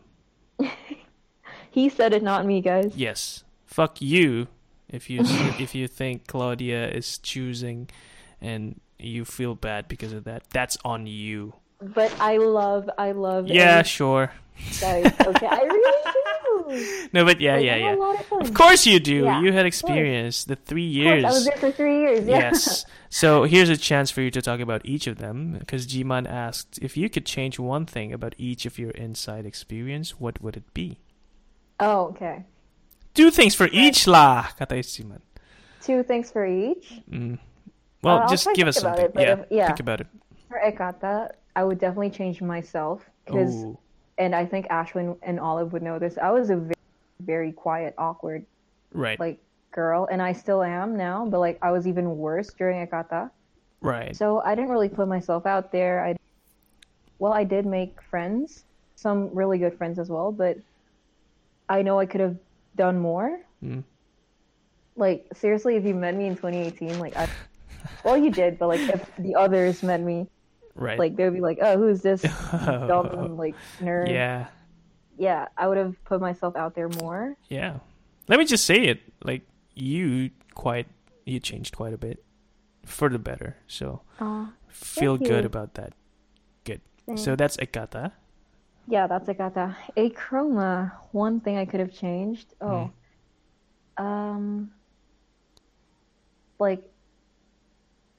He said it, not me, guys. Yes, fuck you. If you if you think Claudia is choosing, and you feel bad because of that, that's on you. But I love, I love. Yeah, every- sure. guys. Okay, I really do. No, but yeah, Like, yeah, I had yeah. a lot of fun. Of course you do. Yeah, You had of course. experience the three Of course, years. I was there for three years. Yeah. Yes. So here's a chance for you to talk about each of them, because Jiman asked if you could change one thing about each of your inside experience, what would it be? Oh, okay. Two things for each lah, kata Jiman. Two things for each. Mm. Well, Uh, I'll just try to give us think about something. it, but yeah, if- yeah. think about it. For Ekata, I would definitely change myself because, Ooh. and I think Ashwin and Olive would know this. I was a very, very quiet, awkward Right. like girl, and I still am now. But like I was even worse during Ekata, right. so I didn't really put myself out there. I, well, I did make friends, some really good friends as well, but I know I could have done more. Mm. Like seriously, if you met me in twenty eighteen, like I, well, you did, but like if the others met me, Right. like they'd be like, "Oh, who's this dumb like nerd?" yeah. yeah, I would have put myself out there more. Yeah. Let me just say it. Like, you quite, you changed quite a bit for the better. So Oh, feel thank good you. about that. Good. thanks. So that's Ekata. Yeah, that's Akata. A chroma. One thing I could have changed. Oh, um, like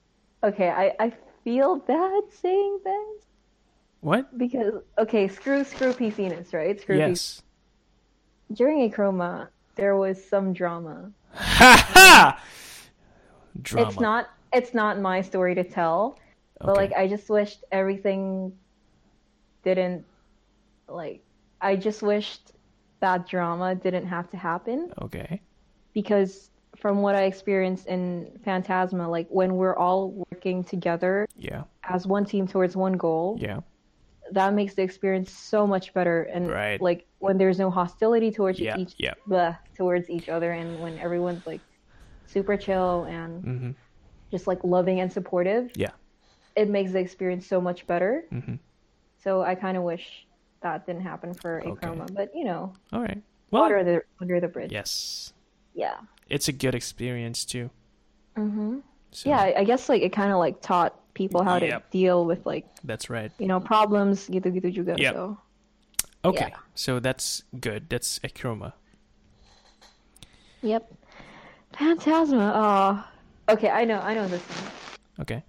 Okay, I, I feel bad saying this What? because okay, screw screw P C ness, right? Screw P C. Yes. During Acroma, there was some drama. Ha And ha! it's Drama. not it's not my story to tell, but like Okay. I just wished everything didn't like I just wished that drama didn't have to happen Okay. because from what I experienced in Phantasma, like when we're all working together Yeah. as one team towards one goal, Yeah. that makes the experience so much better. And Right. like when there's no hostility towards Yeah. each Yeah. bleh, towards each other, and when everyone's like super chill and Mm-hmm. just like loving and supportive, Yeah. it makes the experience so much better. Mm-hmm. So I kind of wish that didn't happen for Okay. Acroma, but you know, All right. water Well, under, under the bridge. yes. Yeah. It's a good experience too. Mm-hmm. So, Yeah, I, I guess like it kind of like taught people how to Yep. deal with like that's right. you know problems gitu-gitu juga. Yep. So Okay. yeah. So that's good. That's Acroma. Yep. Phantasma. Oh. Okay, I know. I know this one. Okay.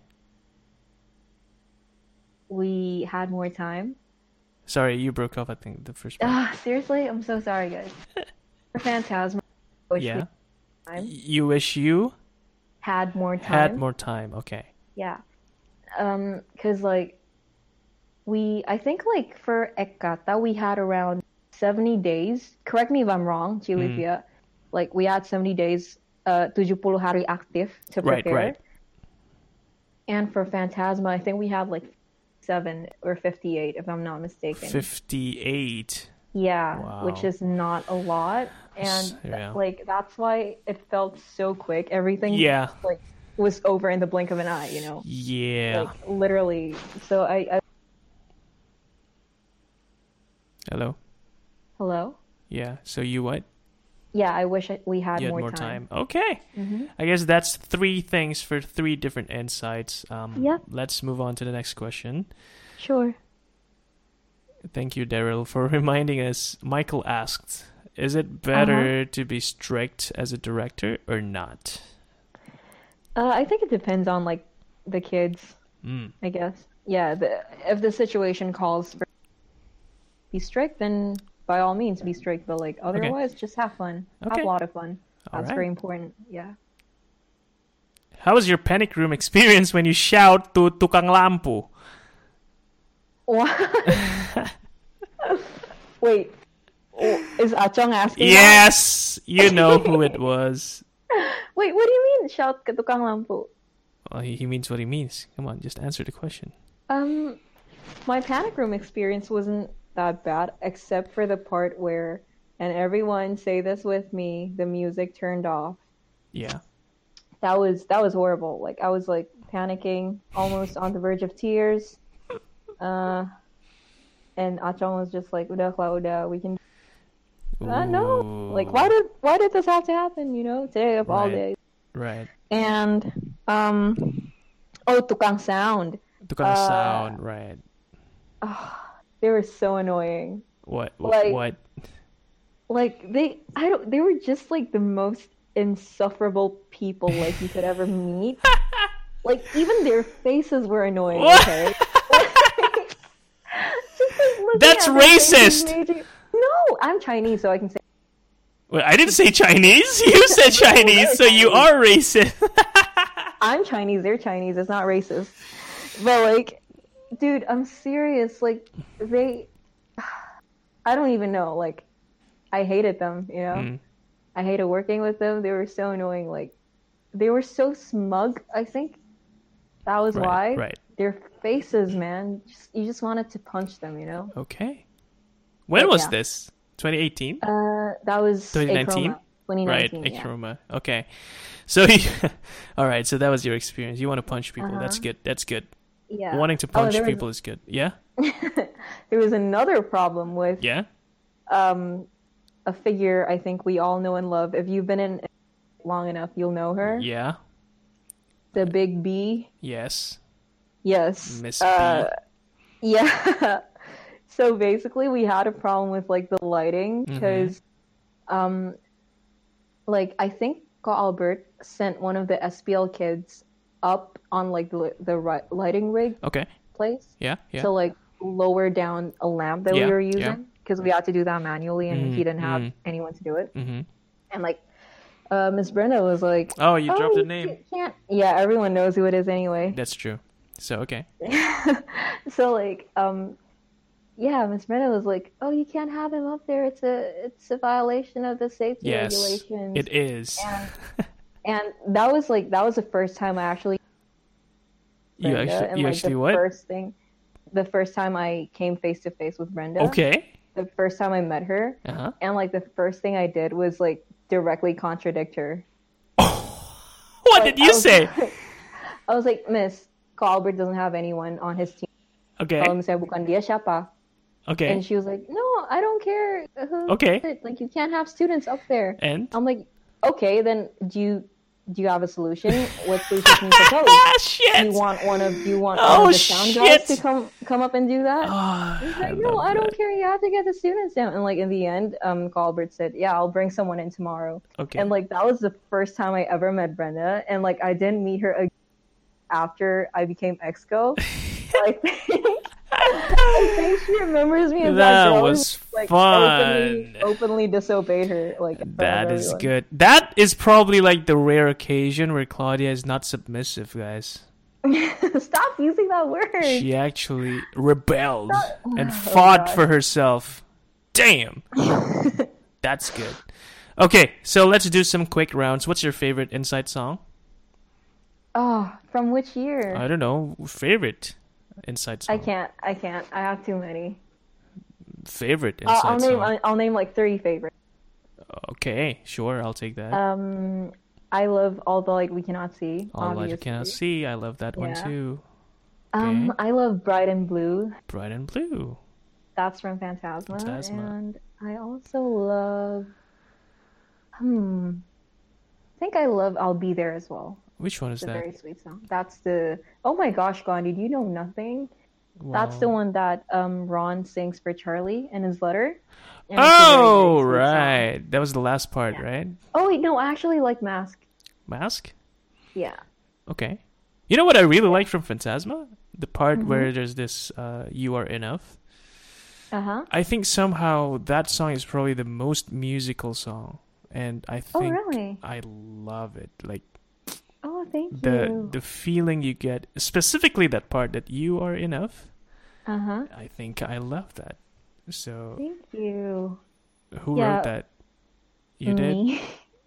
We had more time. Sorry, you broke off, I think, the first part. Ah, seriously, I'm so sorry, guys. For Phantasma, I wish we Yeah. had time. You wish you Had more time. had more time. Okay. Yeah. Um, cause like we, I think like for Ekata we had around seventy days. Correct me if I'm wrong, Mm. Chilivia. Like we had seventy days, uh, tujuh puluh hari aktif to Right, prepare. right. And for Phantasma, I think we had like seven or fifty-eight, if I'm not mistaken. fifty-eight. Yeah, Wow. which is not a lot, and th- Yeah. like that's why it felt so quick. Everything Yeah. like was over in the blink of an eye, you know, Yeah. like literally. So I, I Hello? hello, Yeah. So you what? yeah, I wish I, we had You had more, more time. time. Okay. Mm-hmm. I guess that's three things for three different insights. Um, Yep. Let's move on to the next question. Sure. Thank you, Daryl, for reminding us. Michael asked, is it Uh-huh. better to be strict as a director or not? Uh, I think it depends on like the kids, Mm. I guess. Yeah, the, if the situation calls for be strict, then by all means be strict. But like otherwise, just have fun. Okay. Have a lot of fun. All That's right. very important. Yeah. How was your panic room experience when you shout to tukang lampu? What? Wait, oh, is Achong asking? that? Yes, you know who it was. Wait, what do you mean? Shout ke tukang lampu. Well, he, he means what he means. Come on, just answer the question. Um, my panic room experience wasn't that bad, except for the part where, and everyone say this with me, the music turned off. Yeah. That was that was horrible. Like I was like panicking, almost on the verge of tears. Uh, and Achong was just like, "Udah, Kla, udah, we can." Uh, no, like why did why did this have to happen? You know, today of all Right. days. Right. And um, oh, tukang sound. Tukang Uh, sound, right. They were so annoying. What? wh- like- what? Like they, I don't. They were just like the most insufferable people like you could ever meet. Like even their faces were annoying. What? Okay. Just, like, looking That's at their faces racist! made you- No, I'm Chinese, so I can say. Well, I didn't say Chinese. You said Chinese, so you are racist. I'm Chinese. They're Chinese. It's not racist. But like, dude, I'm serious. Like they, I don't even know. Like, I hated them. You know. Mm. I hated working with them. They were so annoying. Like, they were so smug. I think that was Right, why. right. Their faces, man. Just, you just wanted to punch them, you know. Okay. When But, was yeah. this? twenty eighteen? Uh, that was twenty nineteen? Acroma. twenty Right, nineteen. yeah. Acroma. Okay. So, you, all right. So that was your experience. You want to punch people. That's Uh-huh. good. That's good. Yeah. Wanting to Oh, punch there was- people is good. Yeah. There was another problem with Yeah. um a figure I think we all know and love. If you've been in it long enough, you'll know her. Yeah. The Big B. Yes. Yes. Miss B. Uh, yeah. So basically, we had a problem with like the lighting Mm-hmm. because, um, like I think Ko Albert sent one of the S P L kids up on like the the ri- lighting rig Okay. place Yeah. Yeah. to like lower down a lamp that Yeah, we were yeah. using because we had to do that manually and Mhm, he didn't have mhm. anyone to do it. Mm-hmm. And like uh, Miss Brenda was like, Oh, you dropped the you name. can't. Yeah, everyone knows who it is anyway. That's true. So okay. So like um yeah, Miss Brenda was like, "Oh, you can't have him up there. It's a it's a violation of the safety Yes, regulations." it is. And, and that was like that was the first time I actually you Brenda, actually, and you like actually the what? first thing, the first time I came face to face with Brenda. Okay. The first time I met her, Uh huh. and like the first thing I did was like directly contradict her. What Like, did you I was, say? I was like, "Miss, Colbert doesn't have anyone on his team. Okay. Kalau misalnya bukan dia siapa?" Okay. And she was like, "No, I don't care. Who Okay. is it? Like, you can't have students up there." And I'm like, "Okay, then do you do you have a solution? What solution can you propose? ah Do shit. you want one of do you want Oh, one of the sound shit. guys to come come up and do that?" Oh, He's I like, "No, love I don't that. care. You have to get the students down." And like in the end, um, Colbert said, "Yeah, I'll bring someone in tomorrow." Okay. And like that was the first time I ever met Brenda, and like I didn't meet her again after I became exco. I think I think she remembers me as that, That girl was who, like, fun. Openly, openly disobeyed her. Like in front That of is everyone. good. That is probably like the rare occasion where Claudia is not submissive, guys. Stop using that word. She actually rebelled and Oh, fought God. for herself. Damn. That's good. Okay, so let's do some quick rounds. What's your favorite Inside song? Oh, from which year? I don't know. Favorite Inside song. I can't. I can't. I have too many. Favorite I'll, Inside I'll name. song. I'll, I'll name like three favorites. Okay, sure. I'll take that. Um, I love all the light we cannot see. All Light You obviously. Cannot See. I love that one Yeah. too. Um, Okay. I love Bright and Blue. Bright and Blue. That's from Phantasma. Phantasma. And I also love. Hmm. I think I love I'll Be There as well. Which one is It's a that? very sweet song. That's the. Oh my gosh, Gandhi, do you know nothing? That's the Wow. one that um Ron sings for Charlie in his letter. And it's a very, Oh, very sweet song. right. That was the last part, Yeah. right? Oh wait, no, I actually like Mask. Mask? Yeah. Okay. You know what I really like from Phantasma? The part Mhm. where there's this uh, You Are Enough. Uh huh. I think somehow that song is probably the most musical song. And I Oh think really? I love it. Like Oh, thank the you. the feeling you get, specifically that part that you are enough. Uh huh. I think I love that. So Thank you. who Yeah. wrote that? You did? Me.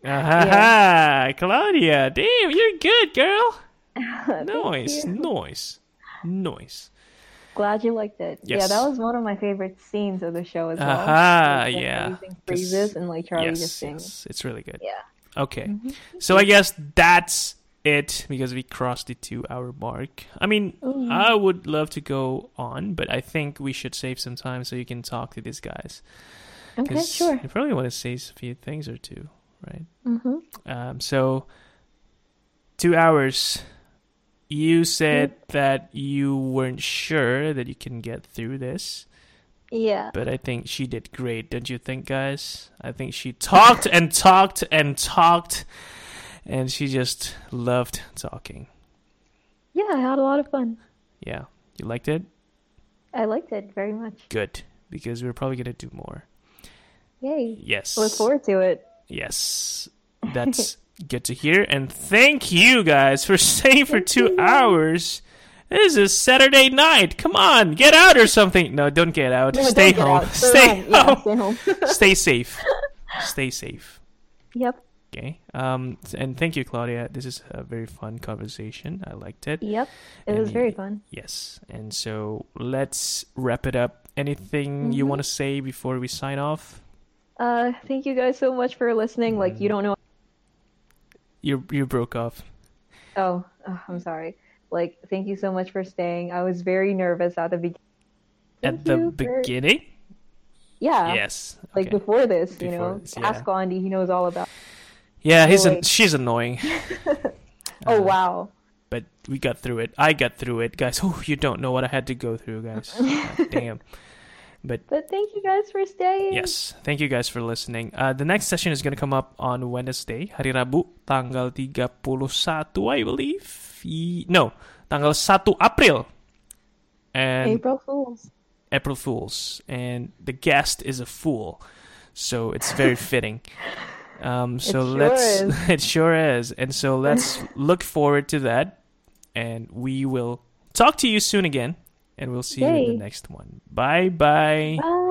Ah, Claudia. Damn, you're good, girl. Thank Nice, you. nice, nice. Glad you liked it. Yeah, Yes. that was one of my favorite scenes of the show as well. Aha, Like, the yeah. amazing phrases and like Charlie yes, just sings. yes, it's really good. Yeah. Okay, Mhm. so I guess that's it because we crossed the two-hour mark. I mean, Ooh. I would love to go on, but I think we should save some time so you can talk to these guys. Okay, 'Cause sure. You probably want to say a few things or two, right? Mm-hmm. Um, so two hours. You said that you weren't sure that you can get through this, Yeah. but I think she did great, don't you think, guys? I think she talked and talked and talked, and she just loved talking. Yeah, I had a lot of fun. Yeah, you liked it? I liked it very much. Good, because we're probably gonna do more. Yay. Yes. Look forward to it. Yes, that's good to hear. And thank you guys for staying for Thank two you. hours. This is Saturday night. Come on, get out or something. No, don't get out. No, stay, don't get home. out. Stay home. Yeah, home. stay home. Stay safe. Stay safe. Yep. Okay. Um. And thank you, Claudia. This is a very fun conversation. I liked it. Yep. It And was very y- fun. Yes. And so let's wrap it up. Anything you Mhm. want to say before we sign off? Uh, thank you guys so much for listening. Like, you don't know. You you broke off. Oh, oh, I'm sorry. Like, thank you so much for staying. I was very nervous at the beginning. At the beginning? Yeah. Yes. Like Okay. before this, you Before know. this, yeah. Ask Gandhi. He knows all about. Yeah, he's an, like- she's annoying. Oh Uh, wow. But we got through it. I got through it, guys. Oh, you don't know what I had to go through, guys. God damn. But But thank you guys for staying. yes, thank you guys for listening. Uh, the next session is going to come up on Wednesday, hari Rabu, tanggal tiga puluh satu, I believe. Y- No, tanggal satu April. And April Fools. April Fools. And the guest is a fool. So it's very fitting. Um, so It sure let's, is. it sure is. And so let's look forward to that. And we will talk to you soon again. And we'll see you in Yay. the next one. Bye-bye. Bye.